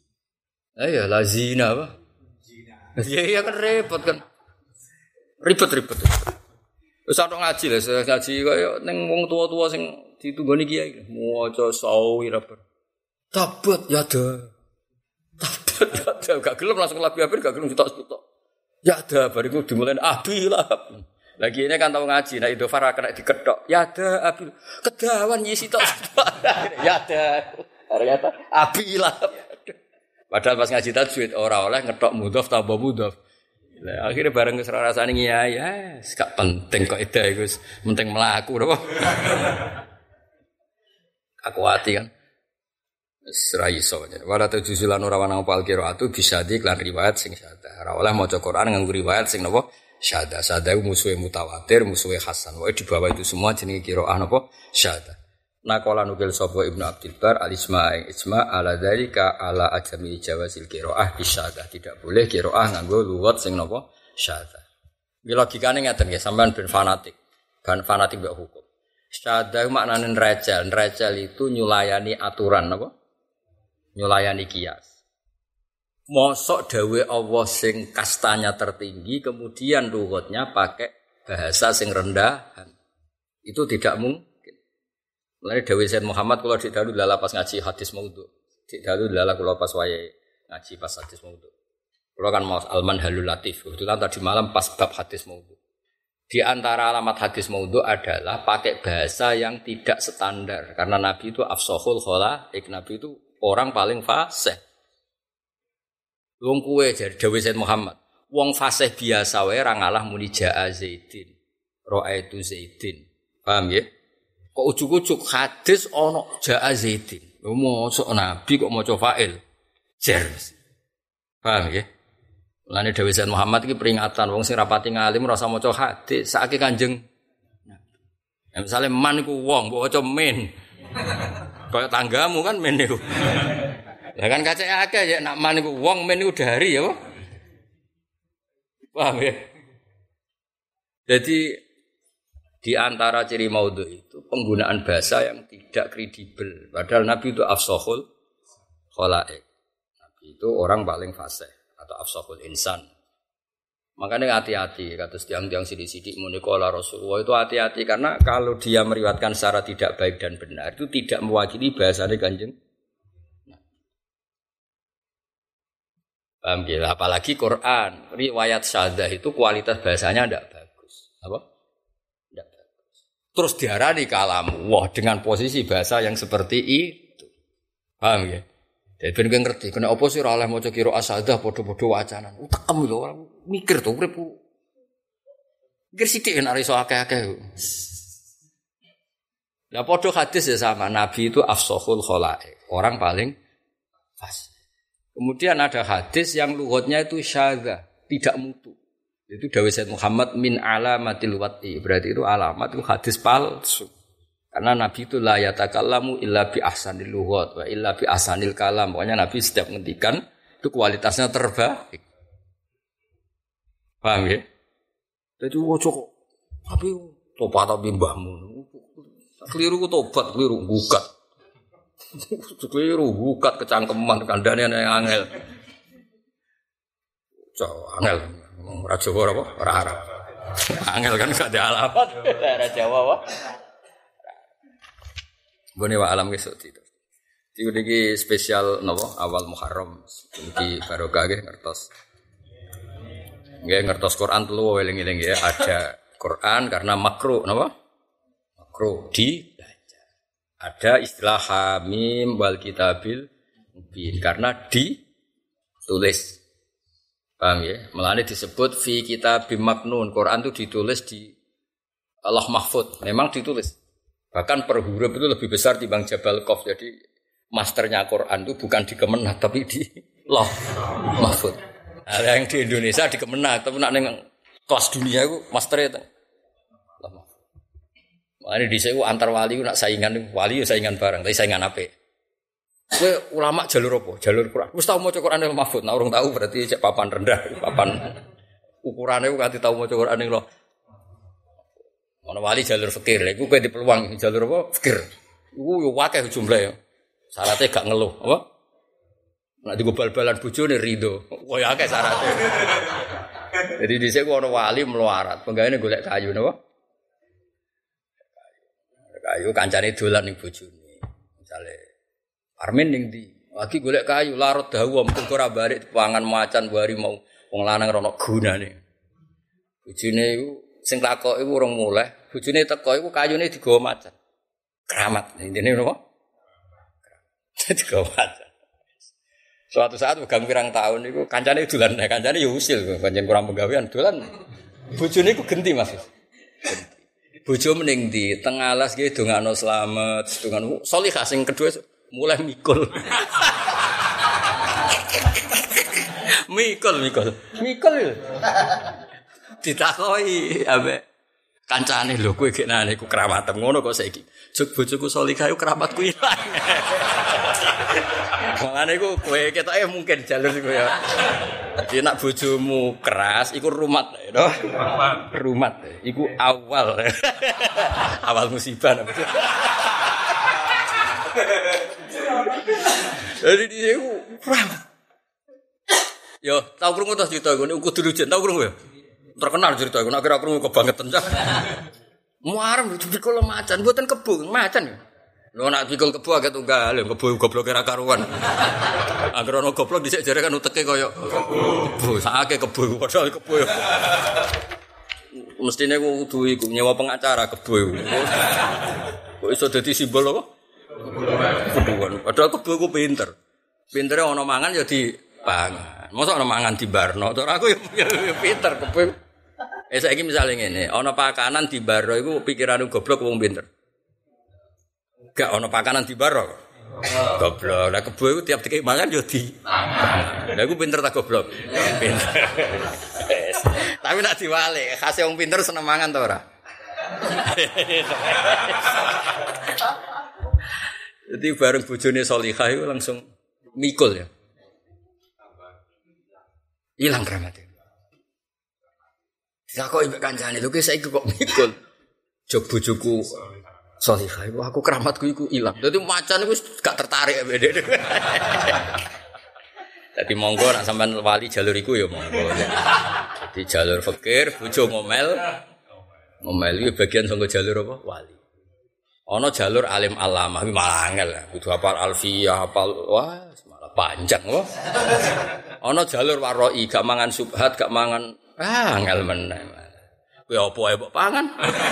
Ya lazina apa? Iya kan repot kan. Ribet. Wis ana ngaji lho, ngaji kaya ning wong tua-tua sing ditunggoni kiai. Maca sawi ra ber. Tabat ya ada. Tabat ya gak gelem langsung labi abir gak gelem cetok-cetok. Ya ada bariku dimulai abilah. Lagi ini kan tahu ngaji, nah itu Farah kena diketok. Ya ada abil. Kedawan nyisi tok. Ya ada. Ternyata abilah. Padahal pas ngaji tajwid ora oleh ngetok mudhof tambah mudhof. Lah akhirnya bareng wis rasane ya, gak penting kok ida iku wis penting mlaku napa. Aku ati kan. Wis ra iso. Wala tujulan ora ana apa al-qiraatu bisa diklan riwayat sing sadar. Ora oleh maca Quran nganggo riwayat sing napa syada. Syada musuhe mutawatir, musuhe hasan. Wae di bawah itu semua jenenge qiraah napa syada. Naqala nukil sapa Ibnu Abdul Bar al-ijma ala dzalika ala ajami jawazil qiraah bisyada. Tidak boleh qiraah nganggo luwat sing napa syada. Iki logikane ngeten nggih, sampean ben fanatik. Kan fanatik mbek hukum. Syada maknane rajal. Rajal itu nyulayani aturan napa? Nyulayani kias. Mosok dawe Allah sing kastanya tertinggi kemudian lugatnya pakai bahasa sing rendahan. Itu tidak mungkin. Mulane dawuh Sayyid Muhammad kula dik dalu lala pas ngaji hadis maudhu. Dik dalu lala kula pas wayahe ngaji pas hadis maudhu. Kula kan mau al-manhalul latif. Kebetulan tadi malam pas bab hadis maudhu. Di antara alamat hadis maudhu adalah pakai bahasa yang tidak standar karena Nabi itu afsahul khalaik. Nabi itu orang paling fasih. Wong kuwe jar dawuh Sayyid Muhammad. Wong fasih biasa wae ra ngalah muni jaa Zaidin. Ra'aitu Zaidin. Paham ya? Kok ujuk-ujuk hadis ana jaa Zaidin. Lho mosok Nabi kok maca fa'il. Jar. Paham ya? Mulane dawuh Sayyid Muhammad iki peringatan wong sing rapati ngalim ora usah maca hadis, sakake Kanjeng Nabi. Ya misale man iku wong mbok waca min. Kaya tanggamu kan men niku. Lah kan kacake akeh ya nak man iku wong men iku dari ya. Paham ya? Jadi di antara ciri maudhu itu penggunaan bahasa yang tidak kredibel. Padahal Nabi itu afsahul khalaik. Nabi itu orang paling fasih atau afsahul insan. Makanya hati-hati kata tiang-tiang sidik-sidik munikola Rasulullah itu hati-hati karena kalau dia meriwayatkan secara tidak baik dan benar itu tidak mewakili bahasanya Kanjeng. Paham ya? Apalagi Quran, riwayat syahadah itu kualitas bahasanya tidak bagus. Apa? Terus diarani kalam wah dengan posisi bahasa yang seperti itu. Paham ya? Jadi ben ngerti kena apa sih ora oleh maca qiraah syahadah padha-padha wacanan. Tekem lho orang mikir to urip. Mikir sithik nek iso akeh-akeh. Lah padha hadis ya sama Nabi itu afsahul khalaik, orang paling fasih. Kemudian ada hadis yang lughatnya itu syadzah, tidak mutu. Itu dawuh Sayyid Muhammad min alamatil wati. Berarti itu alamat itu hadis palsu. Karena Nabi itu la yatakallamu illa bi ahsanil lughat wa illa bi ahsanil kalam. Pokoknya Nabi setiap ngendikan itu kualitasnya terbaik. Paham ya? Jadi kok tapi tobat tapi mbahmu. Keliru ku tobat, keliru gugat. Keliru gugat kecangkeman kandhane yang angel. Angel. Ora Jawa apa? Ora Arab. Angel kan gak ada alamat. Ora Jawa apa? Bone wa alam kesuk itu. Iki spesial napa awal Muharram. Iki barokah nggih ngertos. Nggih ngertos Quran telu eling-eling ya. Ada Quran karena makruh napa? Makruh dibaca. Ada istilah hamim wal kitabil mubin karena ditulis. Paham ya? Melane disebut fi kitabim maknun. Quran itu ditulis di Allah Mahfud. Memang ditulis. Bahkan per huruf itu lebih besar dibanding Jabal Qaf. Jadi masternya Quran itu bukan di Kemenak tapi di Allah Mahfud. Ada yang di Indonesia di Kemenak tapi nak ning kelas dunia itu masternya itu Allah Mahfud. Makanya di saya antar wali nak saingan wali ya saingan bareng, tapi saingan apa? Kowe ulama jalur apa? Jalur Quran. Wis tau maca Quran yang Mahfud. Nah, urung tahu berarti cek papan rendah, papan ukurane ku kanthi tau maca Quran ning lho. Ana wali jalur fikir. Lha iku kowe dipeluang jalur apa? Fikir. Iku yo akeh jumlahe. Syaratnya gak ngeluh, apa? Nek digo bal-balan bojone rido. Koyo akeh syaraté. Jadi dhisik ku ana wali melarat, penggaweane golek kayu napa? Kayu kancane dolan ning bojone. Misale Armin ning ndi? Lagi golek kayu larut dawa mung ora barik pangan macan bari mau wong lanang rono gunane. Bojone iku sing takoki urung mulih, bojone teko iku kayune digawa macan. Keramat, intine napa? Digawa macan. Suatu saat pegang pirang tahun niku kancane dolan, kancane ya usil, pancen kurang penggawean dolan. Bojone iku genti Mas. Bojo mending di tengah alas nggih dongakno slamet, dongan salihah sing kedua mulai mikul. Mikul. Ditakoki ambek kancane lho kowe geknane iku keramatem ngono kok saiki. Jog bojoku salihah iku keramatku ilang. Mangane iku kowe ketoke mungkin jalur iku ya. Jadi nak bojomu keras iku rumat to. Rumat iku awal. Awal musibah. Jadi dia iku yo tau krungu to cerita iku kudu rujuk tau krungu ya. Terkenal cerita iku nek kira krungu kebangetan cah. Muarem dipikul macan mboten kebo macan. Lho nak pikul kebo agak tunggal, kebo goblok ora karuan. Angger ana goblok dhisik jare kan uteke kaya kebo, sakake kebo padahal kebo. Mestine kudu iku nyewa pengacara kebo iku. Kok iso dadi simbol apa? Kebuan. Padahal kebo iku pinter. Pintere ana mangan ya dipangan. Mosok ana mangan dibarno. Ora aku ya pinter kebo. Saiki misale ngene, ana pakanan dibarno iku pikirane goblok wong pinter. Gak ono pakanan di baro. Goblok. Lah kebo iku tiap dikek mangan yo di. Lah iku pinter ta goblok? Pinter. Tapi nek diwale, khase wong pinter seneng mangan ta ora? Jadi bareng bojone salihah iku langsung mikul ya. Hilang kramate. Disakoki mbek kancane, lho ki saiki kok mikul. Jog bojoku salihah iku aku keramatku iku ilang. Dadi macan iku gak tertarik mbek. Dadi monggo nek sampean wali jalur iku ya monggo. Dadi jalur fakir, bojo ngomel. Ngomel iki bagian saka jalur apa? Wali. Ana jalur alim alamah malah angel. Kudu hafal alfiyah, hafal wah malah panjang wah. Ana jalur waroi gak mangan subhat, gak mangan angel meneh. Kowe apa ae mbok pangan?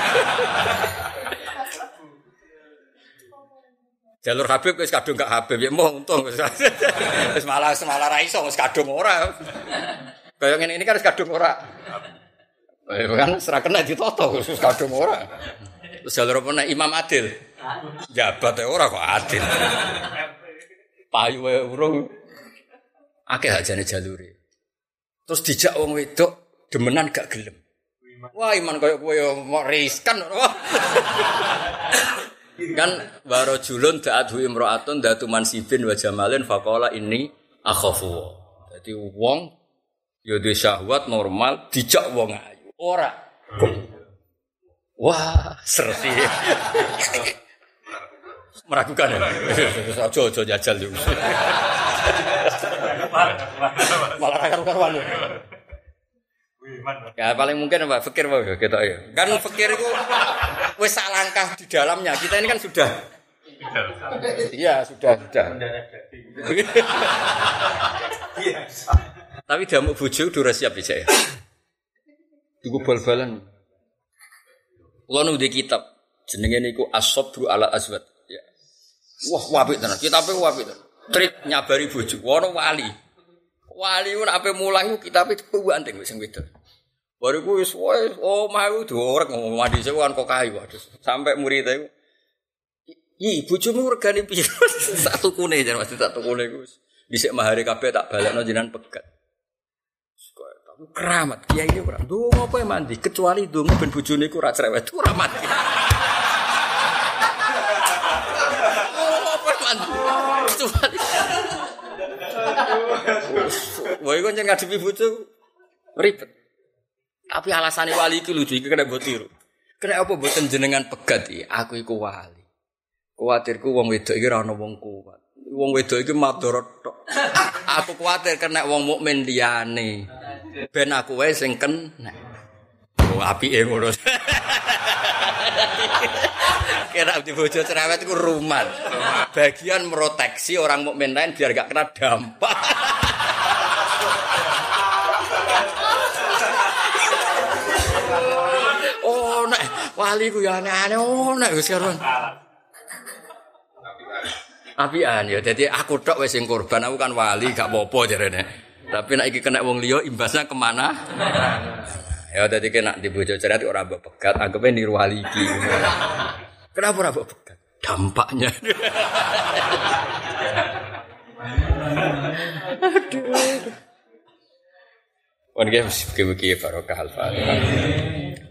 Jalur Habib wis kadung gak Habib ya mau untung wis malah ra iso wis kadung ora. Kaya ngene ini kan wis kadung ora. Kan ora kena ditoto wis kadung ora. Terus jalur apa nek Imam Adil? Jabat ora kok adil. Payu wae urung akeh ajane jalure. Terus dijak wong wedok demenan gak gelem. Wah iman kaya kowe yo mau riskan. Kan warajulun da'atu imra'atun datu mansibin wa jamalin faqala inni akhafu. Dadi wong ya duwe syahwat normal dijak wong ayu. Ora. Wah, serti. Meragukan ya. Aja jajal yo. Malah ra karuan. Ya paling mungkin apa fikir wae ketok ya. Kan fikir iku wis sak langkah di dalamnya. Kita ini kan sudah. Iya, sudah. Tapi damuk bojo udah siap bisa ya. Iku bal-balan. Kulo nu di kitab jenenge niku As-Sabru ala Azwat. Ya. Wah, apik tenan. Kitabe apik tenan. Trik nyabari bojo. Ono wali. Wali ku nek ape mulang ku kitabe dipuwanting wis sing wedok. Baru ku wis omah ku diorek ngomong mandi sewan kok kayu waduh. Sampai murid iku bojomu regane piro? Sak tukune jan mesti sak tukune ku wis dhisik mahare kabeh tak balekno jenengan pegat. Tapi keramat kiai iki ora ndonga apa mandi kecuali ndonga ben bojone iku ora cerewet ora mati. Apa mandi? Kecuali wah iku njen ngadepi bojo ribet. Tapi alasane wali iki lucu iki kena mbok tiru. Kena apa mboten jenengan pegat iki? Aku iku wali. Kuwatirku wong wedok iki ora ana wong kuat. wong wedok iki madharat tok. Aku kuwatir kena wong mukmin liyane. Ben aku wae sing kena. Oh apike ngono. Kira di bojo cerewet iku rumat. Bagian proteksi orang mukmin lain biar gak kena dampak. Oh nek wali ku ya aneh-aneh nek wis karo. Apian ya dadi aku tok wis sing korban aku kan wali gak apa-apa jarene. Tapi nek iki kena wong liya imbasnya kemana? Ya dadi kena di bojo cerewet ora mbok pegat anggape niru wali iki. Kenapa ora mbok pegat? Dampaknya. Aduh. Wan ge mesti barokah al-Fatihah.